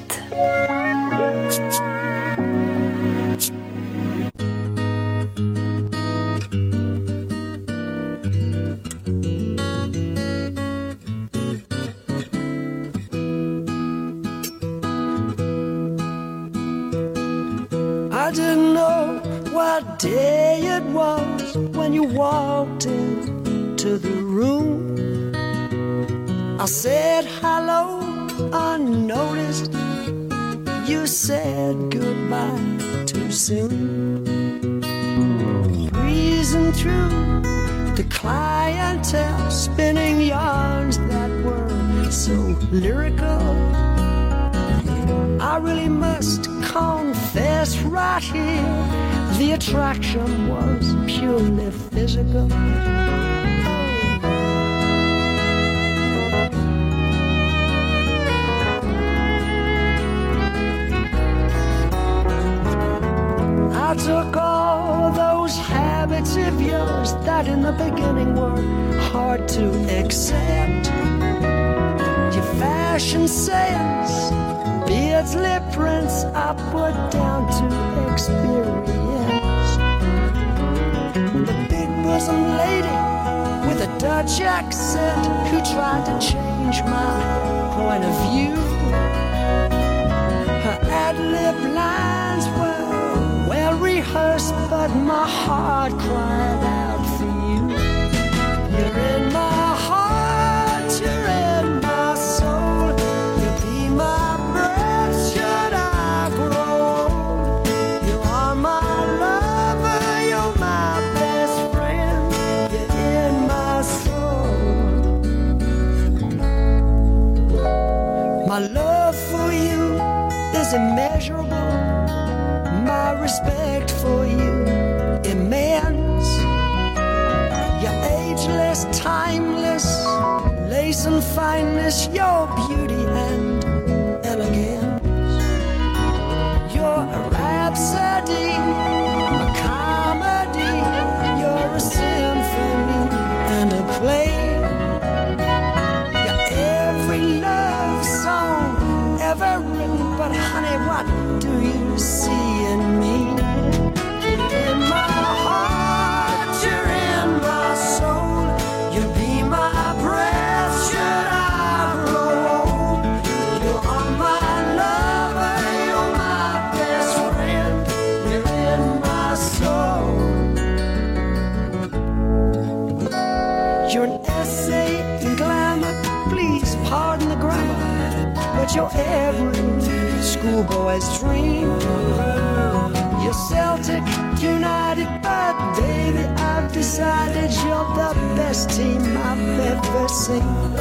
I didn't know what day it was when you walked into the room. I said hello unnoticed. You said goodbye too soon. Breezing through the clientele, spinning yarns that were so lyrical. I really must confess right here, the attraction was purely physical. I took all those habits of yours that in the beginning were hard to accept. Your fashion sense, beards, lip prints, I put down to experience. The big bosom lady with a Dutch accent who tried to change my point of view. Her ad-lib lines were well rehearsed, but my heart cried out for you. You're in my heart, you're in my soul. You be my breath should I grow old. You are my lover, you're my best friend. You're in my soul. My love for you is immeasurable. My respect for you immense. You're ageless, timeless, lace and fineness, your beauty and elegance. You're a rhapsody, a comedy, you're a symphony and a play. You're every but you're every schoolboy's dream. You're Celtic United, but baby, I've decided you're the best team I've ever seen.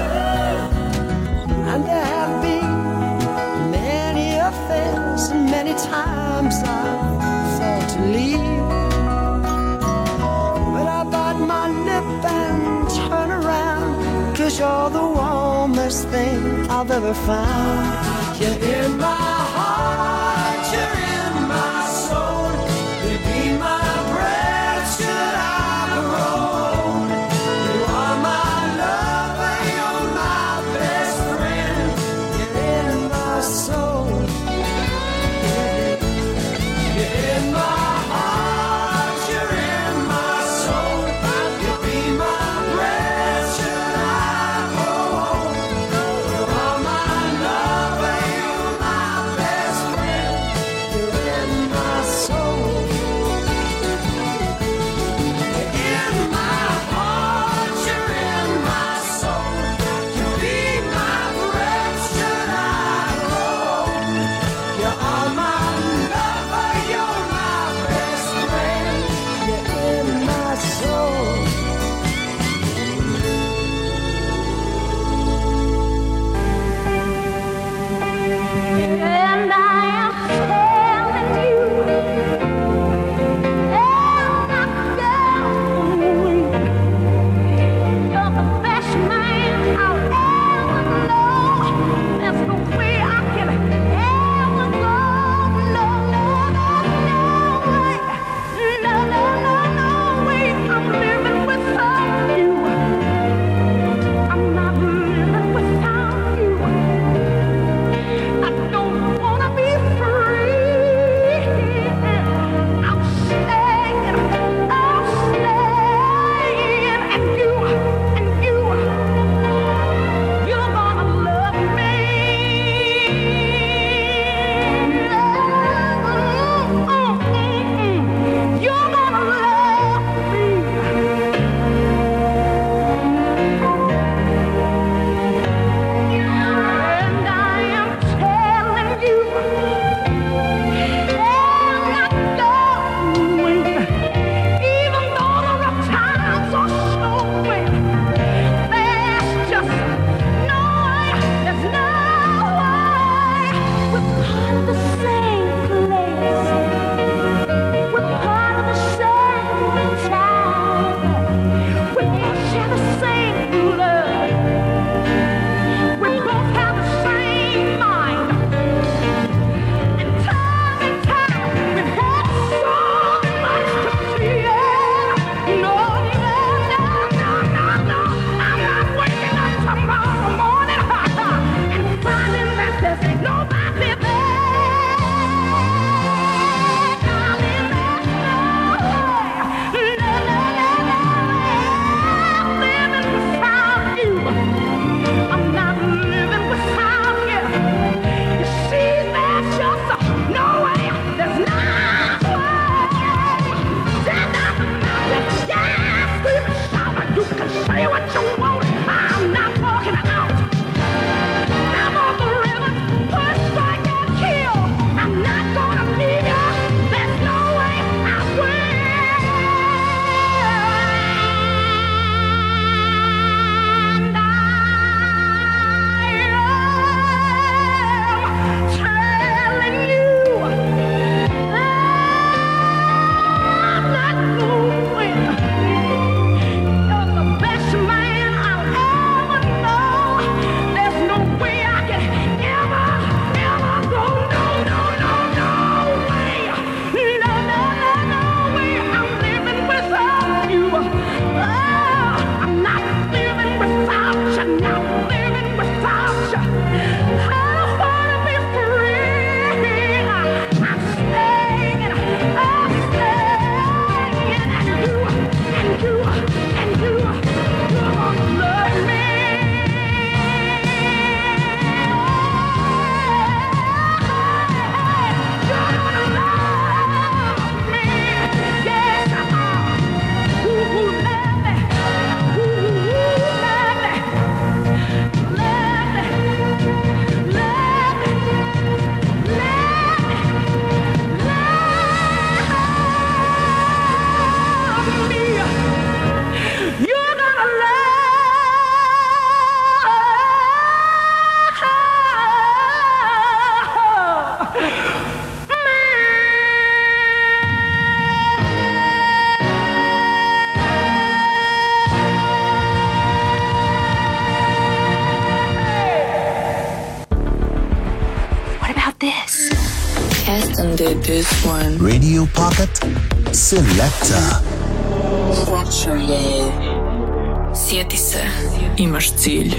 And there have been many affairs, and many times I've thought to leave, but I bite my lip and turn around, 'cause you're the warmest thing I've ever found. You're in my heart, you're in my soul, you be my breath should I grow. You are my lover, you're my best friend, you're in my soul. You're in my heart, you're in my soul, you be my breath should I grow. You are my lover, you're my best recommended this one. Radio Pocket Selecta. Sjeti se, imaš cilj.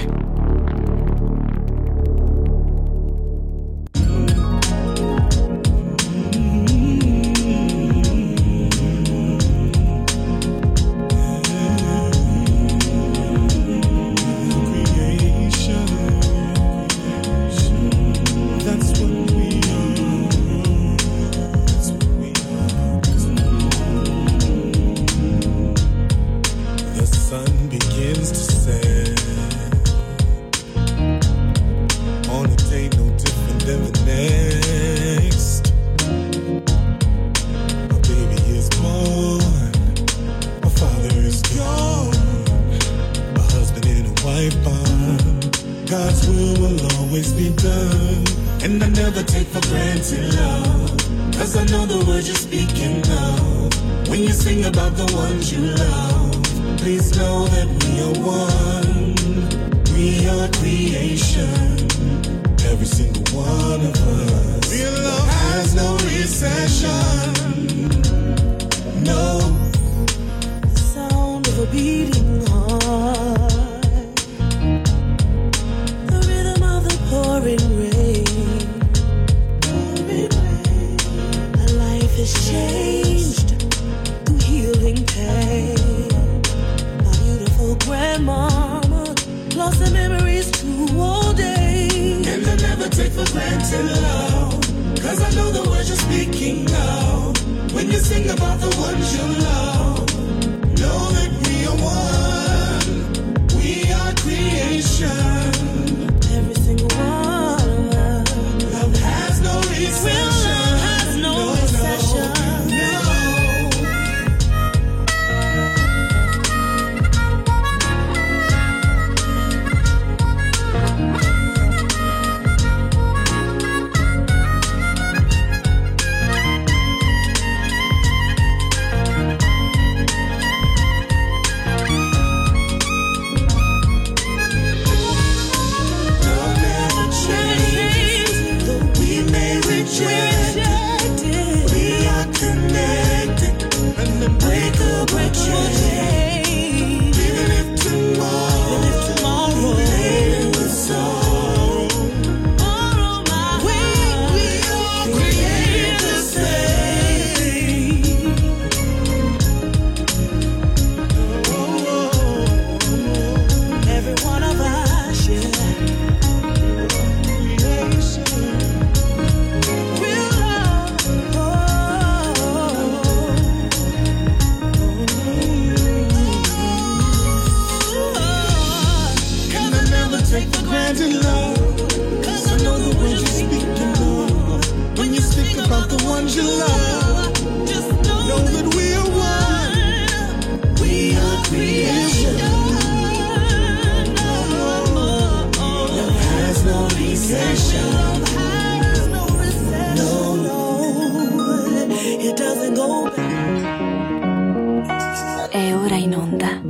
È ora in onda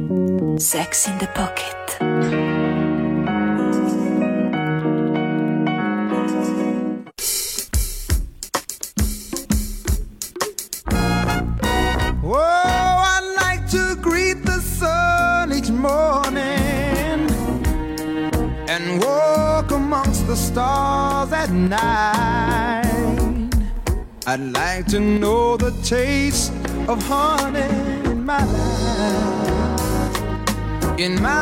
Sex in the Pocket. Oh, I like to greet the sun each morning and walk amongst the stars at night. I'd like to know the taste of honey in my life, in my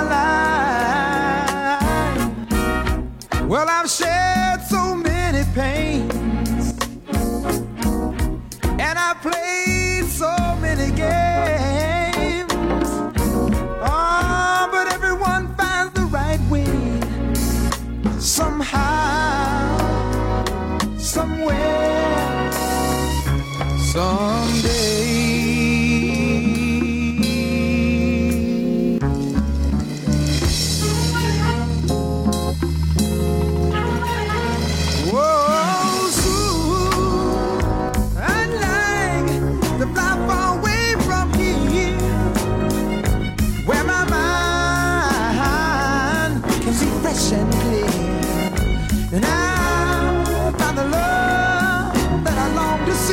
life. Well, I've shared so many pains, and I've played so many games. Oh, but everyone finds the right way, somehow, somewhere, someday. And clear, and I found the love that I long to see.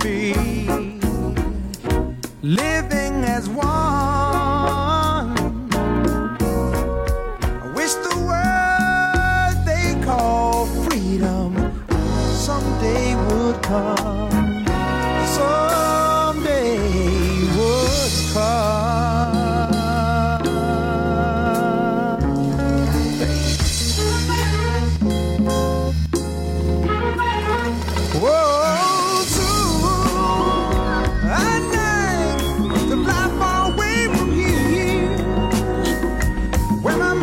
be, living as one. I wish the word they call freedom someday would come, someday would come. Whoa, soon I'd like to fly far away from here, where my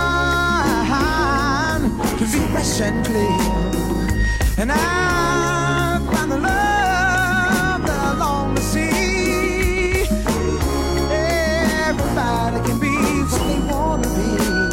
mind can be fresh and clear, and I find the love that I long to see. Everybody can be what they wanna be.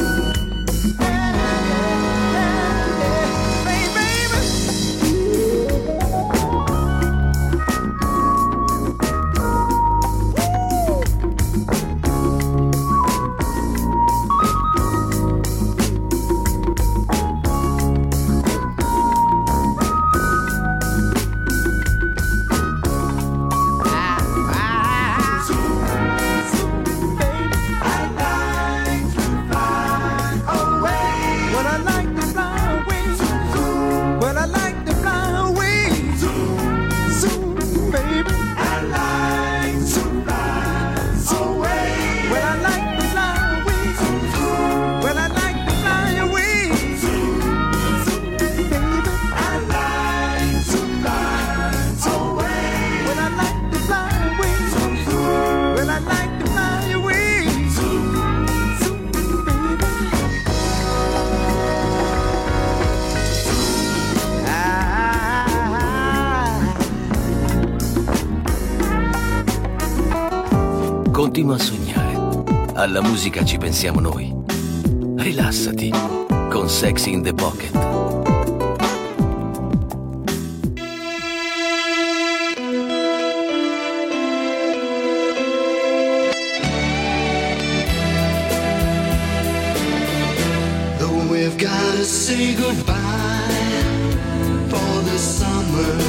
Continua a sognare. Alla musica ci pensiamo noi. Rilassati con Sexy in the Pocket. Though we've gotta say goodbye for the summer,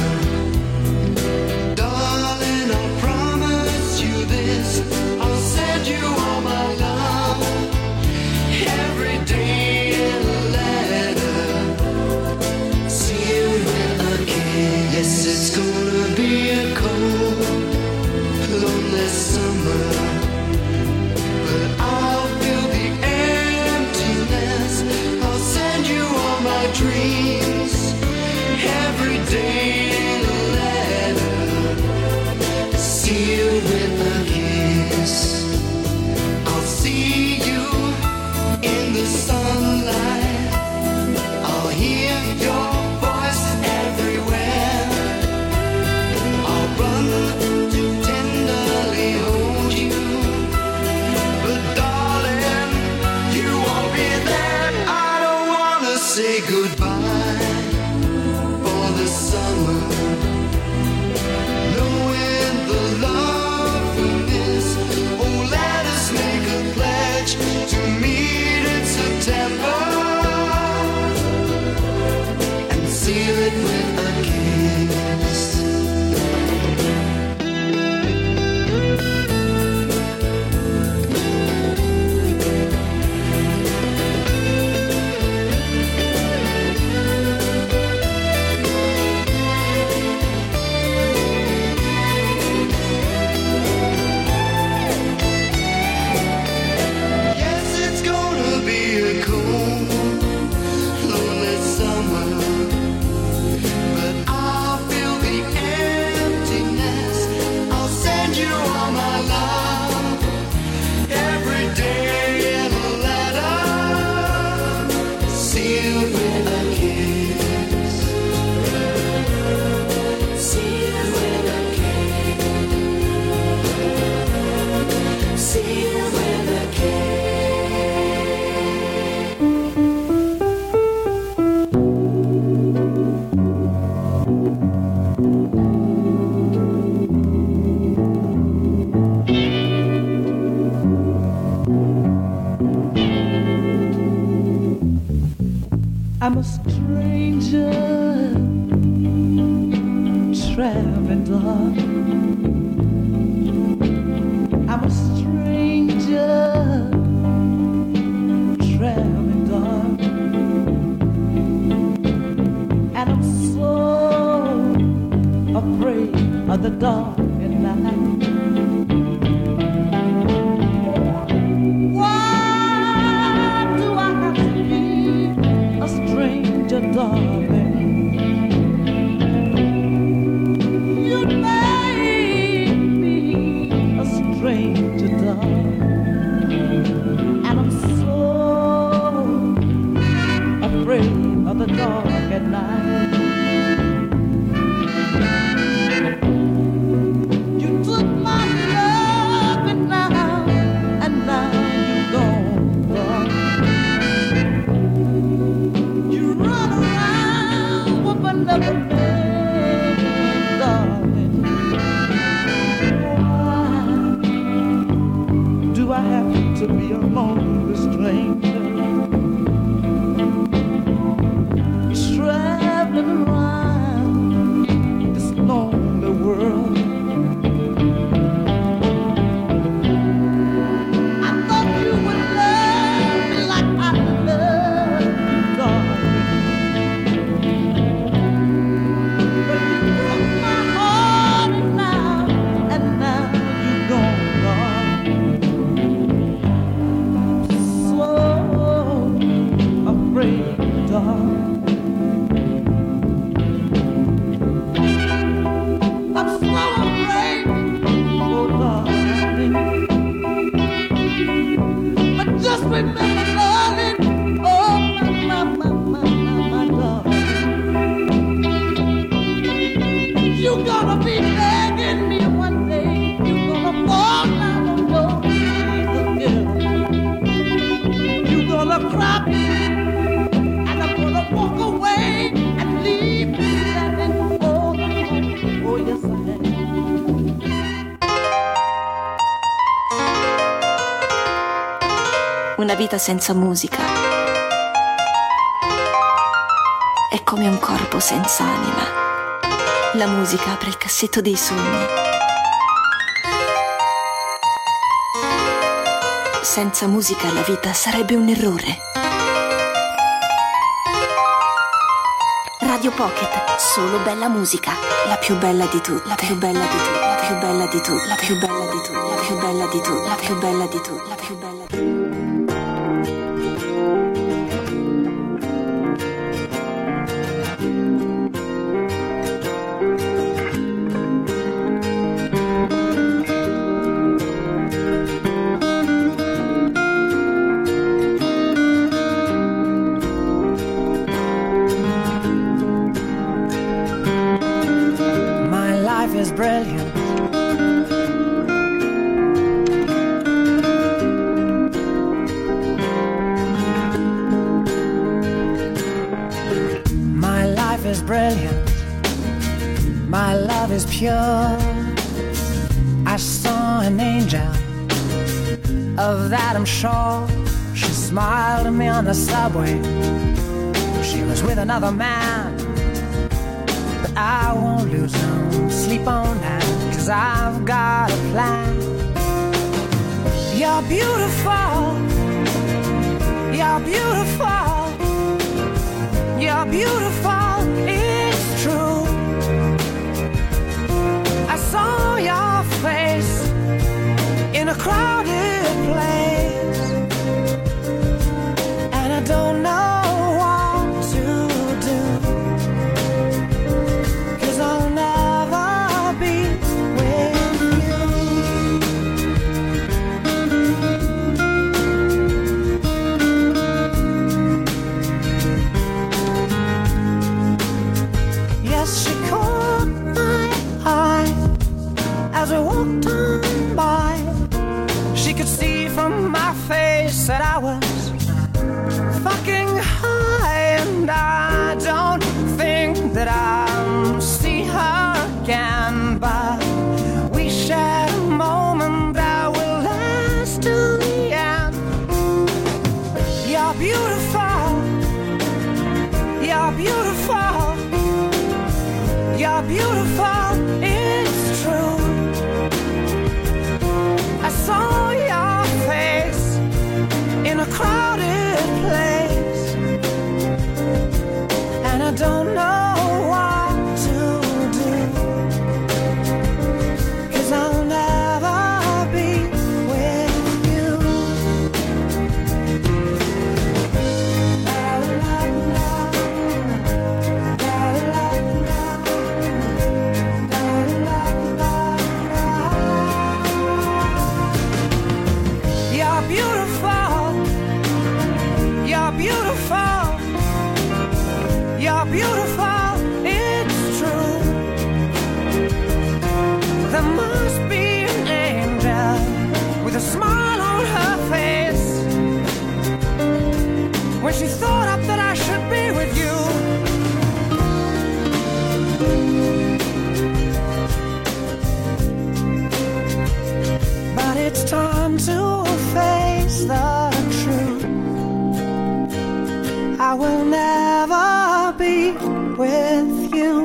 darling, I promise you this, I'll send you all my love every day in a letter. See you again. Yes, it's gonna be a cold, lonely summer, but I'll feel the emptiness. I'll send you all my dreams every day in a letter. See you with a kiss. I'll see you in the sunlight. I'll hear your voice everywhere. I'll run to tenderly hold you, but darling, you won't be there. I don't wanna say goodbye for the summer, knowing the love we miss. Oh, let us make a pledge to meet in September and seal it with a kiss. Yes, it's gonna be a cold, lonely summer, but I'll feel the emptiness. I'll send you all my love every day in a letter, sealed with a kiss. Sealed with a kiss. Sealed with a kiss. I'm a stranger traveling dog. I'm a stranger, traveling dog, and I'm so afraid of the dark at night. Why do I have to be a stranger, darling? The dark at night. You took my love and now, and now you're gone, gone. You run around with another man, darling. Why do I have to be a lonely stranger? Traveling around this lonely world. I thought you would love me like I love you, darling. But you broke my heart, and now, and now you're gone, gone. So afraid, darling. Remember, darling, oh my, my, my, my, my, my darling. You're gonna be begging me one day. You're gonna fall down on your knees again. You're gonna cry, and I'm gonna walk away and leave you standing. Oh, oh, oh, yes I am. Una vita senza musica è come un corpo senza anima. La musica apre il cassetto dei sogni. Senza musica la vita sarebbe un errore. Radio Pocket, solo bella musica. La più bella di tutte, la più bella di tutte, la più bella di tutte, la più bella di tutte, la più bella di tutte, la più bella di tutte, la più bella di tutte. Is brilliant. My life is brilliant. My love is pure. I saw an angel, of that I'm sure. She smiled at me on the subway. She was with another man, but I won't lose no sleep on that, 'cause I've got a plan. You're beautiful, you're beautiful, you're beautiful, it's true. I saw your face in a crowded place, and I don't know that I was fucking high, and I don't think that I'll see her again, but we shared a moment that will last till the end. You're beautiful, you're beautiful, you're beautiful. with you.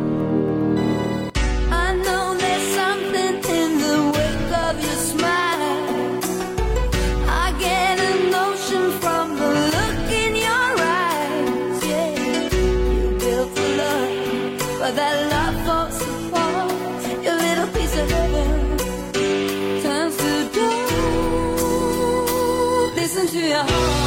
I know there's something in the wake of your smile. I get a notion from the look in your eyes. Yeah, you built a love, but that love falls apart. Your little piece of heaven turns to dust. Listen to your heart.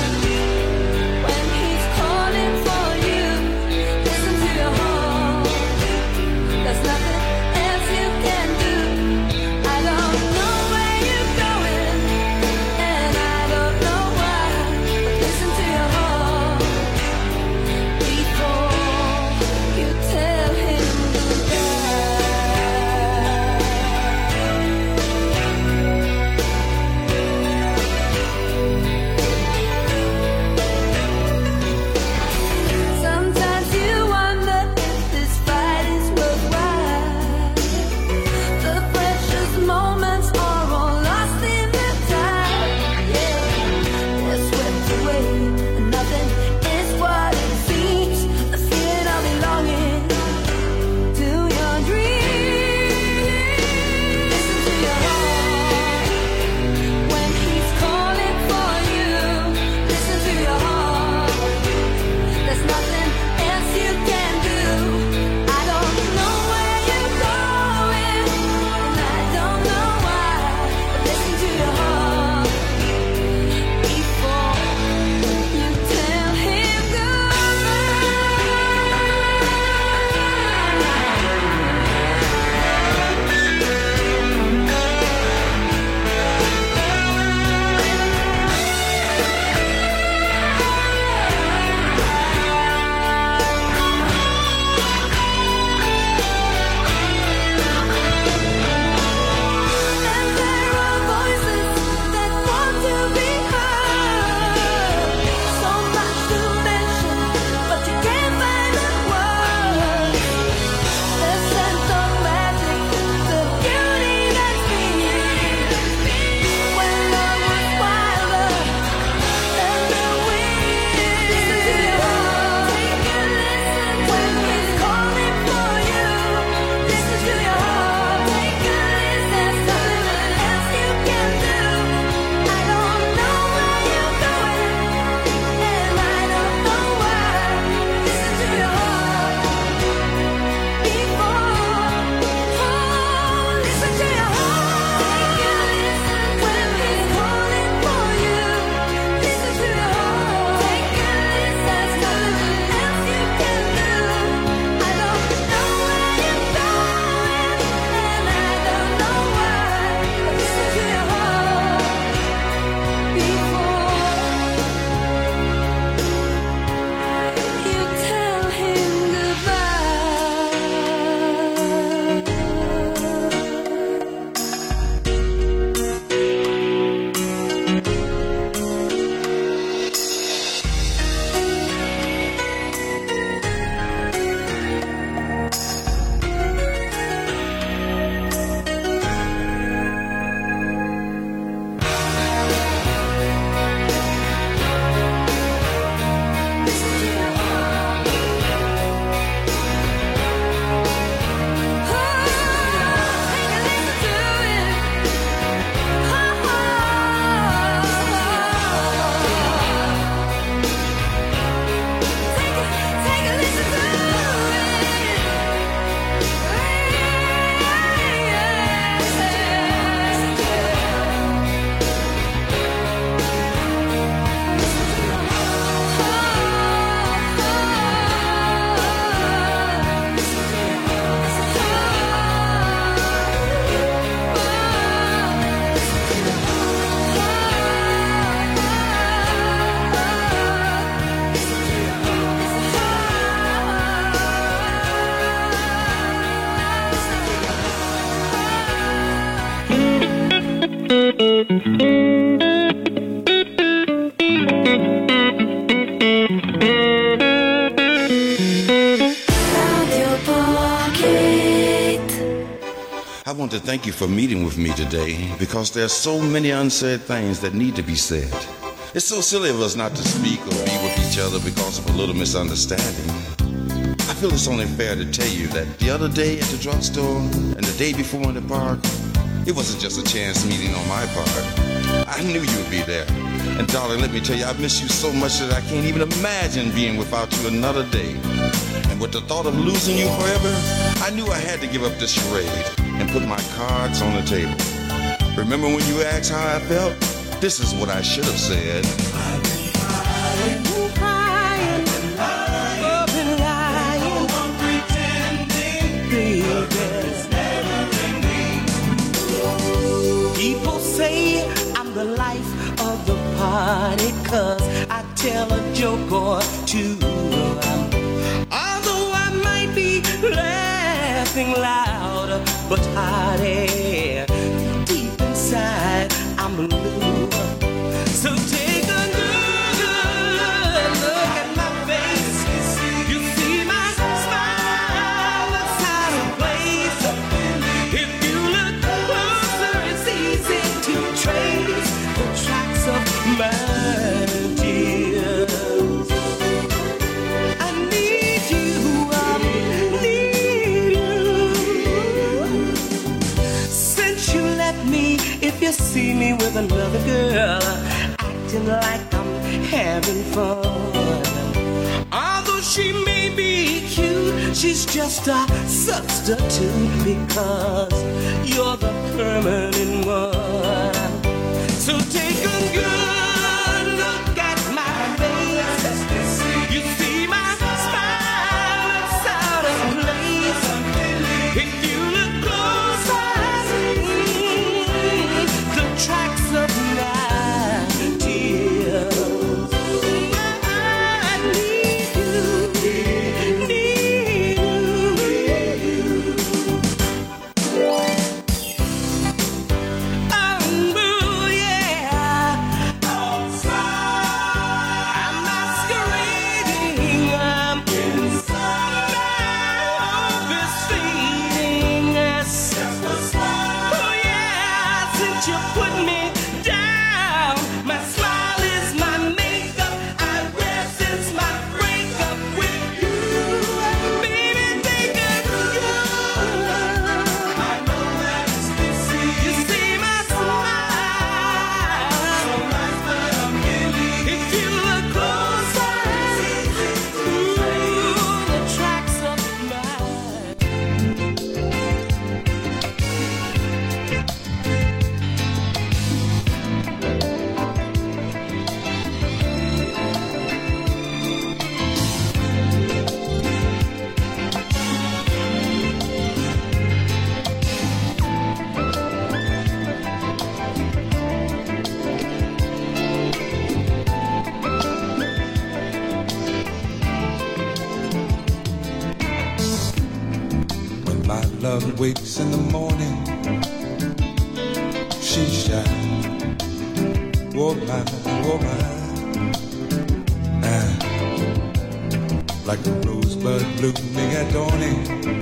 I want to thank you for meeting with me today because there are so many unsaid things that need to be said. It's so silly of us not to speak or be with each other because of a little misunderstanding. feel it's only fair to tell you that the other day at the drugstore and the day before in the park, it wasn't just a chance meeting on my part. I knew you would be there. And darling, let me tell you, I miss you so much that I can't even imagine being without you another day. And with the thought of losing you forever, I knew I had to give up this charade and put my cards on the table. Remember when you asked how I felt? This is what I should have said. I've been crying, crying, I've been lying, I'm pretending, baby. It's never ending. People say I'm the life of the party, 'cause I tell a joke or two. Although I might be laughing loud, but hearty, deep inside I'm blue. So take a good, good look at my face. You see my smile that's out of place. If you look closer, it's easy to trace the tracks of my tears. I need you, I need you. Since you left me, if you see me with another girl, acting like I'm having fun, although she may be cute, she's just a substitute, because you're the permanent one. So take a good look at my face. You see my smile, it's out of place. If you look closer, the tracks of my tears. I need you, need you. Oh, yeah. Outside, I'm masquerading. I'm inside. My hope is fading. Yes. Oh, yeah. Since you put me down, my smile is my makeup. I rest since my breakup with you. Baby, take a good. I know that it's busy. You see my smile. So nice, but I'm killing. If you look closer, ooh, the tracks of mine. When my love wakes in the morning, she shines. Oh my, oh my. Ah, like a rosebud blooming at dawning,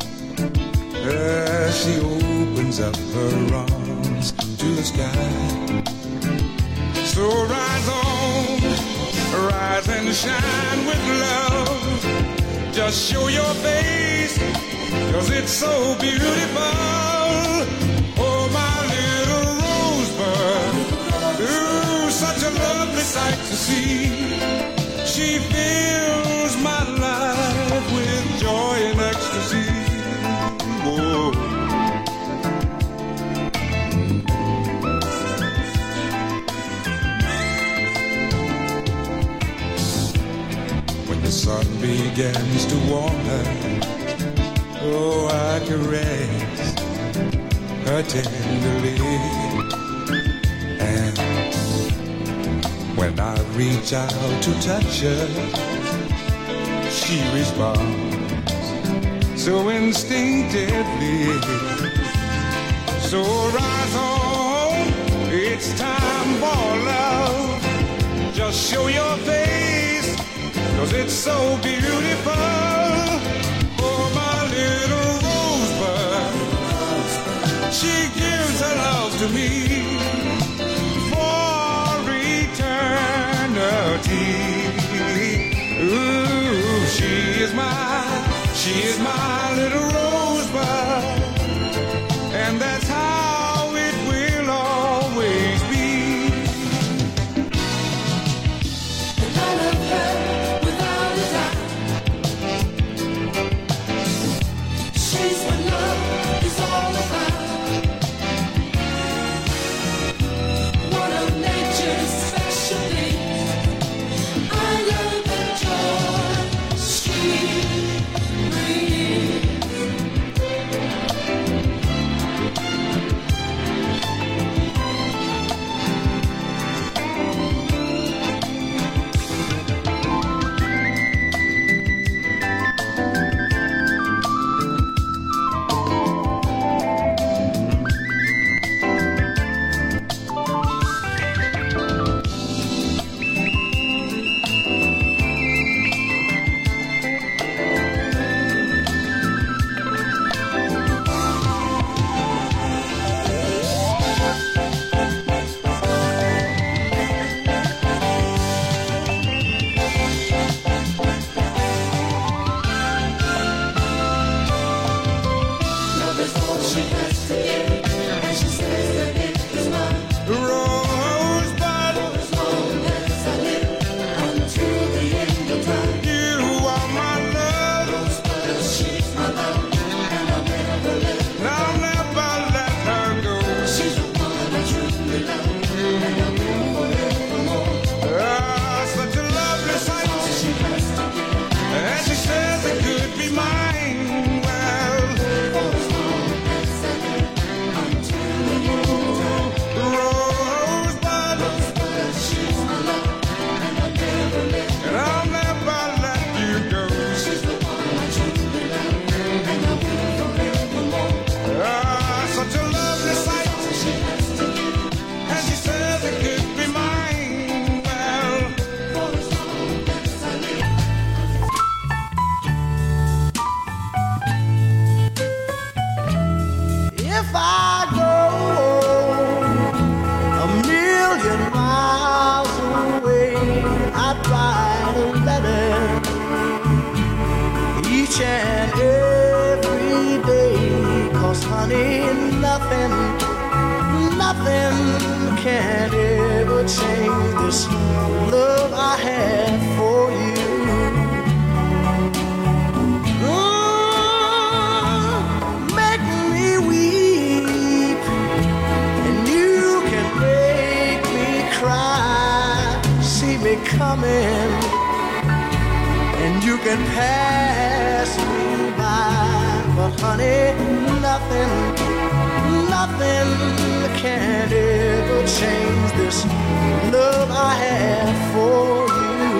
ah, she opens up her arms to the sky. So rise on, rise and shine with love. Just show your face, 'cause it's so beautiful. Oh, my little rosebud, ooh, such a lovely sight to see. She fills my life with joy and ecstasy. Whoa. When the sun begins to warm her, oh, I caress her tenderly. And when I reach out to touch her, she responds so instinctively. So rise on, it's time for love. Just show your face, 'cause it's so beautiful. Oh, my little rosebud, she gives her love to me for eternity. Ooh, she is my, She is my little rosebud, and that's how it will always be. And I love her without a doubt. She's what love is all about. One of nature's special things. I love the joy she brings. Love is all she has to give, and she says that it is mine. Rosebud, For as long as I live, until the end of time. you are my love, But she's my love, and I'll never let her. and I'll never let her go. She's the one I truly love, and I'll live forevermore. Ah, such a lovely All sight, she has to give, and she says it could be mine. Well, for as long as I live, until the end of time. Rosebud, But she's my love, and I'll never let her. and I'll never let you go. She's the one I truly love, and I'll live forevermore. Ah, such a lovely sight, All she has to give, and she says it could be mine. Well, for as long as I live. If I go a million miles away, I'd write a letter each and every day. 'Cause honey, nothing, nothing can ever change this love I have for you. Mm, make me weep, and you can make me cry. See me coming, and you can pass me by. But honey, nothing, nothing can ever change this love I have for you.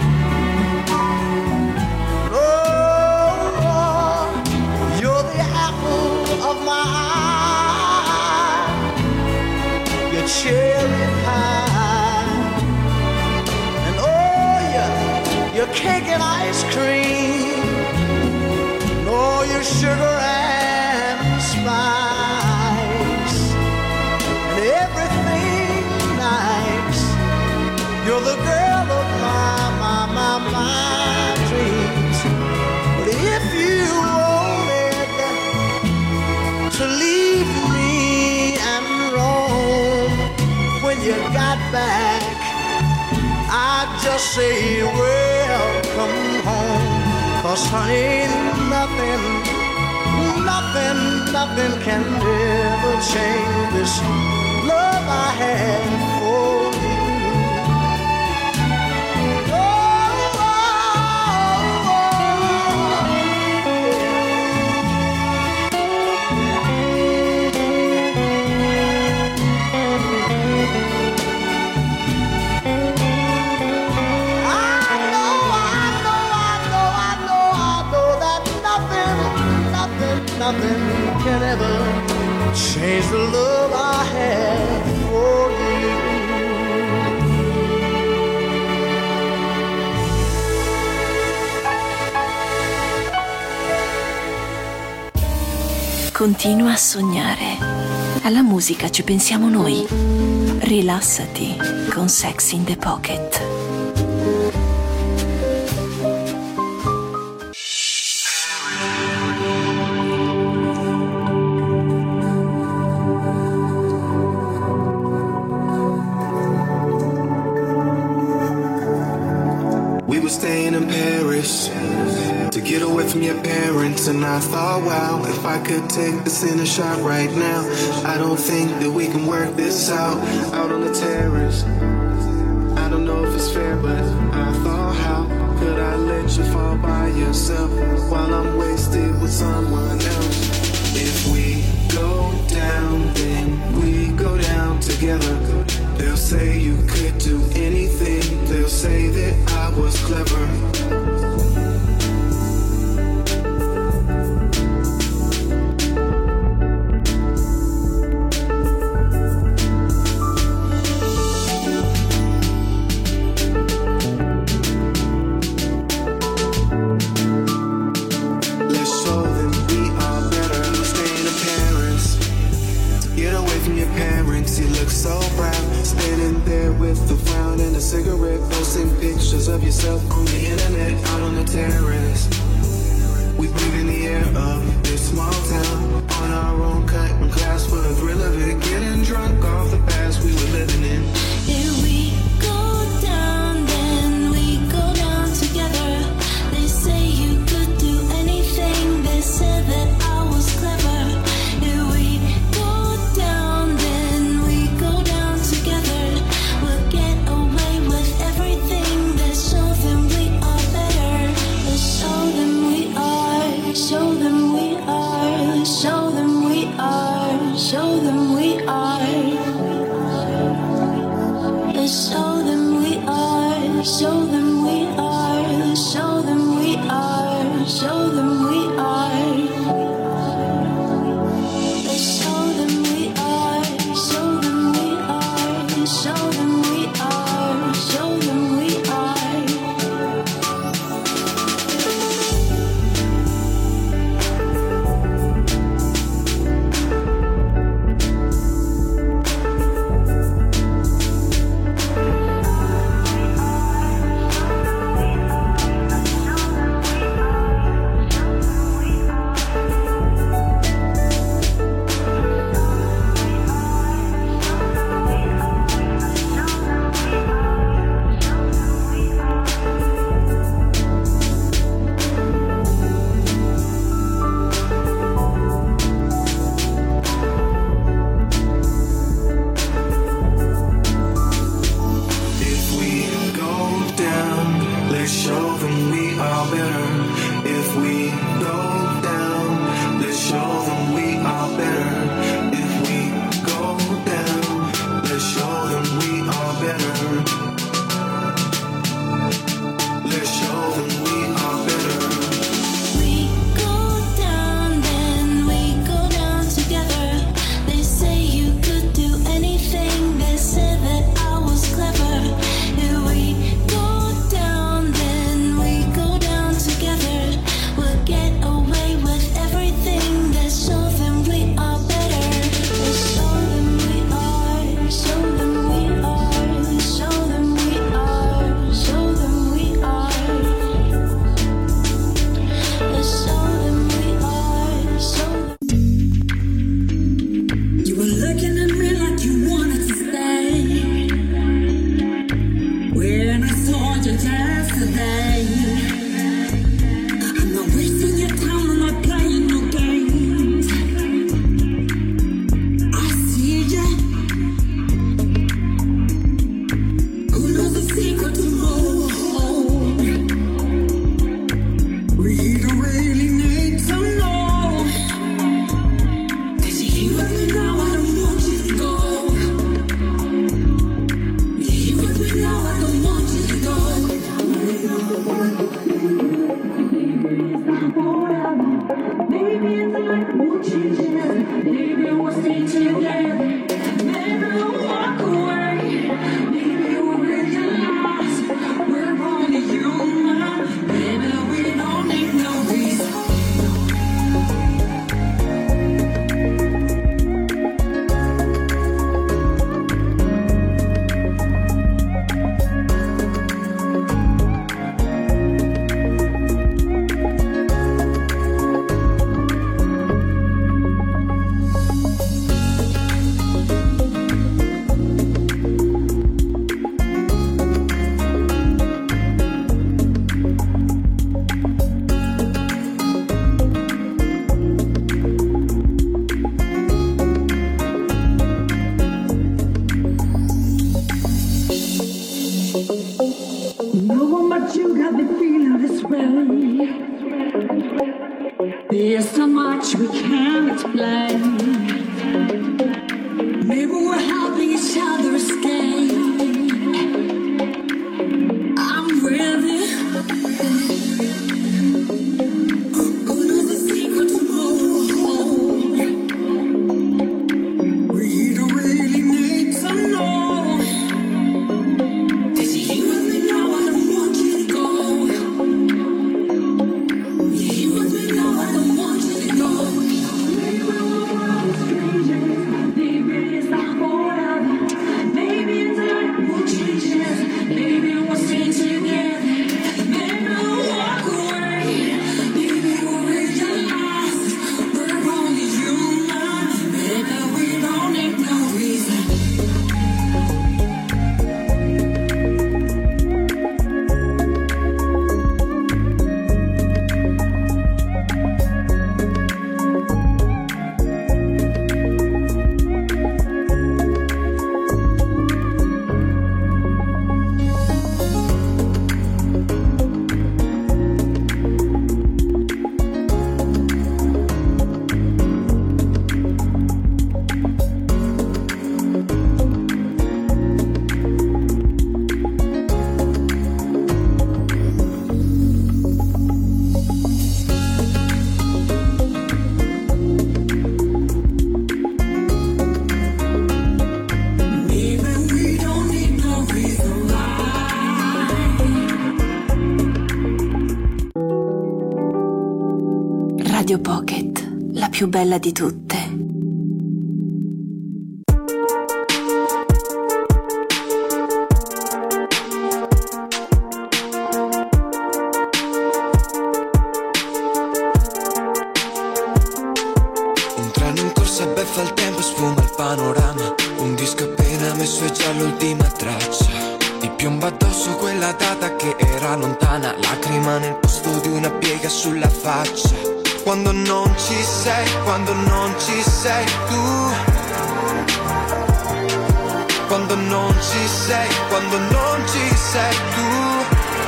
Oh, you're the apple of my eye, your cherry pie, and oh, your, your cake and ice cream, and all your sugar and spice, and everything nice. You're the girl of my, my, my, my dreams. But if you wanted to leave me and roam, when you got back, I'd just say welcome home. 'Cause honey, nothing, nothing, nothing can ever change this love I have for you. Oh, oh, I know, I know, I know, I know, I know that nothing, nothing, nothing can ever change the love I have for you. Continua a sognare. Alla musica ci pensiamo noi. Rilassati con Sex in the Pocket. staying in Paris to get away from your parents. And I thought, wow, if I could take this in a shot right now, I don't think that we can work this out, out on the terrace. I don't know if it's fair, but I thought, how could I let you fall by yourself while I'm wasted with someone else? If we go down, then we go down together. They'll say you could do anything. They'll say that I was clever. Of yourself on the internet, out on the terrace. We breathe in the air of this small town, on our own cutting class for the thrill of it, getting drunk off the past we were living in. If we go down, then we go down together. They say you could do anything. They said that I was clever. If we go down, then we go down together. We'll get away with everything. Show them we are better. Show them we are. Show them we are. Show them we are. Show them we are. Show them we are. Show them we are. Show them we are. Show them we are. Show them we are. Show them we are. Show them we are. Show them we are. No one but you got me feeling this way. There's so much we can't explain. Maybe we're helping each other escape. I'm with it. Radio Pocket, la più bella di tutte. Un treno in corsa, beffa il tempo, sfuma il panorama. Un disco appena messo e già l'ultima traccia. Ti piomba addosso quella data che era lontana. Lacrima nel posto di una piega sulla faccia. Quando non ci sei, quando non ci sei tu. Quando non ci sei, quando non ci sei tu.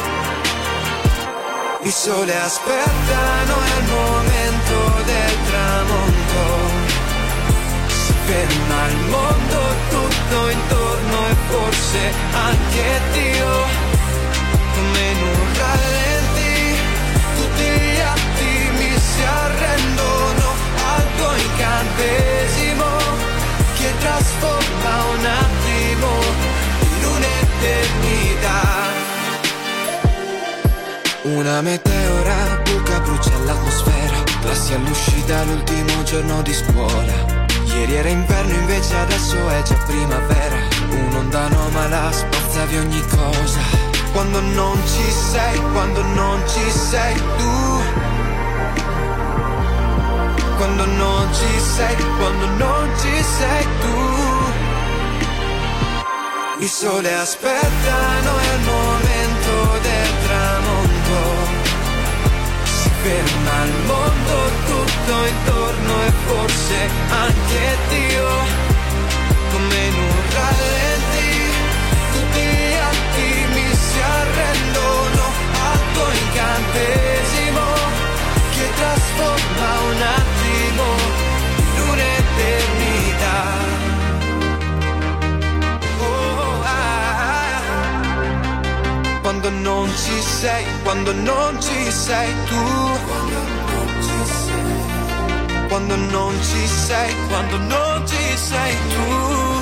Il sole aspetta, non è il momento del tramonto. Si ferma il mondo tutto intorno e forse anche Dio. Come in un rallenti, tutti gli attimi si arrendono al tuo incantesimo che trasforma un attimo in un'eternità. Una meteora buca, brucia l'atmosfera, classi all'uscita l'ultimo giorno di scuola. Ieri era inverno invece adesso è già primavera. Un'onda anomala spazza via ogni cosa. Quando non ci sei, quando non ci sei tu. Quando non ci sei, quando non ci sei tu. Il sole aspetta, non è il momento del tramonto. Si ferma il mondo tutto intorno e forse anche Dio. Come in un rallenti, tutti gli attimi si arrendono al tuo incantesimo che trasforma un attimo in un'eternità. Oh, ah, ah. Quando non ci sei, quando non ci sei tu. Quando non ci sei, quando non ci sei tu.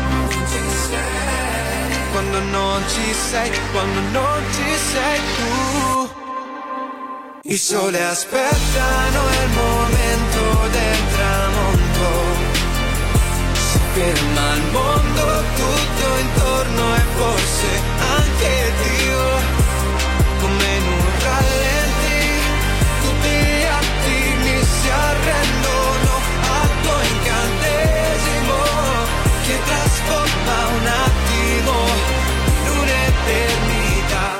Quando non ci sei, quando non ci sei tu. Il sole aspetta, non è il momento del tramonto. Si ferma il mondo tutto intorno e forse anche Dio. Come in un rallenti, tutti gli attimi si arrendono al tuo incantesimo che trasforma un attimo in un'eternità.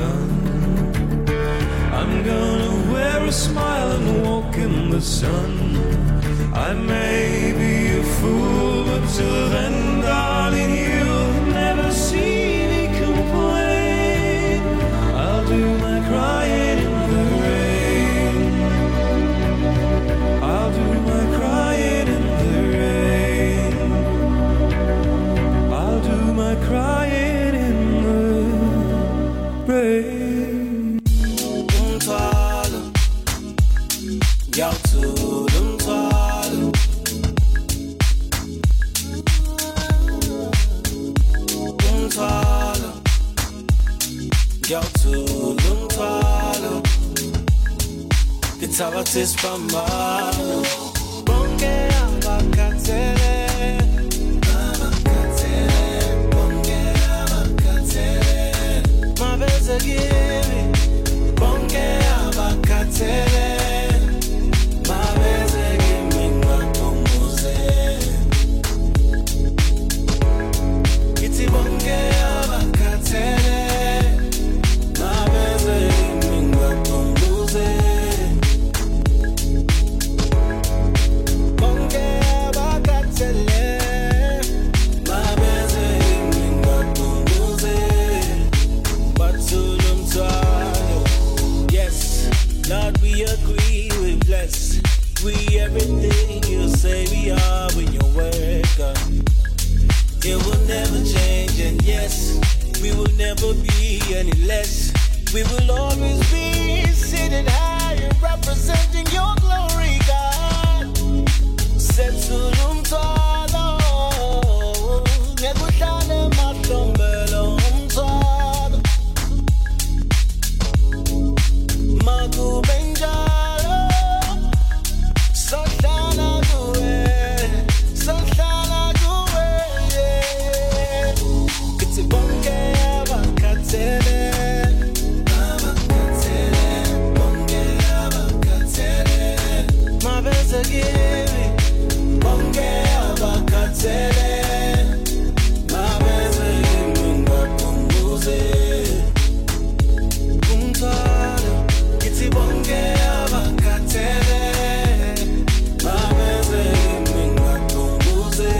gun. I'm gonna wear a smile and walk in the sun. I may be a fool, but till then, darling, you'll never see me complain. I'll do my crying in the rain. I'll do my crying in the rain. I'll do my crying in the rain. Umthwalo, ngiyawuthula umthwalo. Umthwalo, ngiyawuthula umthwalo. Ngithabatha isiphambano. Bonke abakhathele, abakhathele, bonke abakhathele. Mabeze kimi, bonke abakhathele. Mabeze kimi ngibaphuze. Ngithi bonke abakhathele. Mabeze kimi ngibaphuze. Bonke abakhathele. Mabeze kimi ngibaphuze. Bathula umthwalo. Yes, Lord, we agree, we bless. We everything you say we are when your word comes. It will never change, and yes, we will never be any less. We will always be seated high and representing your glory, God. Setula umthwalo, ngekuhlala emahlombe umthwalo. Makube njalo, sohlala kuwe, sohlala kuwe, yeah. Kithi bonke abakhathele, abakhathele, bonke abakhathele. Mabeze kimi, bonke abakhathele. Mabeze kimi ngibaphuze. Umthwalo, ngithi bonke abakhathele. Mabeze kimi ngibaphuze.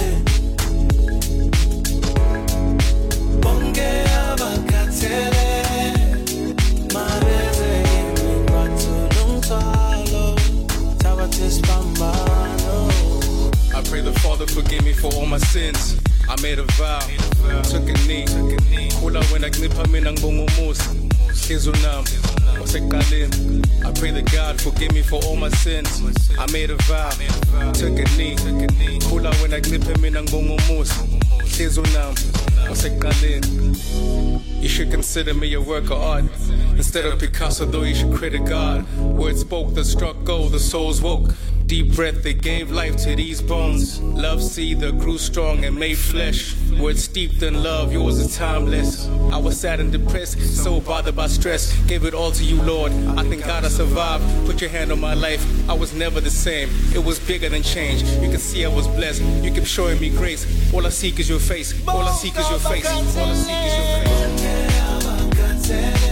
Bonke abakhathele. Mabeze kimi ngibaphuze. Umthwalo, thabatha isiphambano. I pray the Father forgive me for all my sins. I made a vow, took a knee. Khula wena kuncipha mina ngibonga umusa. Hliziyo nami wasekuqaleni. I pray that God forgive me for all my sins. I made a vow, took a knee. Khula wena kuncipha mina ngibonga umusa. Hliziyo nami wasekuqaleni. You should consider me a work of art. Instead of Picasso, though, you should credit God. Words spoke that struck gold, the souls woke. Deep breath that gave life to these bones. Love seed that grew strong and made flesh. Words steeped in love, yours is timeless. I was sad and depressed, so bothered by stress. Gave it all to you, Lord. I thank God I survived. Put your hand on my life. I was never the same. It was bigger than change. You can see I was blessed. You kept showing me grace. All I seek is your face. All I seek is your face. All I seek is your face.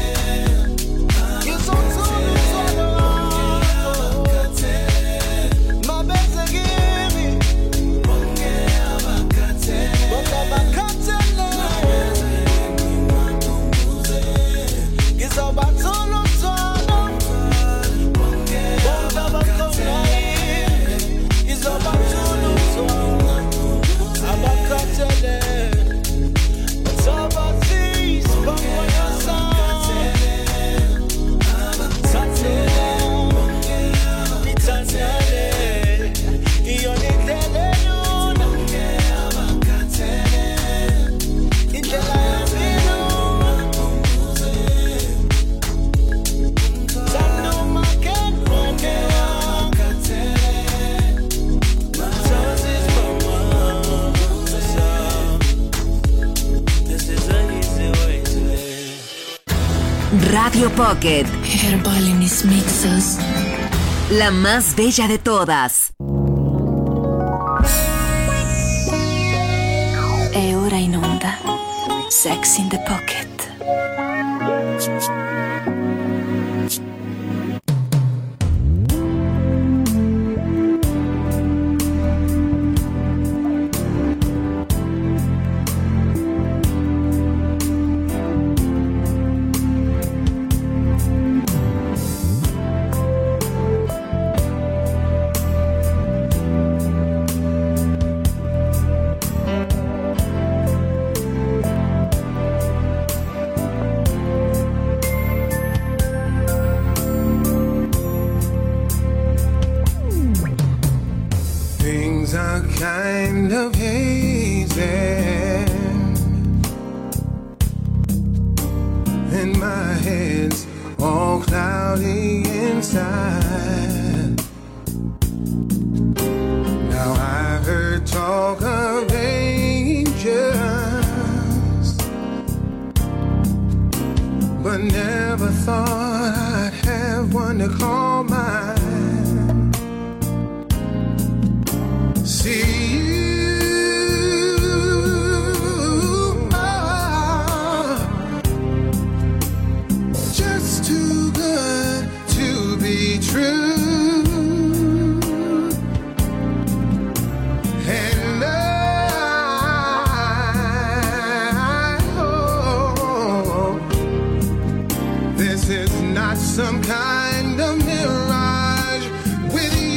Radio Pocket. Herbal in his mixes. La más bella de todas. E ora in onda Sex in the Pocket. of hazing, and my head's all cloudy inside. Now I heard talk of angels, but never thought I'd have one to call mine. See you are just too good to be true. And I hope this is not some kind of mirage with you.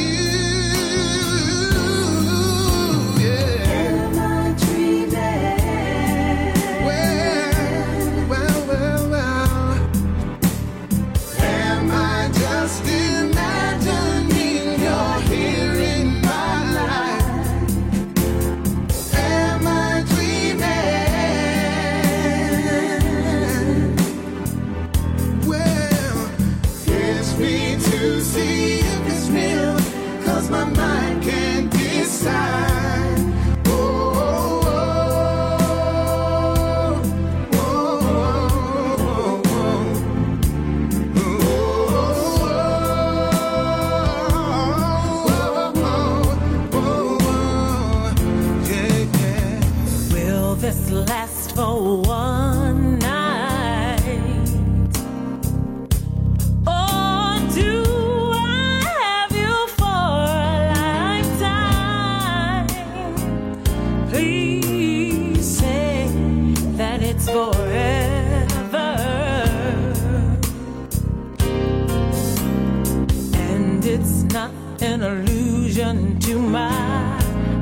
An illusion to my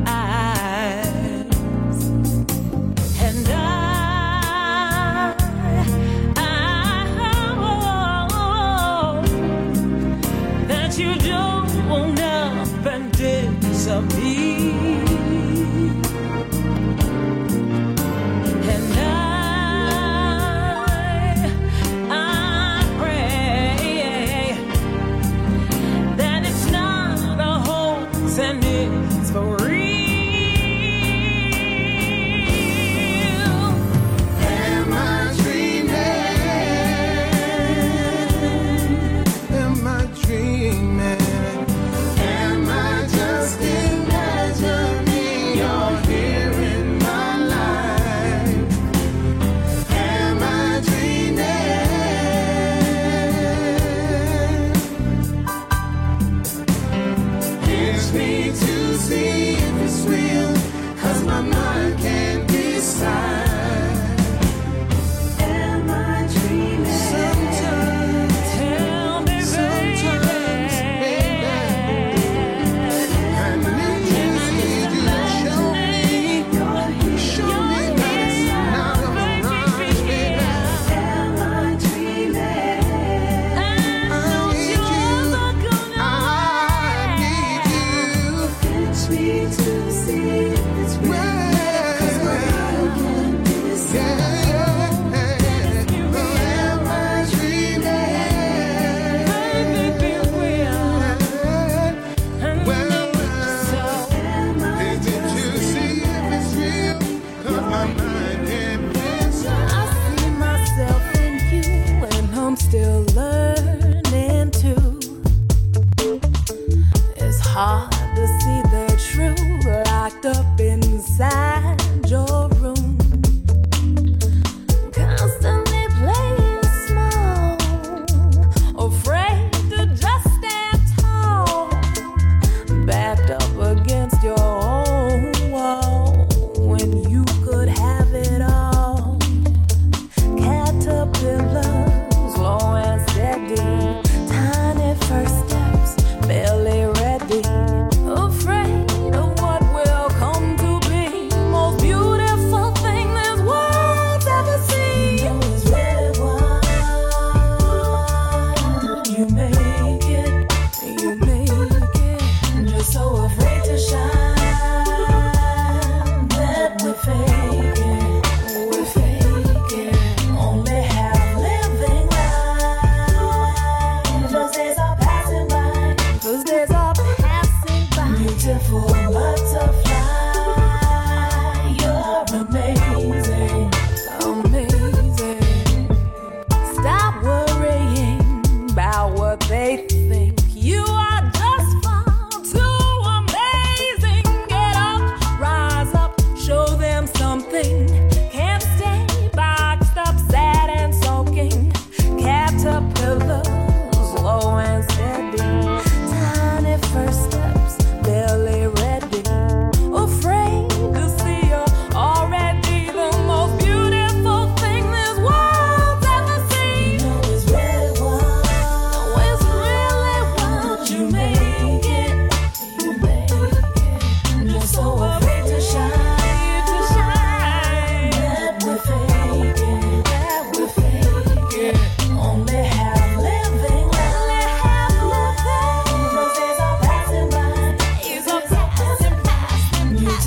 eyes, and I, I hope that you don't want up and disappear. And I, I pray that it's not a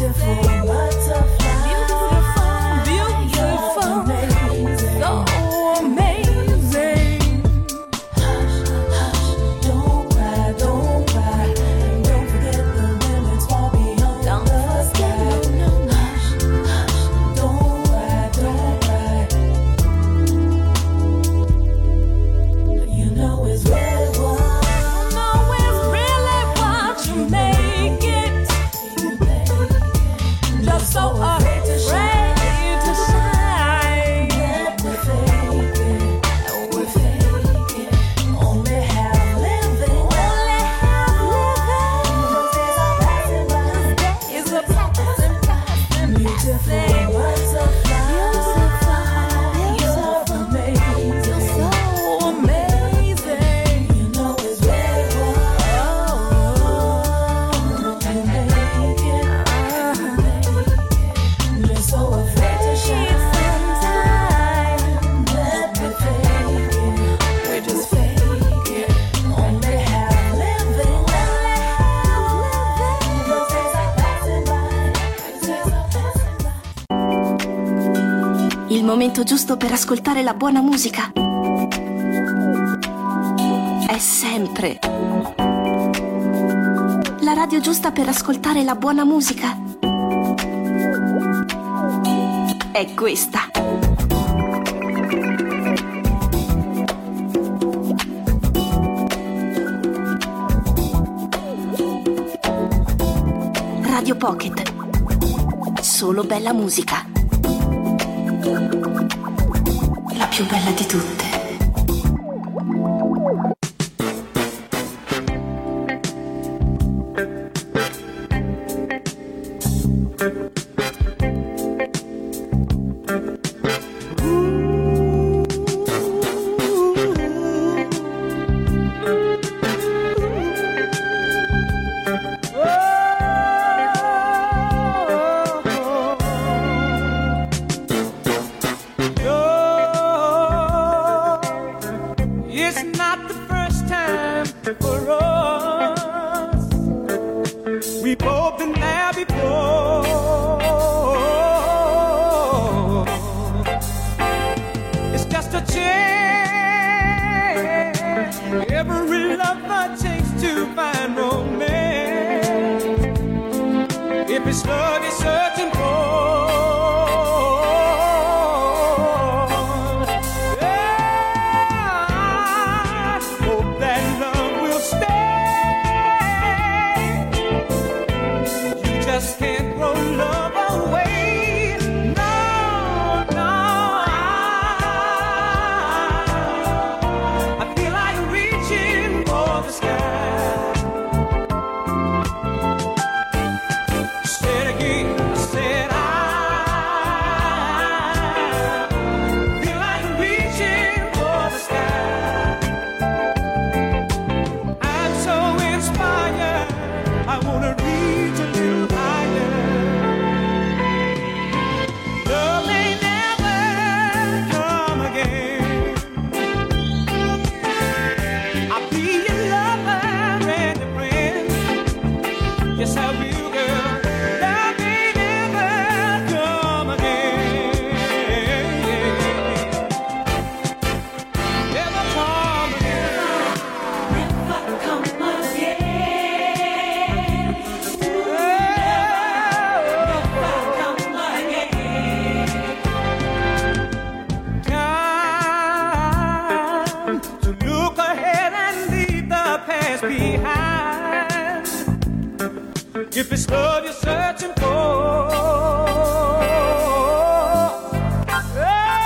Il momento giusto per ascoltare la buona musica è sempre la radio giusta per ascoltare la buona musica è questa. Radio Pocket. Solo bella musica. La più bella di tutte. If it's love you're searching for, oh,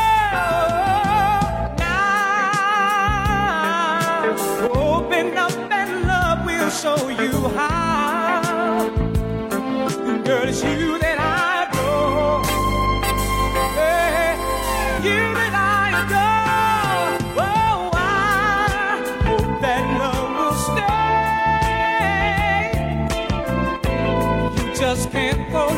now open up and love will show you how. Girl, it's you that I adore, hey, you that I adore. Oh, I hope that love will stay. Just can't go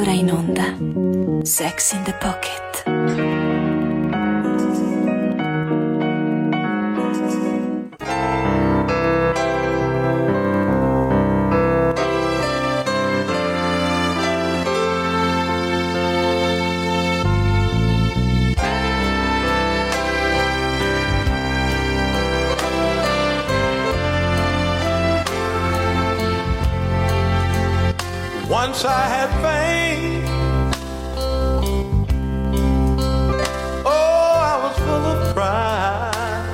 ora in onda Sex in the Pocket. Once I had fame, oh, I was full of pride,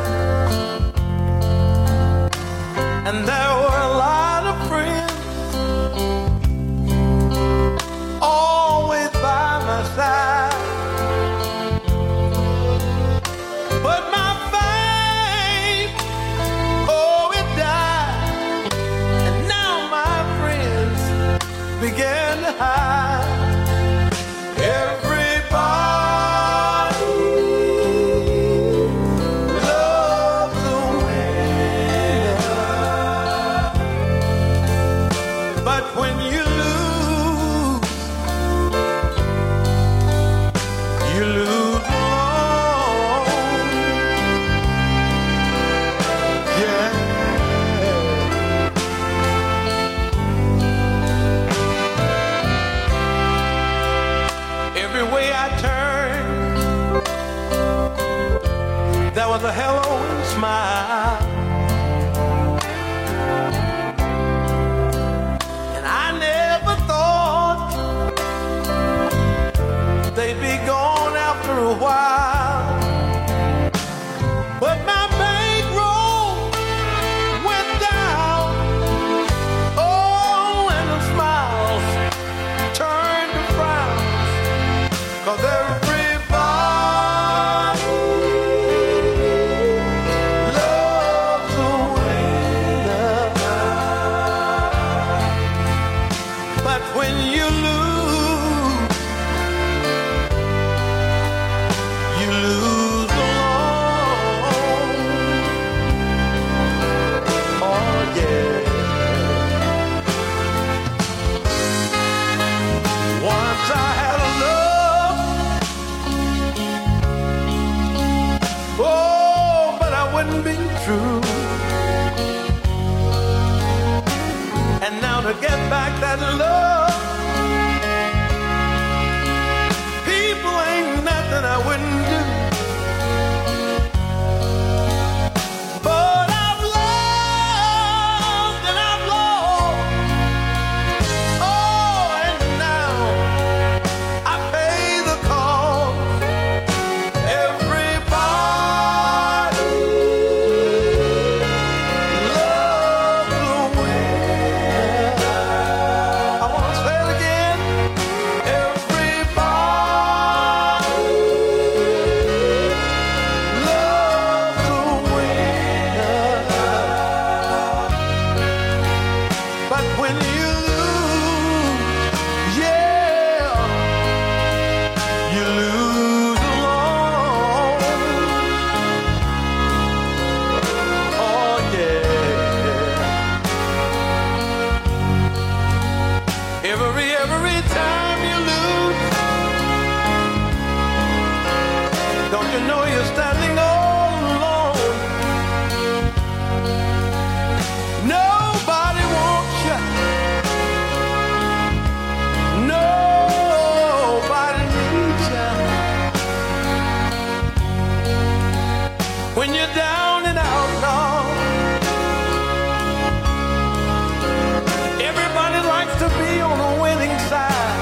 and there were a lot of friends always by my side, but my fame, oh, it died, and now my friends began to hide. Everybody loves a winner, but when you lose, you lose alone. Yeah. Every way I turned, there was a hello and smile, and I never thought they'd be gone after a while, but my bankroll went down, oh, and the smiles turned to frowns. 'Cause everybody loves a winner, but when you lose, you lose alone. Oh yeah. Once I had a love, oh, but I wouldn't be true. And now to get back that love, people ain't nothing I wouldn't do. But I've loved and I've lost, oh, and now I pay the cost. Everybody loves a winner. I want to say it again. Everybody loves a winner. But when you lose, yeah, you lose alone. Oh yeah. Every every time you lose, don't you know you're standing all alone? Nobody wants you. Nobody needs you. When you're down and out, dog, everybody likes to be on the winning side.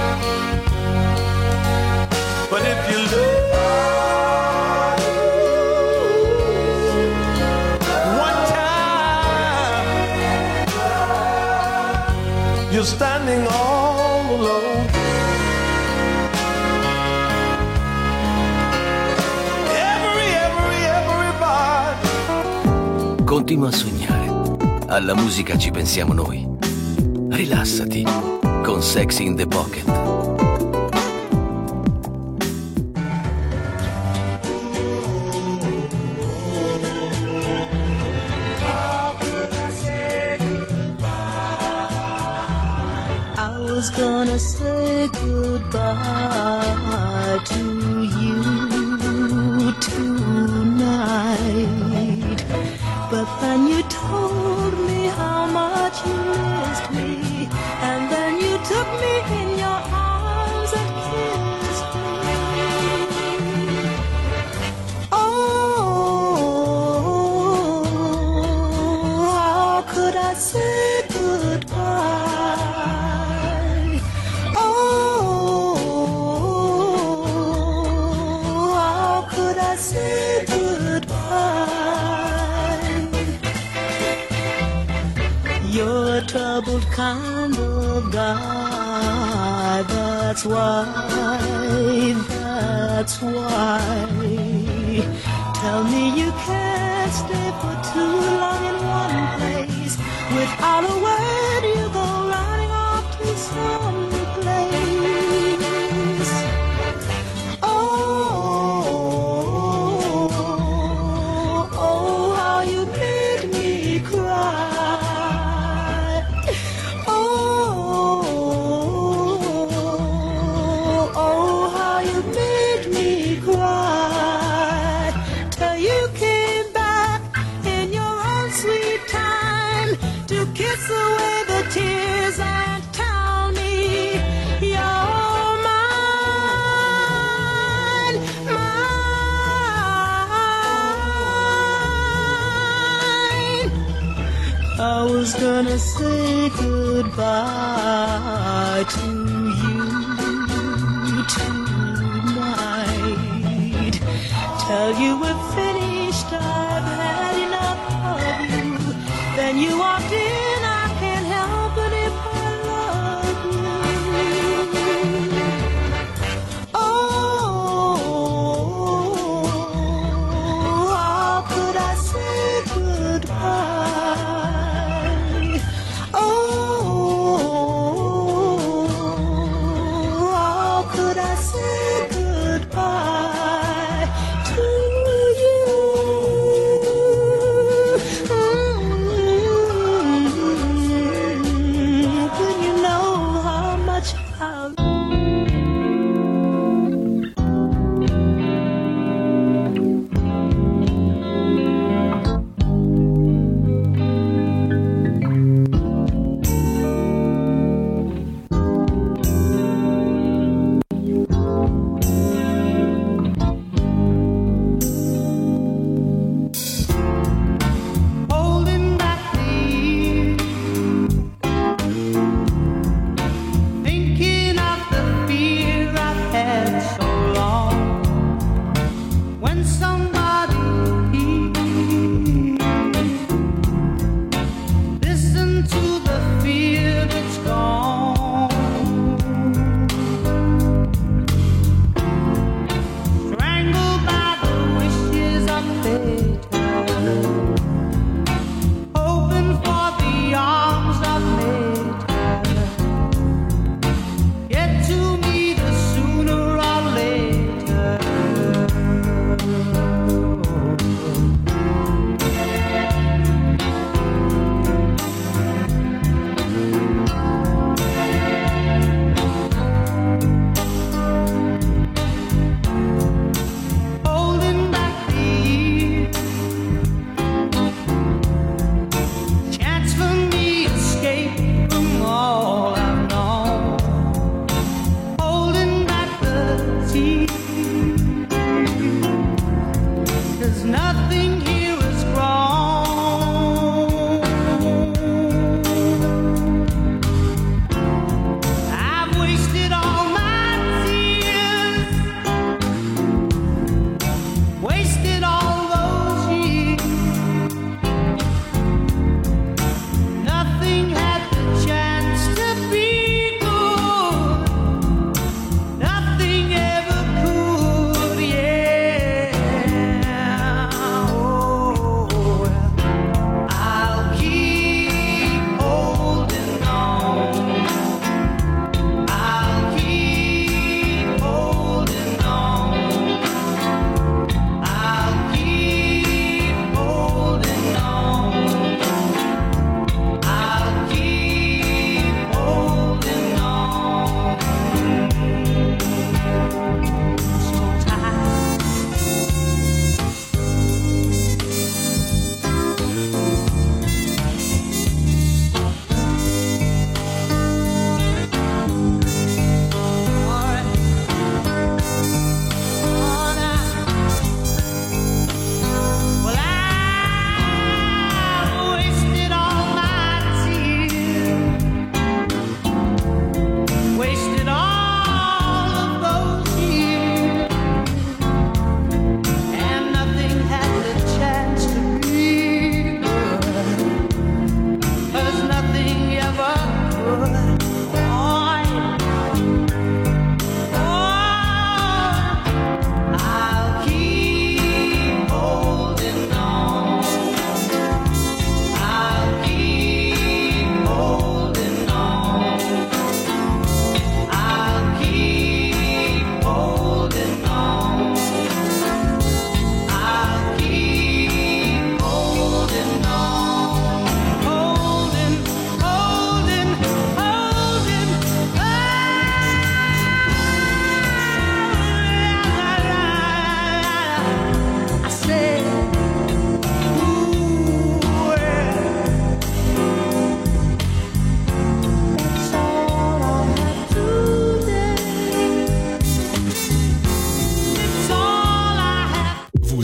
But if you lose one time, you're standing all alone. Every, every, everybody. Continua a sognare. Alla musica ci pensiamo noi. Rilassati con Sex in the Pocket. was was gonna say goodbye to you tonight, but then you told me how much you missed me, and then you took me in your arms and kissed me. Oh, how could I say goodbye? Oh, how could I say goodbye? You're a troubled kind of guy, that's why, that's why. Tell me you can't stay for too long in one place. Without a word you go running off to some place. Oh, oh, how you made me cry. Oh, oh, how you made me cry. Till you came back in your own sweet time to kiss away the tears and tell me you're mine, mine. I was gonna say goodbye to you tonight. Tell you we're finished, I've had enough of you. Then you walked in, I can't help it if I love you. Oh, how could I say goodbye? Oh, how could I say goodbye to you?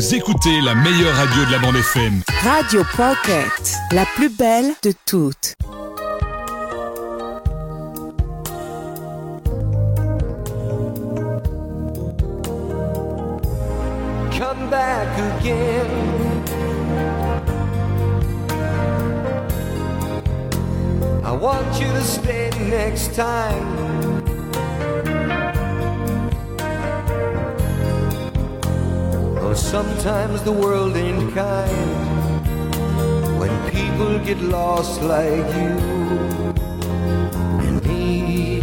Vous écoutez la meilleure radio de la bande F M. Radio Pocket, la plus belle de toutes. Come back again. I want you to stay next time. Oh, sometimes the world ain't kind when people get lost like you and me.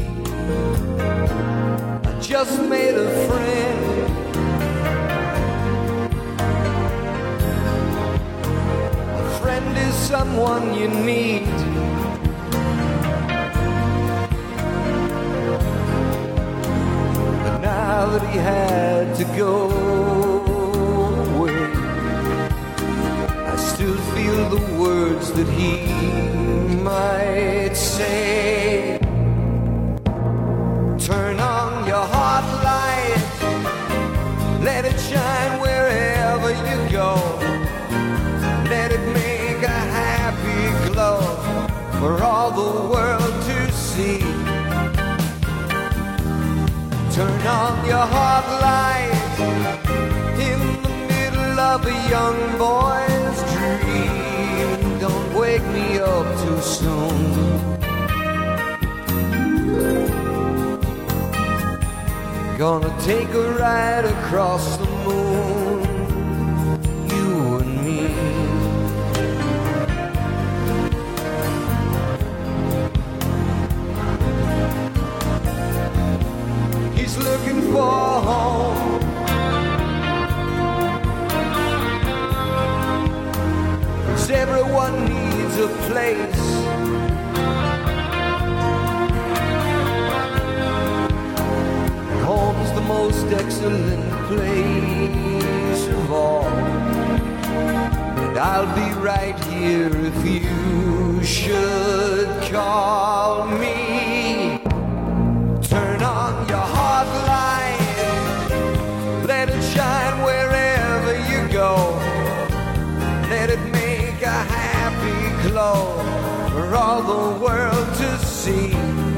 I just made a friend. Is someone you need. But now that he had to go away, I still feel the words that he might say. Turn on your hot light, let it shine wherever you go. Let it make a happy glow for all the world to see. Turn on your hot light in the middle of a young boy's dream. Don't wake me up too soon. Gonna take a ride across the moon, you and me. He's looking for home, 'cause everyone needs a place. And home's the most excellent place of all. And I'll be right here if you should call me. Turn on your hot light, let it shine wherever you go. Let it make a happy glow for all the world to see.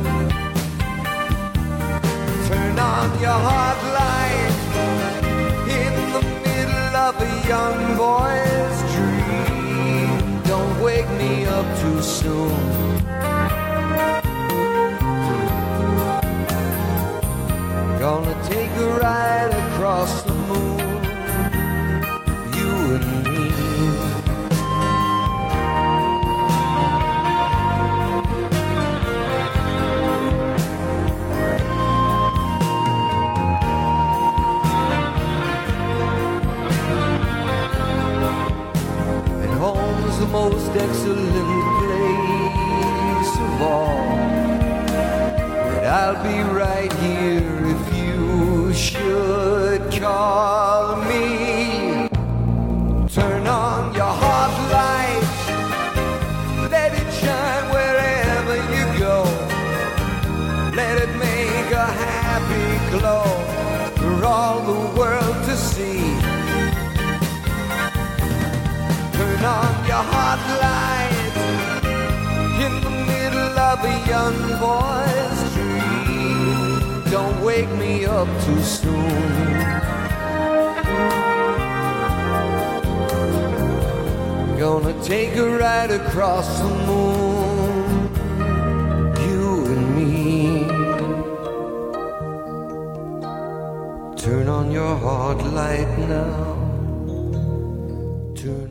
Turn on your hot light in the middle of a young boy's dream. Don't wake me up too soon. Gonna take a ride across the moon, you and me. And home's the most excellent place of all. And I'll be right here if you should call me. Turn on your hot light, let it shine wherever you go. Let it make a happy glow for all the world to see. Turn on your hot light in the middle of a young boy's dream. Don't wake me up too soon. Gonna take a ride across the moon, you and me. Turn on your hot light now. Turn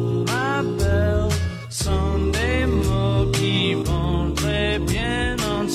Sunday mots qui vont très bien ensemble.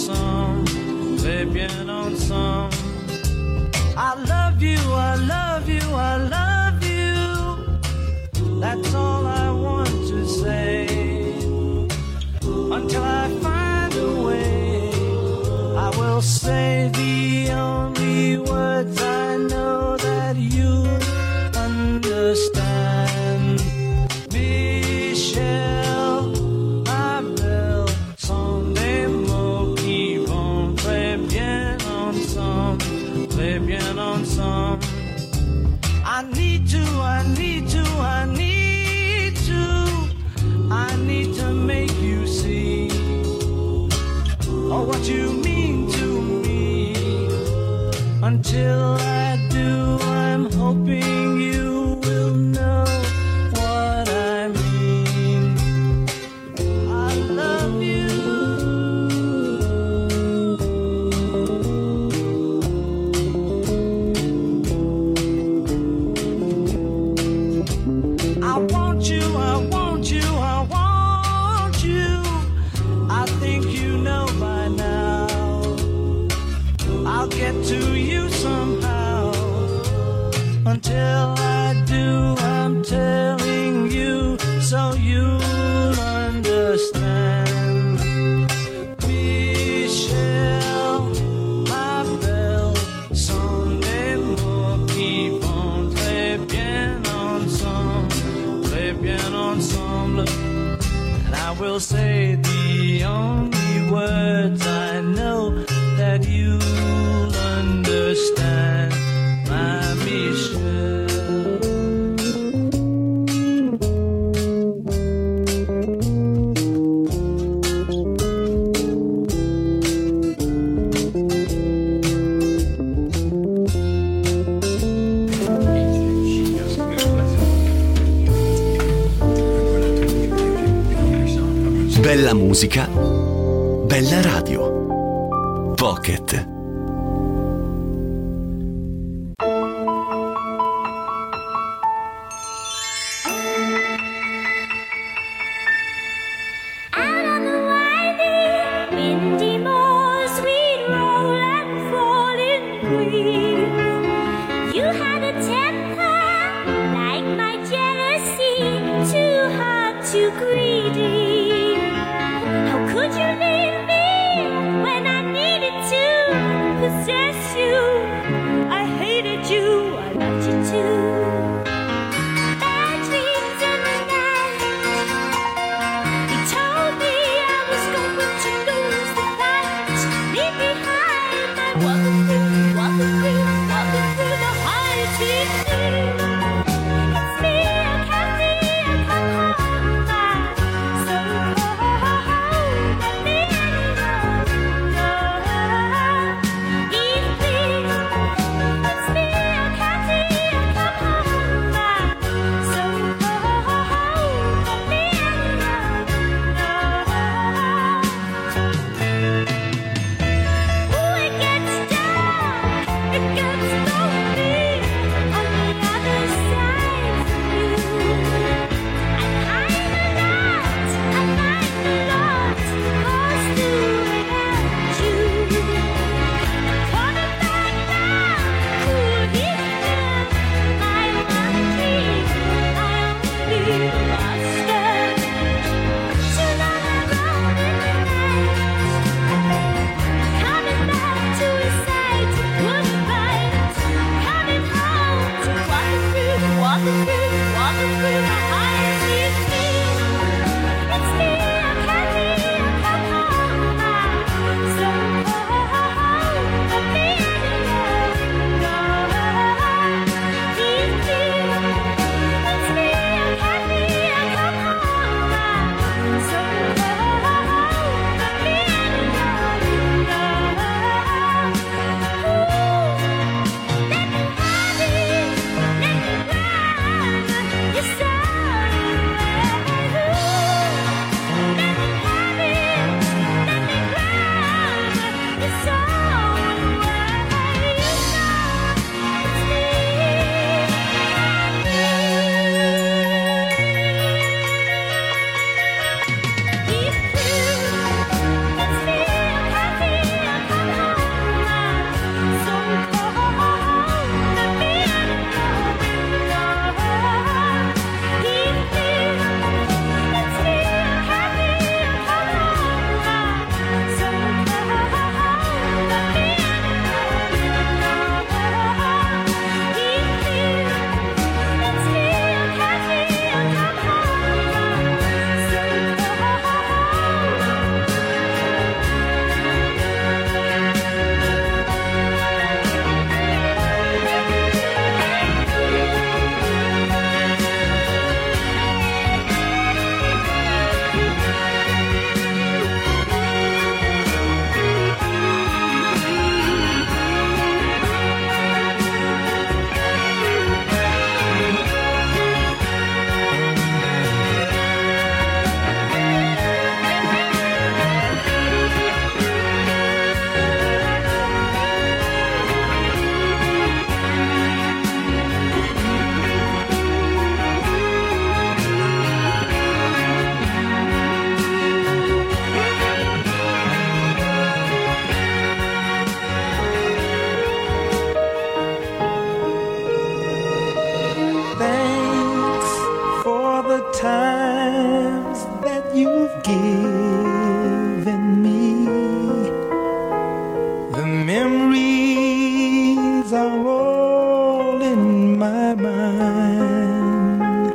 need to make you see oh, what you mean to me. Until I do, I'm hoping you will know what I mean. I love you. I want you, I want you, I want you. I think you know by now. I'll get to you somehow. Until I do, I'm telling you so you'll understand. Michel, ma belle, sont des mots qui vont très bien ensemble, très bien ensemble. And I will say the only words I know that you'll understand, my Michel. Bella musica, bella radio. Pocket. Come home. you've given me. The memories are all in my mind.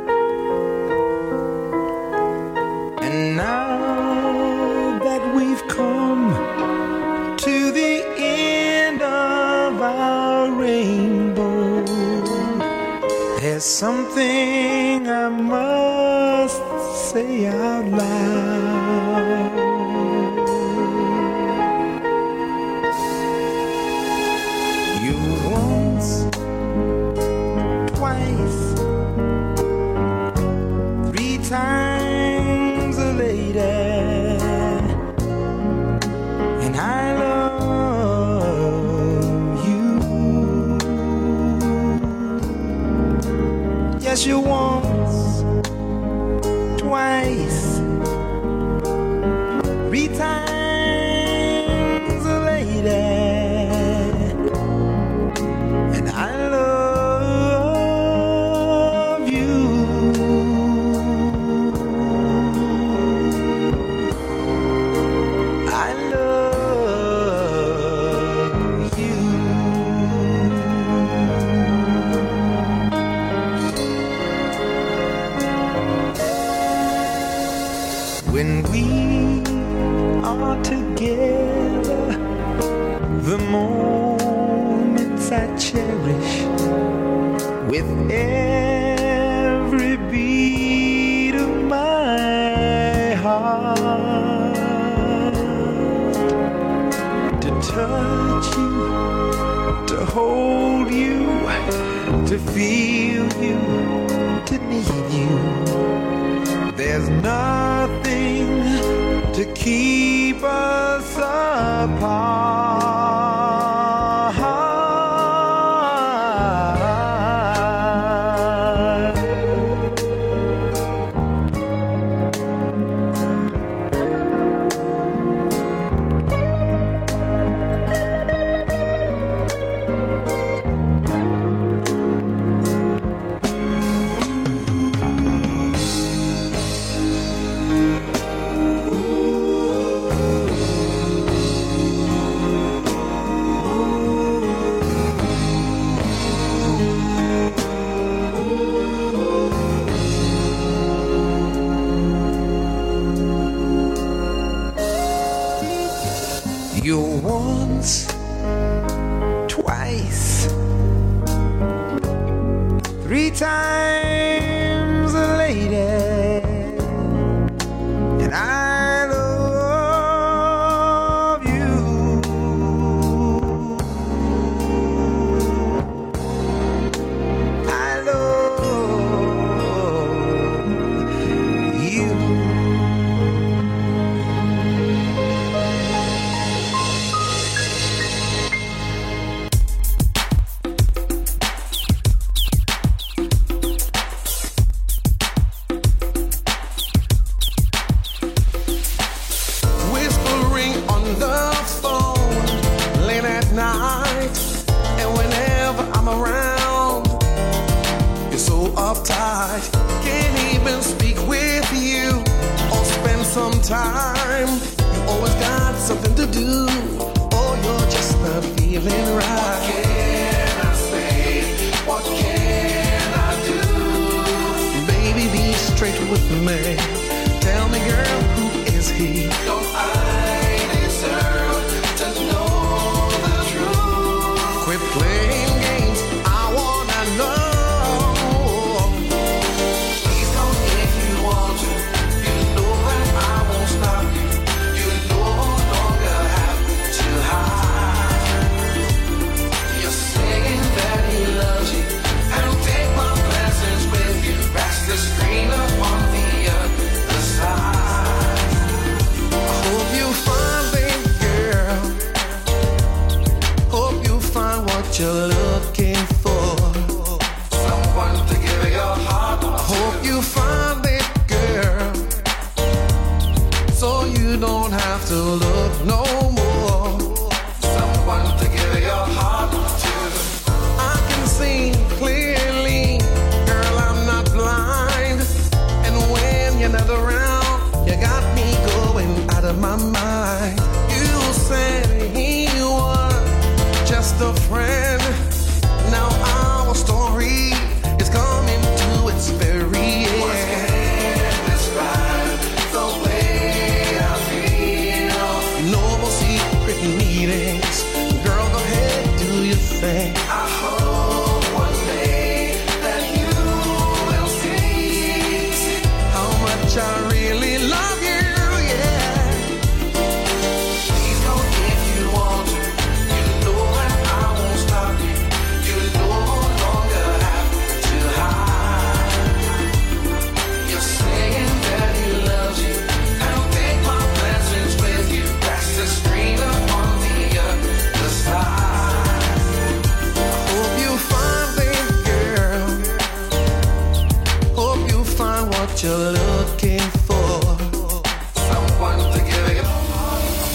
And now that we've come to the end of our rainbow, there's something I must say out loud. You once, twice, three times a lady, and I love you. Yes, you once, twice, three times a lady, and I love you. I love you. When we are together, the moments I cherish with every beat of my heart. To touch you, to hold you, to feel you, to need you. There's nothing to keep us apart. You once, twice, three times a lady, and I love you. I love you. Can't even speak with you or spend some time. You always got something to do, or you're just not feeling right. What can I say? What can I do? Baby, be straight with me. Tell me, girl, who is he? Don't I deserve to know the truth? Quit playing games, I wanna know. Screen up on the other side. I hope you find it, girl. Hope you find what you're looking for. Someone to give your heart to. I hope you find it, girl, so you don't have to look no more. Someone to give your heart to. I can see clearly, girl, I'm not blind. And when you're not around, you got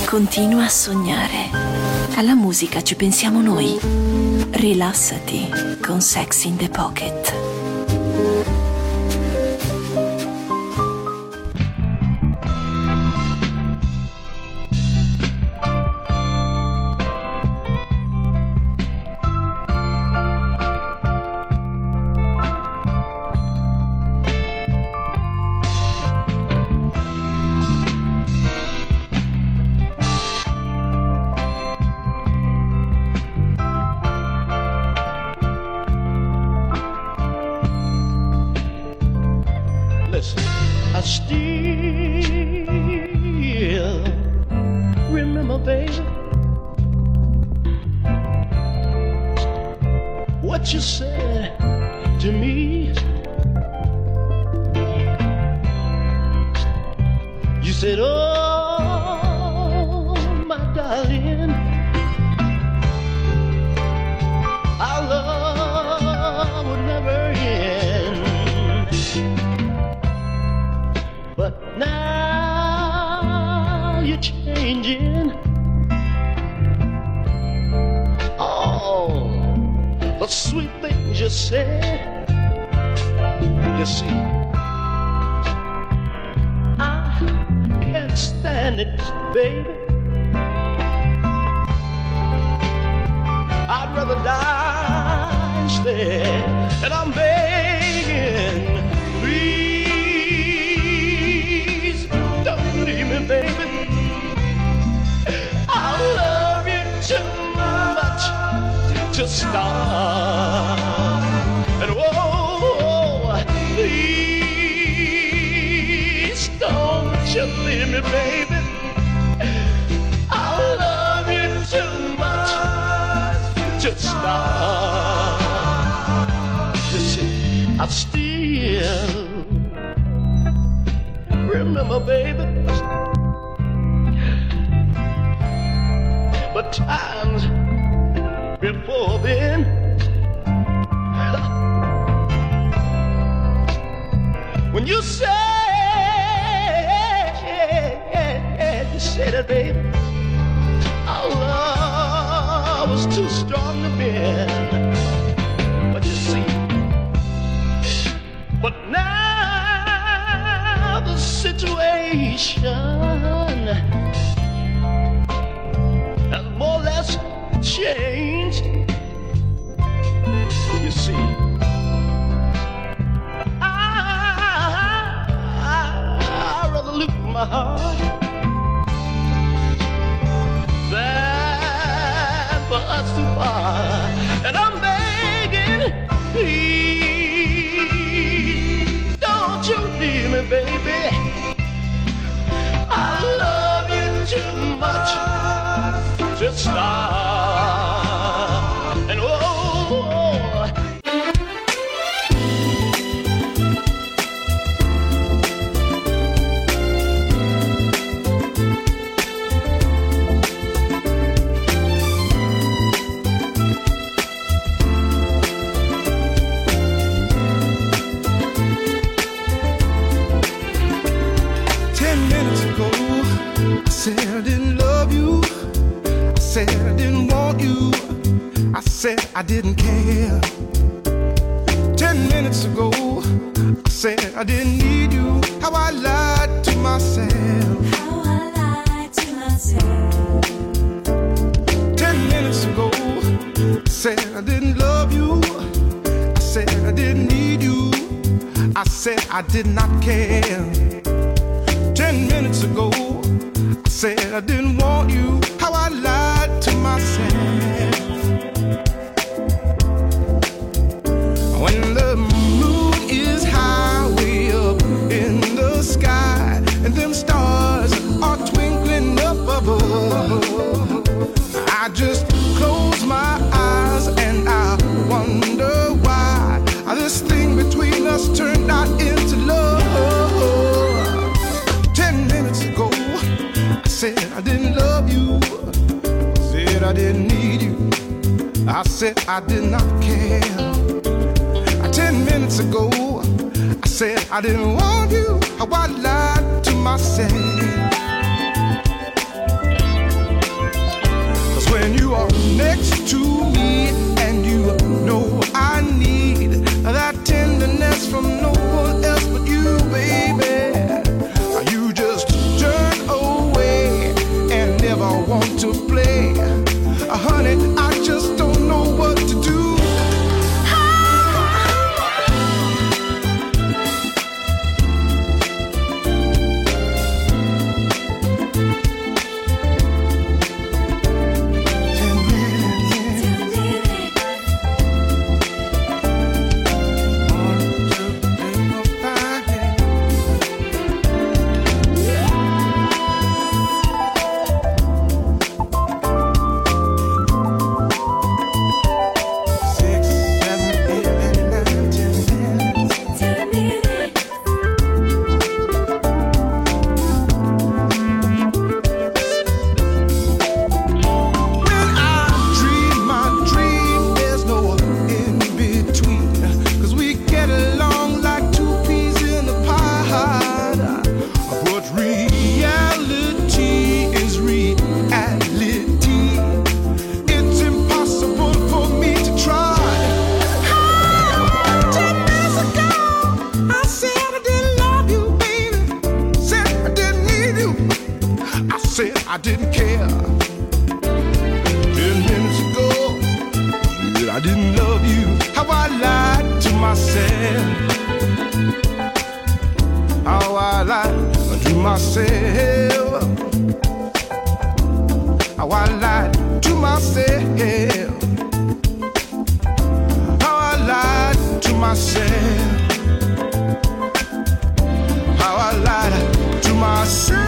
Continua a sognare. Alla musica ci pensiamo noi. Rilassati con Sex in the Pocket. I still remember, baby, what you said to me. You said, oh, my darling, our love would never end. But now you're changing. Oh, the sweet things you said. You see, I can't stand it, baby. I'd rather die instead. And I'm begging, please don't leave me, baby. I love you too much to stop. And whoa, please don't you leave me, baby. I love you too much to stop. You see, I still remember, baby, but times before then, when you said, you said it, baby, our love was too strong to bend. But you see, but now the situation has more or less changed. You see, I, I, I'd rather look at my heart than for us to part. And I'm begging, please don't you leave me, baby. I love you too much to stop. And oh, I said I didn't love you. I said I didn't want you. I said I didn't care. Ten minutes ago, I said I didn't need you. How I lied to myself. How I lied to myself. Ten minutes ago, I said I didn't love you. I said I didn't need you. I said I did not care. Ten minutes ago, I said I didn't want you. How I lied to myself. When the moon is high way up in the sky and them stars are twinkling up above, I just close my eyes and I wonder why this thing between us turned out into love. Ten minutes ago, I said I didn't love you. I said I didn't need you. I said I did not care. Ten minutes ago, I said I didn't want you. How I lied to myself. said I didn't care. Ten minutes ago, said I didn't love you. How I lied to myself. How I lied to myself. How I lied to myself. How I lied to myself. How I lied to myself.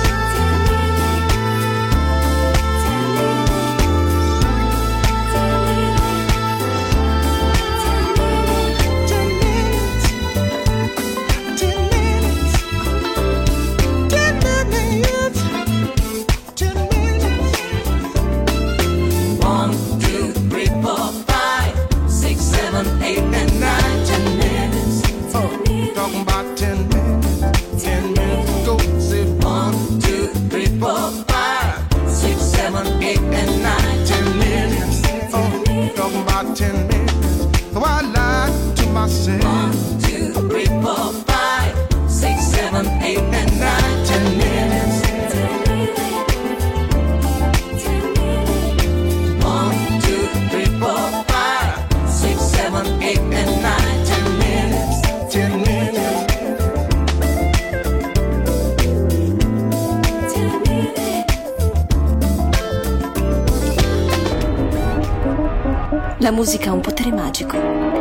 La musica ha un potere magico.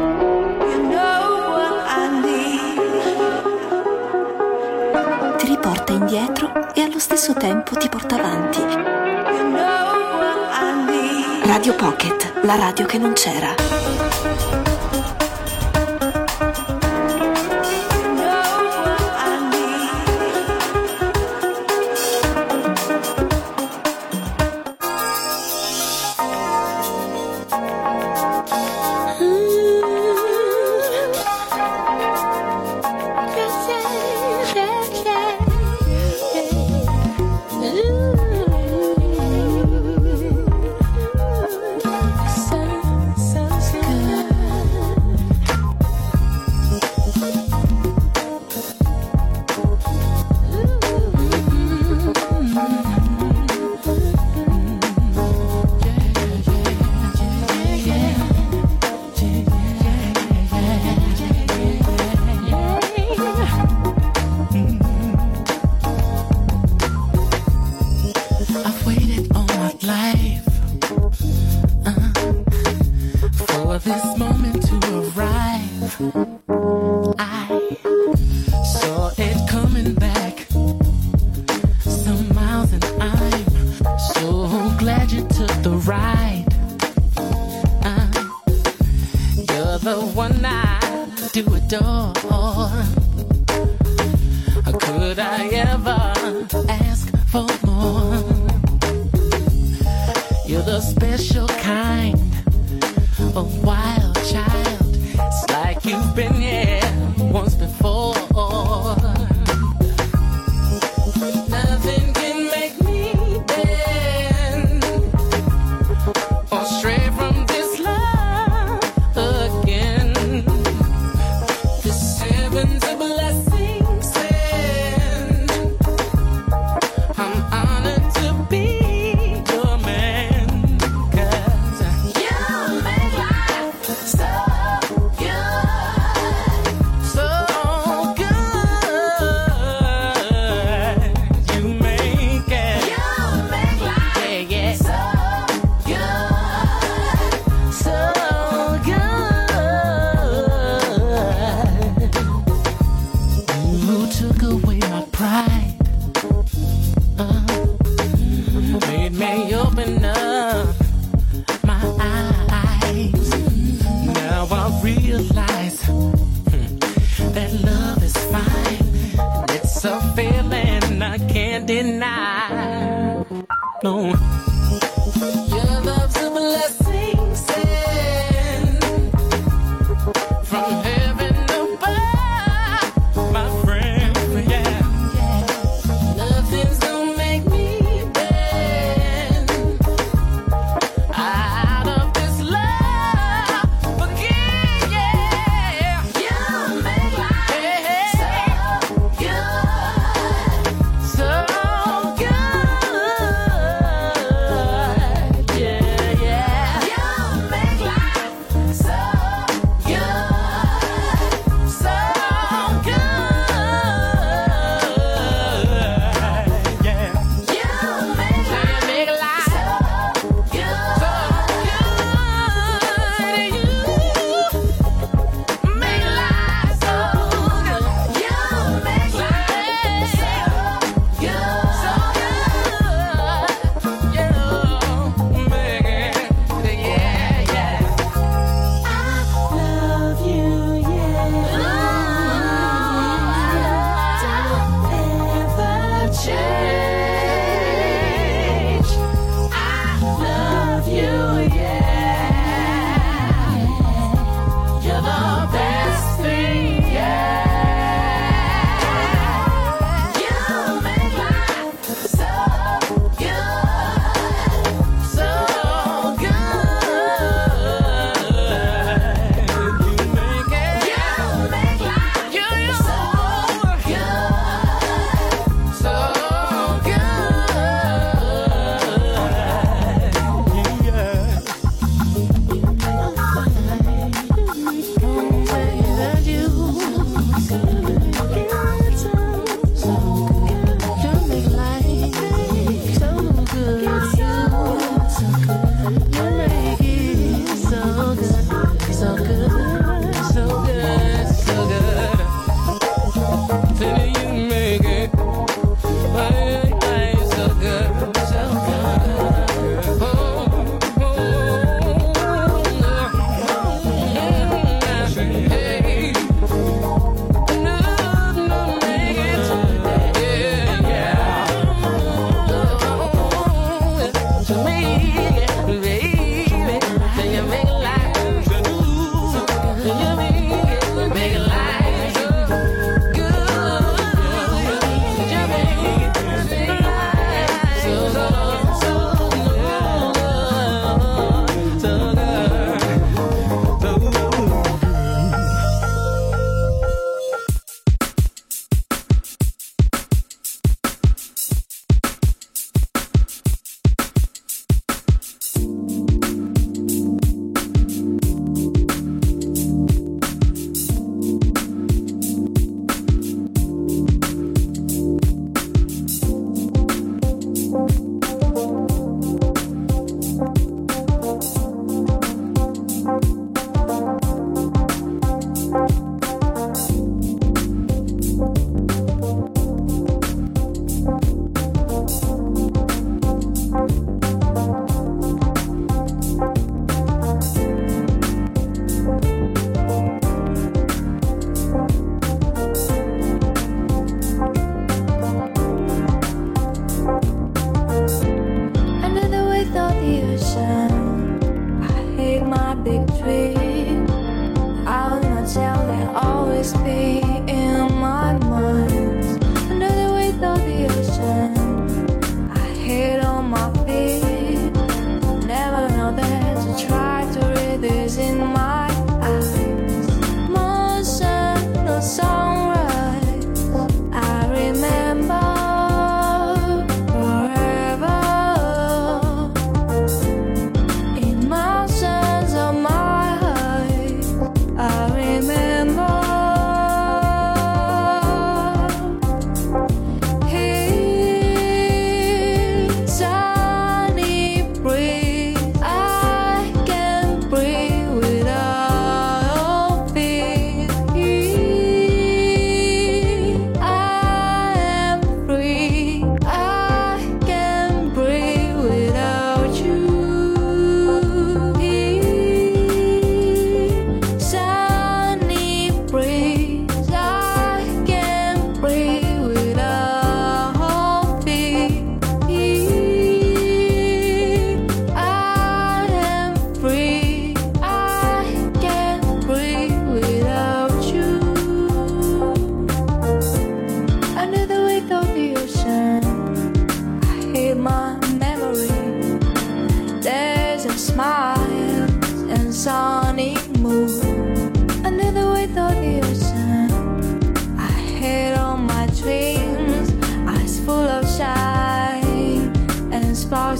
Ti riporta indietro e allo stesso tempo ti porta avanti. Radio Pocket, la radio che non c'era. So good.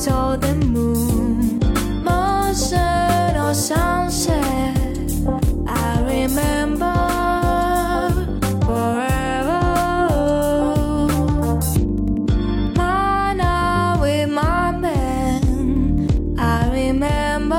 saw the moon, motion or sunset. I remember forever. My night with my man, I remember.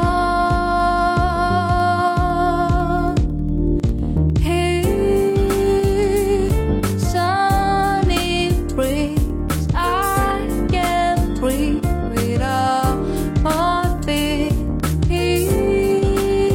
Breathe without my feet.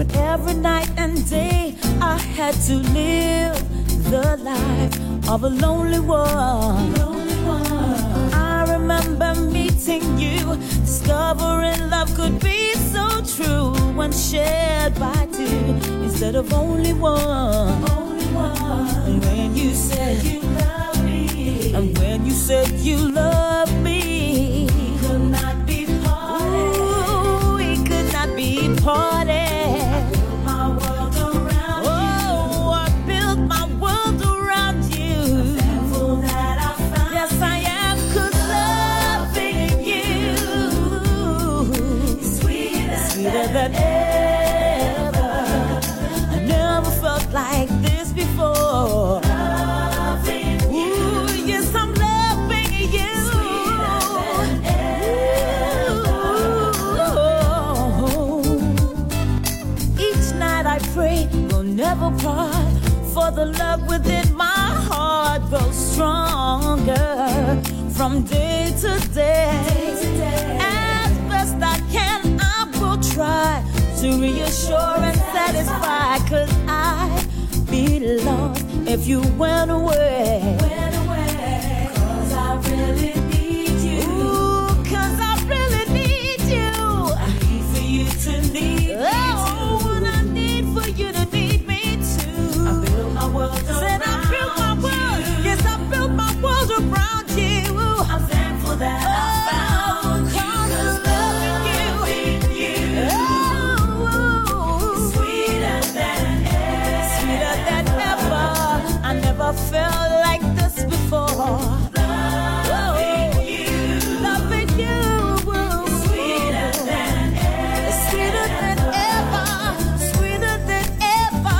when every night and day I had to live the life of a lonely one. Lonely one. I remember meeting you, discovering love could be so true when shared by two instead of only one. Only one. And when you said you love me, and when you said you love me, we could not be parted. Ooh, we could not be parted. Than ever, I never felt like this before. Loving you, ooh, yes, I'm loving you. Sweeter than ever. Each night I pray we'll never part, for the love within my heart grows stronger from day to day. Day to day. As best I can, try to reassure and satisfy, 'cause I'd be lost if you went away. Went away. 'Cause I really need you. Ooh, 'cause I really need you. I need for you to need me too. Oh, and I need for you to need me too. I built my world around Said I built my world. You. Yes, I built my world around you. I'm thankful that oh, I found you. Never felt like this before. Loving you, loving you, sweeter than ever, sweeter than ever, sweeter than ever.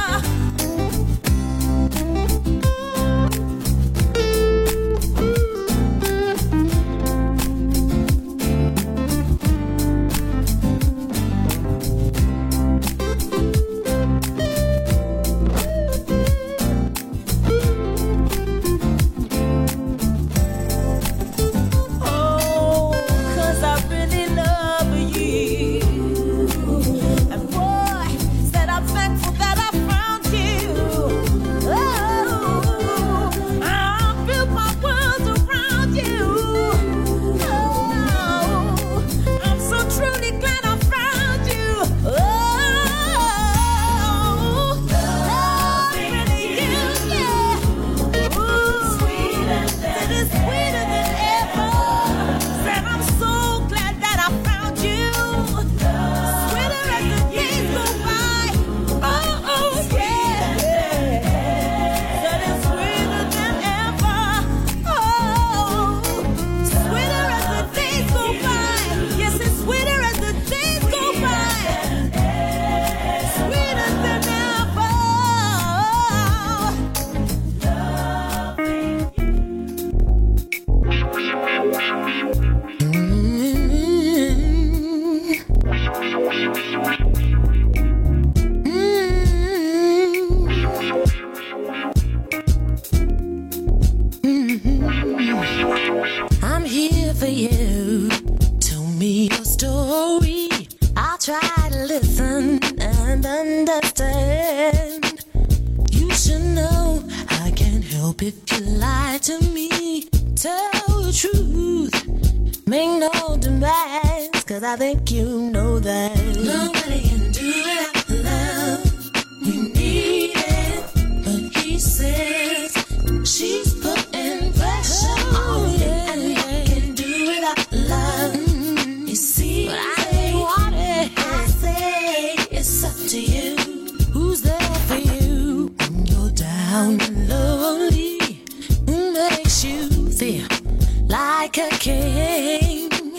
I think you know that nobody can do it love. We need it, but he says she's putting pressure on you, and we can do without love. You see, but I ain't want it. I say it's up to you. Who's there for you when you're down and lonely? Who makes you feel like a king?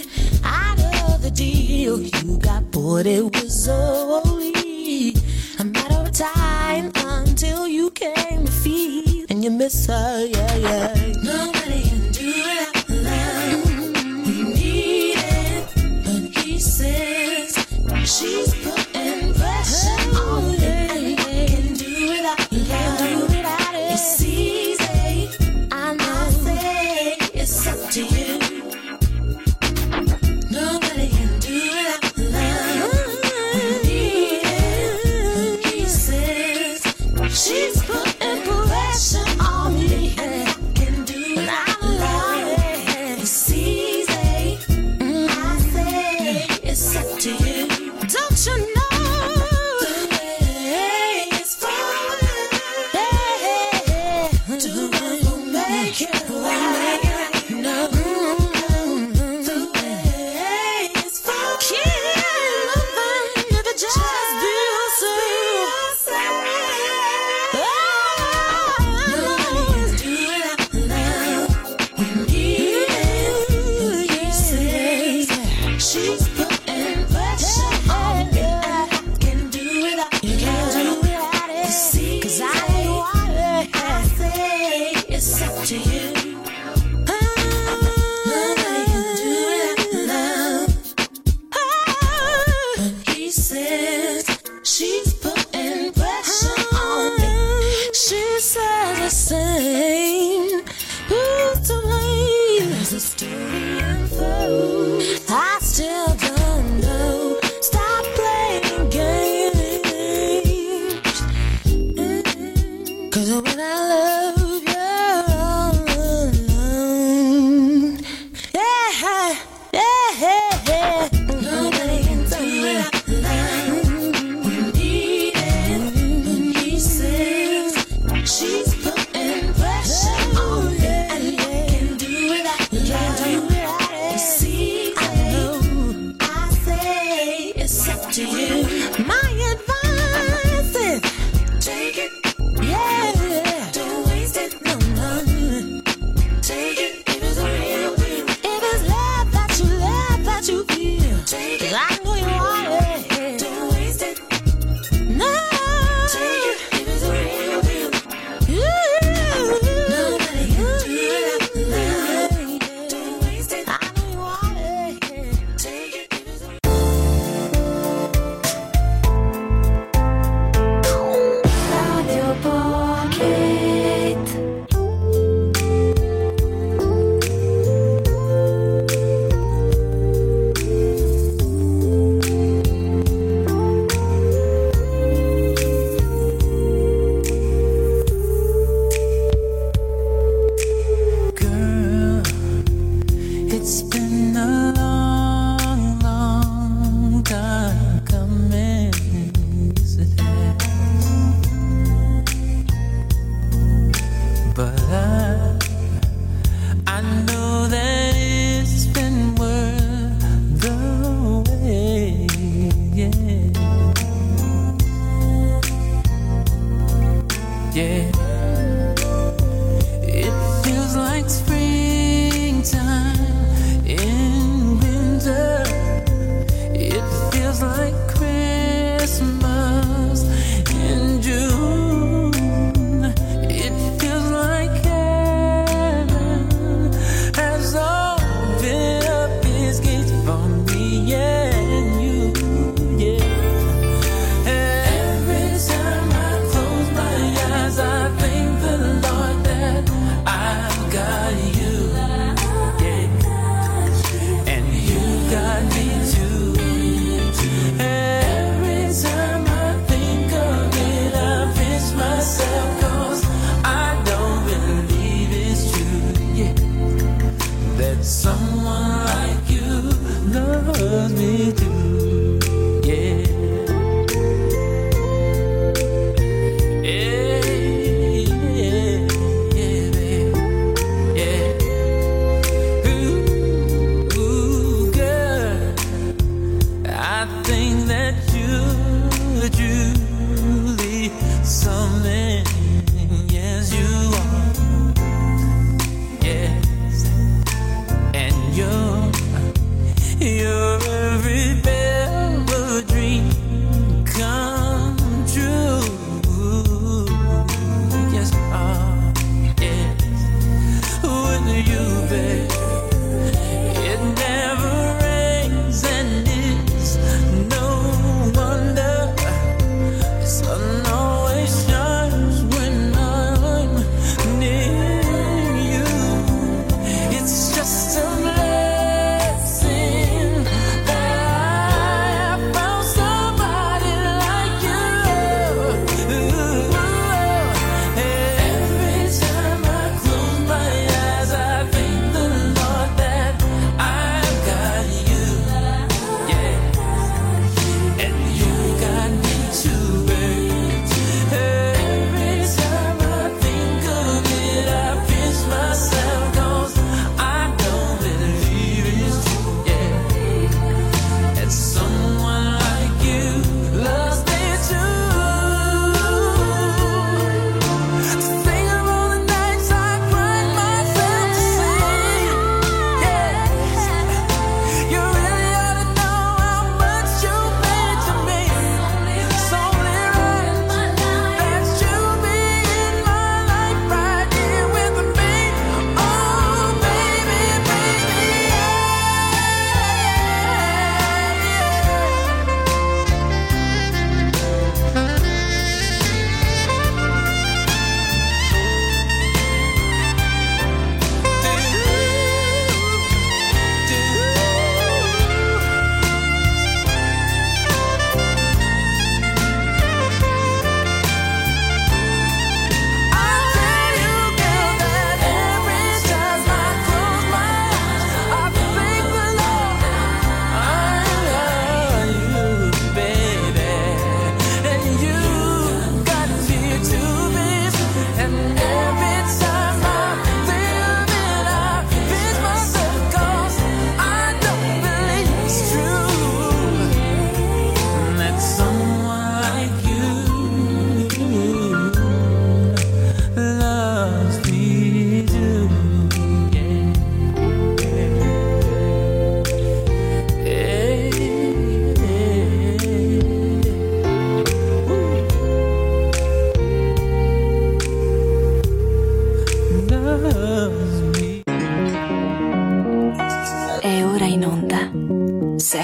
Deal you got bored, it was only a matter of time until you came to feel and you miss her, yeah, yeah. Nobody can do it love. We need it, but he says she's putting pressure on you, and we can't do without love. It's easy, I know. I say it's up to you. Nobody can do it love. We need it, She's putting pressure on me. She says the same. Who's to blame as the story unfolds? I still don't know. Stop playing games. Cause when I love you alone, yeah, yeah, yeah. Nobody can do it. She's putting pressure on me, and I can do without you. You see, I know, I say it's up to you. My advice is take it, yeah. Don't waste it, no, no. Take it if it's a real deal. If it's love that you love, that you feel, take it. I know you want it. Don't waste it, no. Take it if it's a real deal. Nobody can do it like that. Don't waste it. I know you want it. Take it if it's a Radio Pocket. Girl, it's been a long, long time coming. Yes, it has. But I, I know that it's been worth the wait. Yeah, yeah. It feels like springtime in winter. It feels like Christmas in June. It feels like heaven has opened up its gates for me and you. Yeah. Every time I close my eyes, I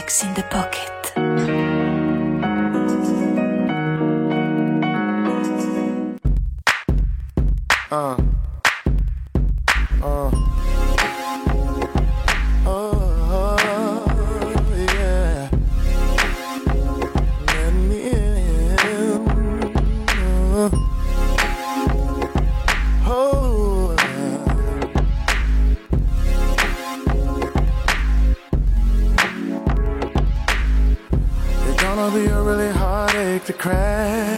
Sex in the Pocket. Uh. Uh. Oh, yeah. Let me in. Uh. Oh. It's gonna be a really heartache to crack.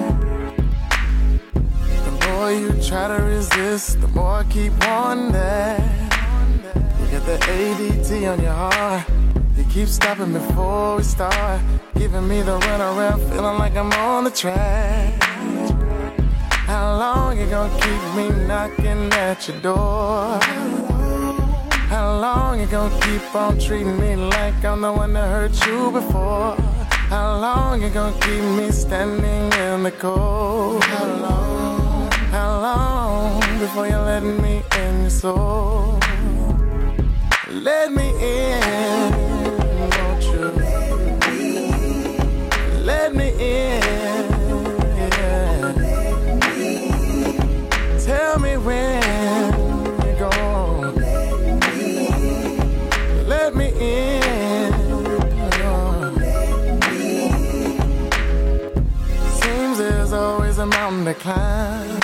The more you try to resist, the more I keep wanting that. You got the A D T on your heart. You keep stopping before we start, giving me the runaround, feeling like I'm on the track. How long you gonna keep me knocking at your door? How long you gonna keep on treating me like I'm the one that hurt you before? How long you gonna keep me standing in the cold? How long, how long before you're letting me in your soul? Let me in, won't you? Let me in, yeah. Tell me when you're gone. Let me in. Seems there's always a mountain to climb.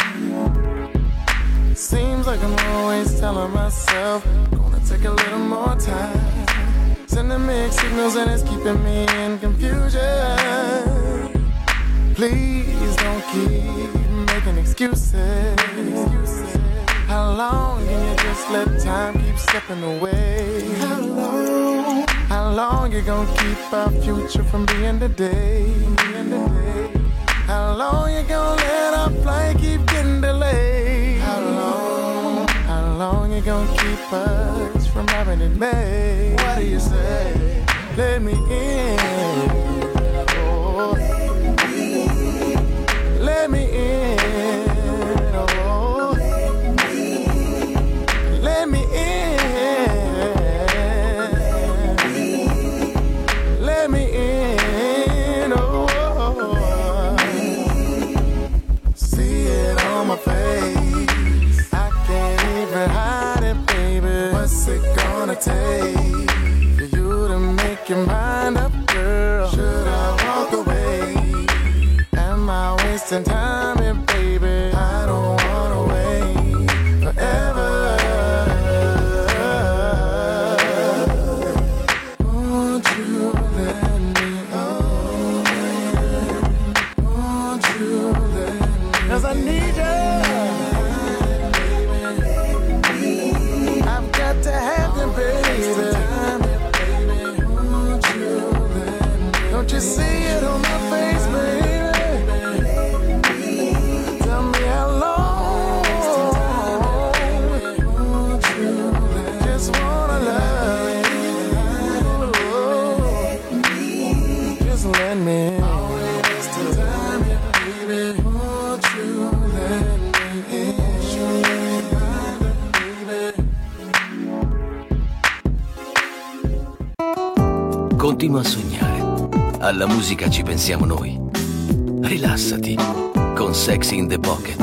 Seems like I'm always telling myself, gonna take a little more time. Sending mixed signals and it's keeping me in confusion. Please don't keep making excuses. How long can you just let time keep slipping away? How long? How long you gonna keep our future from being today? How long you gonna let our flight keep getting delayed? How long? How long you gonna keep us from having it made? What do you say? Let me in. Oh. Let me in. Oh. Let me in. Let me in. Oh. See it on my face. I can't even hide it, baby. What's it gonna take for you to make your mind up, girl? Should I walk away? Am I wasting time here, baby? I don't wanna wait forever. Won't you let me in? Won't you let me in? 'Cause I need you. I've got to have you, baby. Don't you see it on my face, baby? Tell me how long. Just wanna love you. Just let me in. Won't you let me in? Continua a sognare. Alla musica ci pensiamo noi. Rilassati con Sex in the Pocket.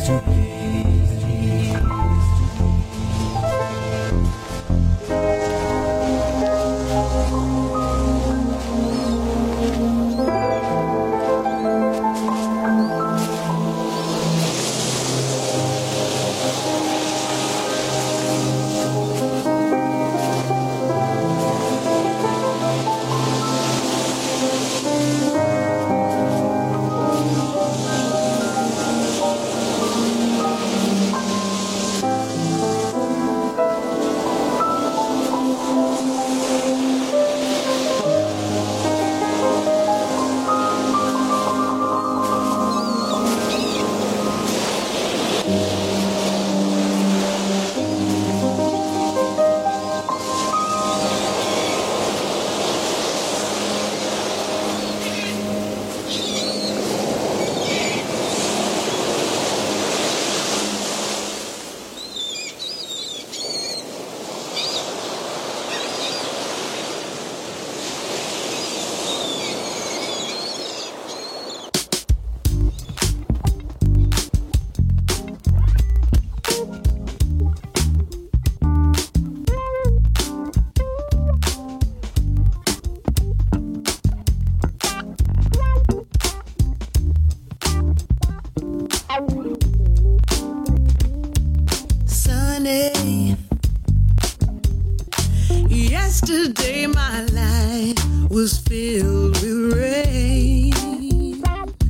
Yesterday my life was filled with rain.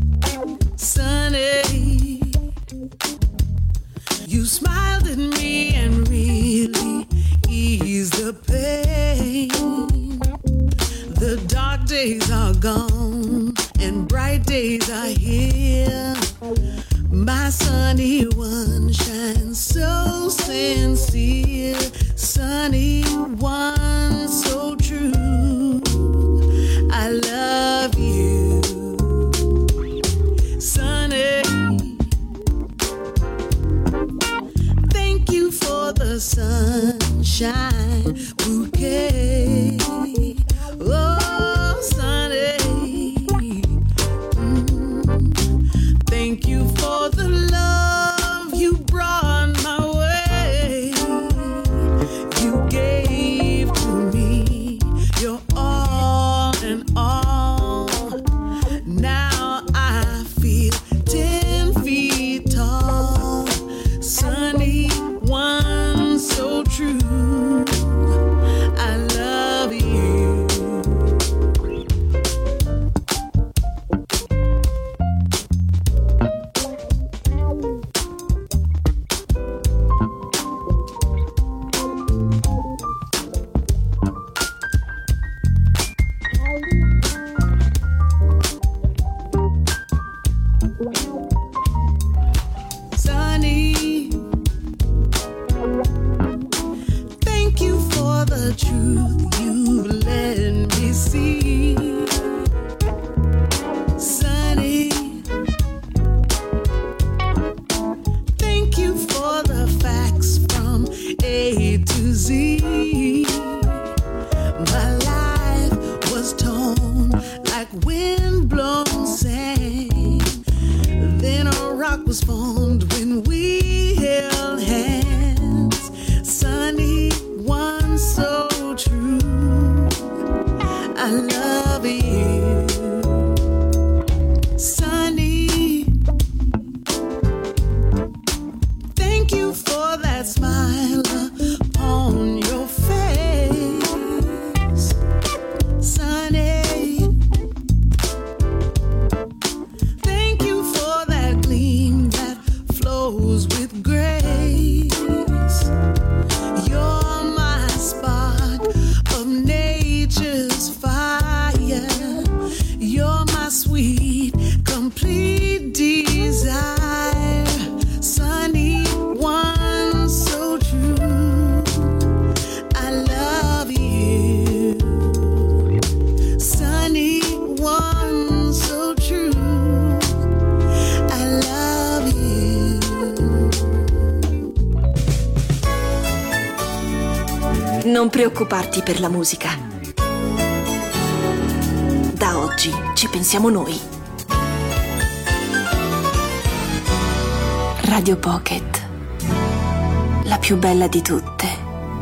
Sunny, you smiled at me and really eased the pain. The dark days are gone and bright days are here. My sunny one shines so sincere. Sunny one so true. I love you. Sunny, thank you for the sunshine bouquet. Oh, Sunny, mm, thank you for the love you brought my way. You gave to me your all and all. Now I feel ten feet tall. Sunny one so true. I love you. Sunny, thank you for the truth you let me see. Sunny, thank you for the facts from A to Z. My life was torn like wind-blown sand. Then a rock was formed when we held hands. Sunny one so true. I love you. Sunny, thank you for that smile upon your face. Sunny, thank you for that gleam that flows with grace. You're my spark of nature's fire. You're my sweet, complete desire. Sunny one so true. I love you. Sunny one so true. I love you. Non preoccuparti per la musica. Da oggi ci pensiamo noi. Radio Pocket, la più bella di tutte.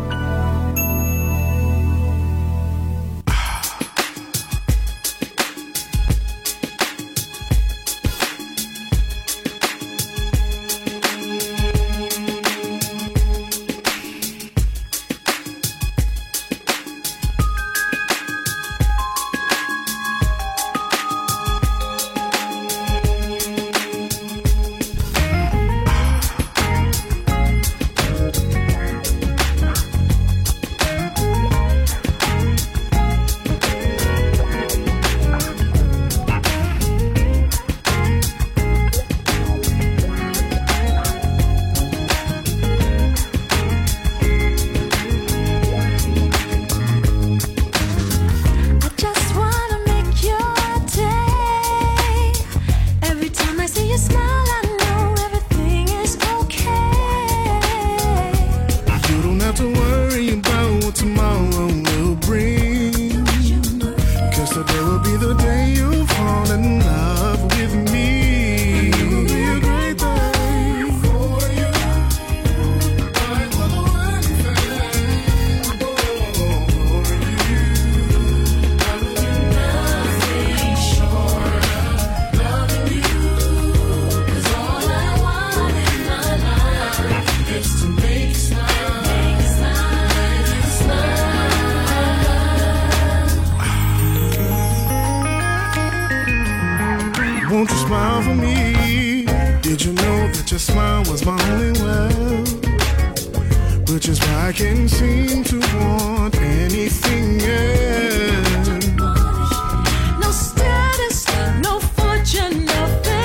Won't you smile for me? Did you know that your smile was my only well? Which is why I can't seem to want anything else. No status, no fortune, no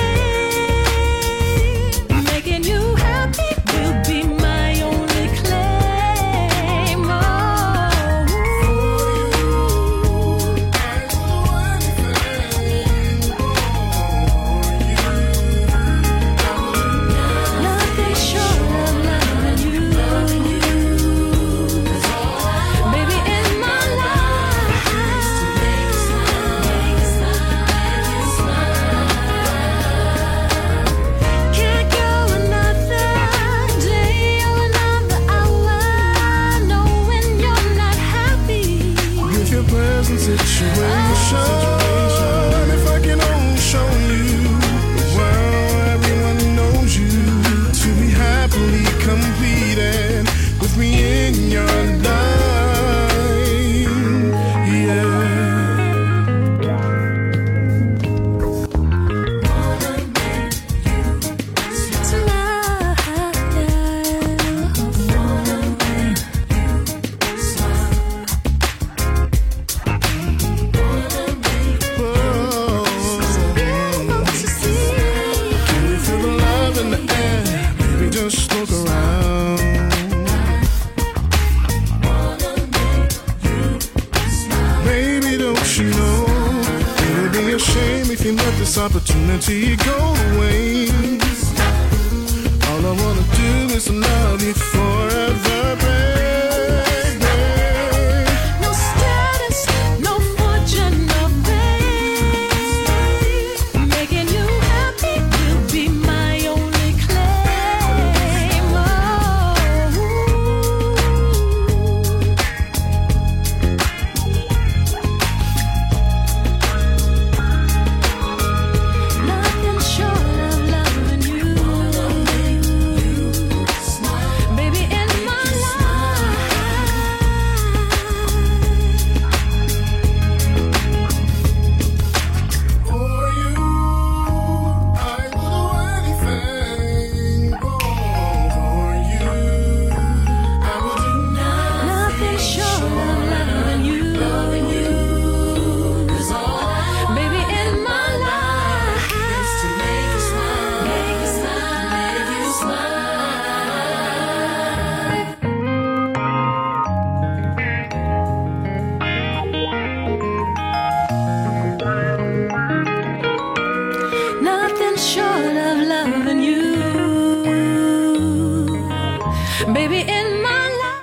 fame. Making you happy will be my only claim. Oh. Nothing short of loving you. Baby, in my life, can't go another day or another hour knowing you're not happy. With your present situation, if I can only show you, well, everyone knows you to be happily completed with me in your life. Yeah. Can you feel the love in the air? Baby, just look around. Baby, don't you know it would be a shame if you let this opportunity go away. All I wanna do is love you forever, baby. No status, no fortune, no fame. Making you happy will be my only claim. Oh. Nothing short of loving you. Baby, in my For you, I will do anything. Oh, for you, I will do nothing short of loving you. Baby, in my life, to make you smile, make you smile, make you smile. Nothing short of loving you. Baby, in my life.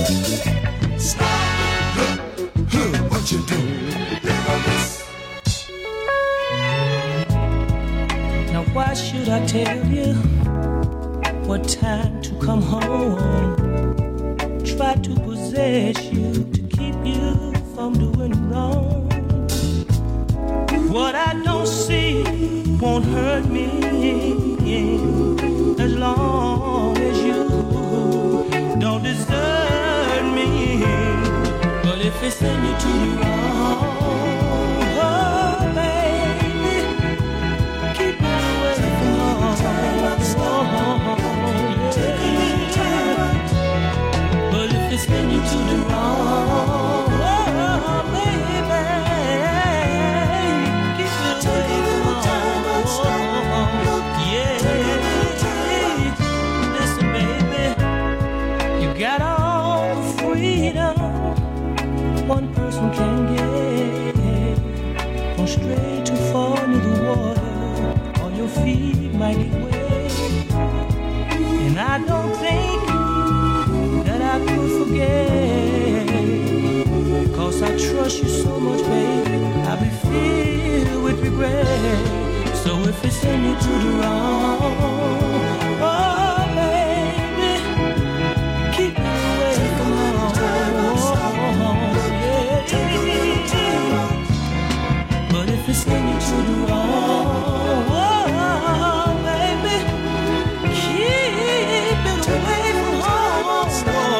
Why should I tell you what time to come home? Try to possess you to keep you from doing wrong. What I don't see won't hurt me as long as you don't desert me. But if it's in you to do wrong, spin you to the wrong, oh, baby. Keep it away from home. Yeah. Listen, baby, you got all the freedom one person can get. Don't stray too far into the water, or your feet might get wet. And I don't think that I could forget, cause I trust you so much, baby. I'll be filled with regret. So if it's in you to do wrong, oh baby, keep me away from home. Yeah. But if it's in you to do wrong, oh baby, keep it away from home.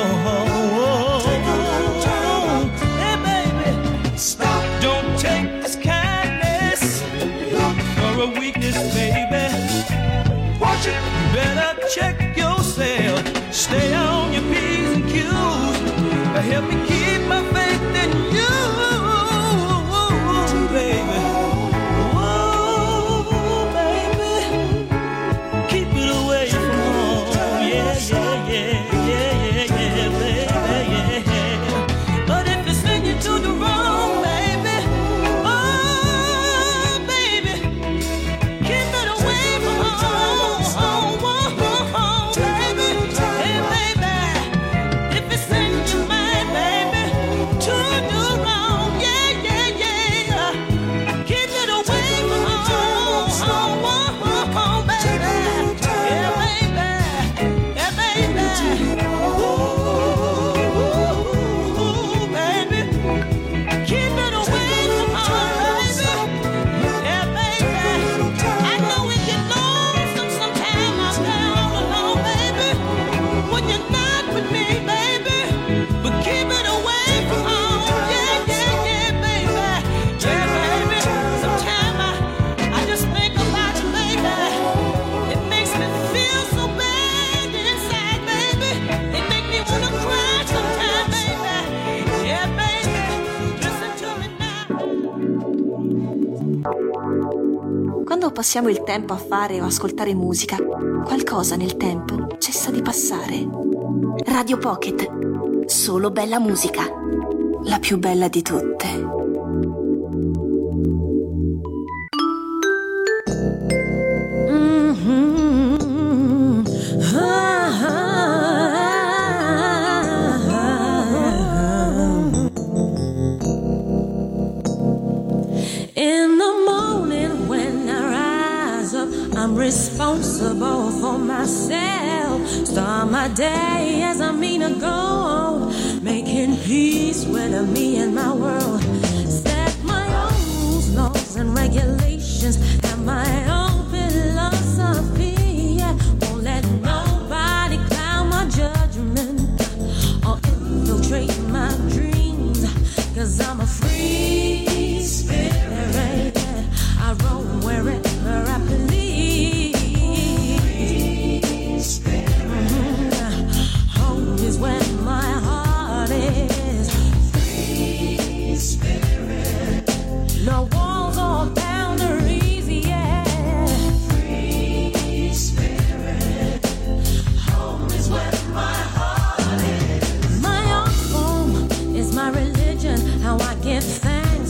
Check yourself, stay on your P's and Q's, help me keep my faith in you, baby. Whoa, baby, keep it away from home. Yeah, yeah, yeah, yeah, yeah, yeah, baby, yeah. But if it's in you to the wrong, baby, oh, baby, keep it away from home. Quando passiamo il tempo a fare o ascoltare musica, qualcosa nel tempo cessa di passare. Radio Pocket, solo bella musica, la più bella di tutte. Responsible for myself. Start my day as I mean to go on, making peace with me and my world. Set my own rules, laws and regulations, have my own philosophy. Yeah. Won't let nobody cloud my judgment or infiltrate my dreams, cause I'm a free spirit. Yeah. I roam wherever I please. No walls or boundaries, yeah. Free spirit. Home is where my heart is. My own home is my religion. How I give thanks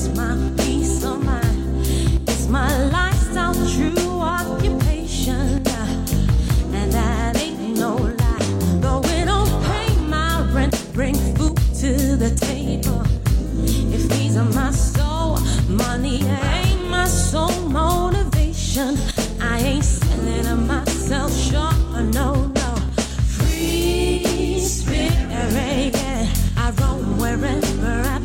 bring food to the table. If these are my soul, money ain't my sole motivation. I ain't selling myself short, no, no. Free spirit, yeah. I roam wherever I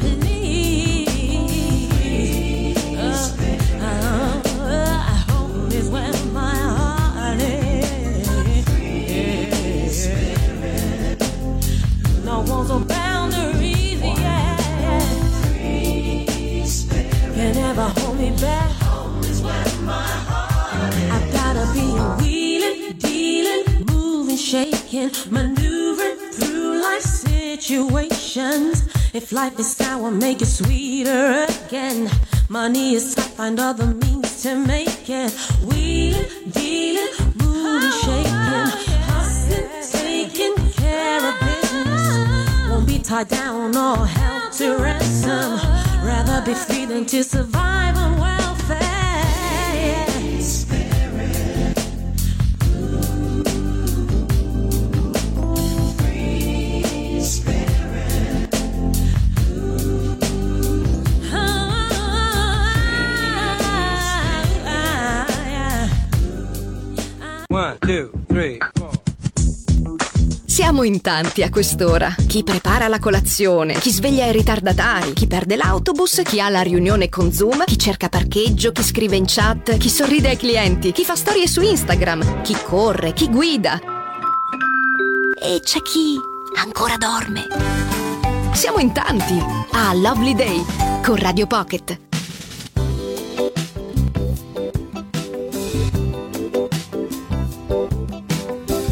please. Uh, uh, uh, home is where my heart is. Free spirit. No walls or boundaries, yeah. Free spirit. Can never hold me back. Home is where my heart is. I've gotta be wheeling, dealing, moving, shaking, maneuvering through life situations. If life is sour, make it sweeter again. Money is tough, find other means to make it. Wheeling, dealing, moving, shaking, hustling, taking care of business. Won't be tied down or held to ransom. Rather be free than to survive on welfare. One, two, three, four. Siamo in tanti a quest'ora. Chi prepara la colazione, chi sveglia i ritardatari, chi perde l'autobus, chi ha la riunione con Zoom, chi cerca parcheggio, chi scrive in chat, chi sorride ai clienti, chi fa storie su Instagram, chi corre, chi guida. E c'è chi ancora dorme. Siamo in tanti a Lovely Day con Radio Pocket.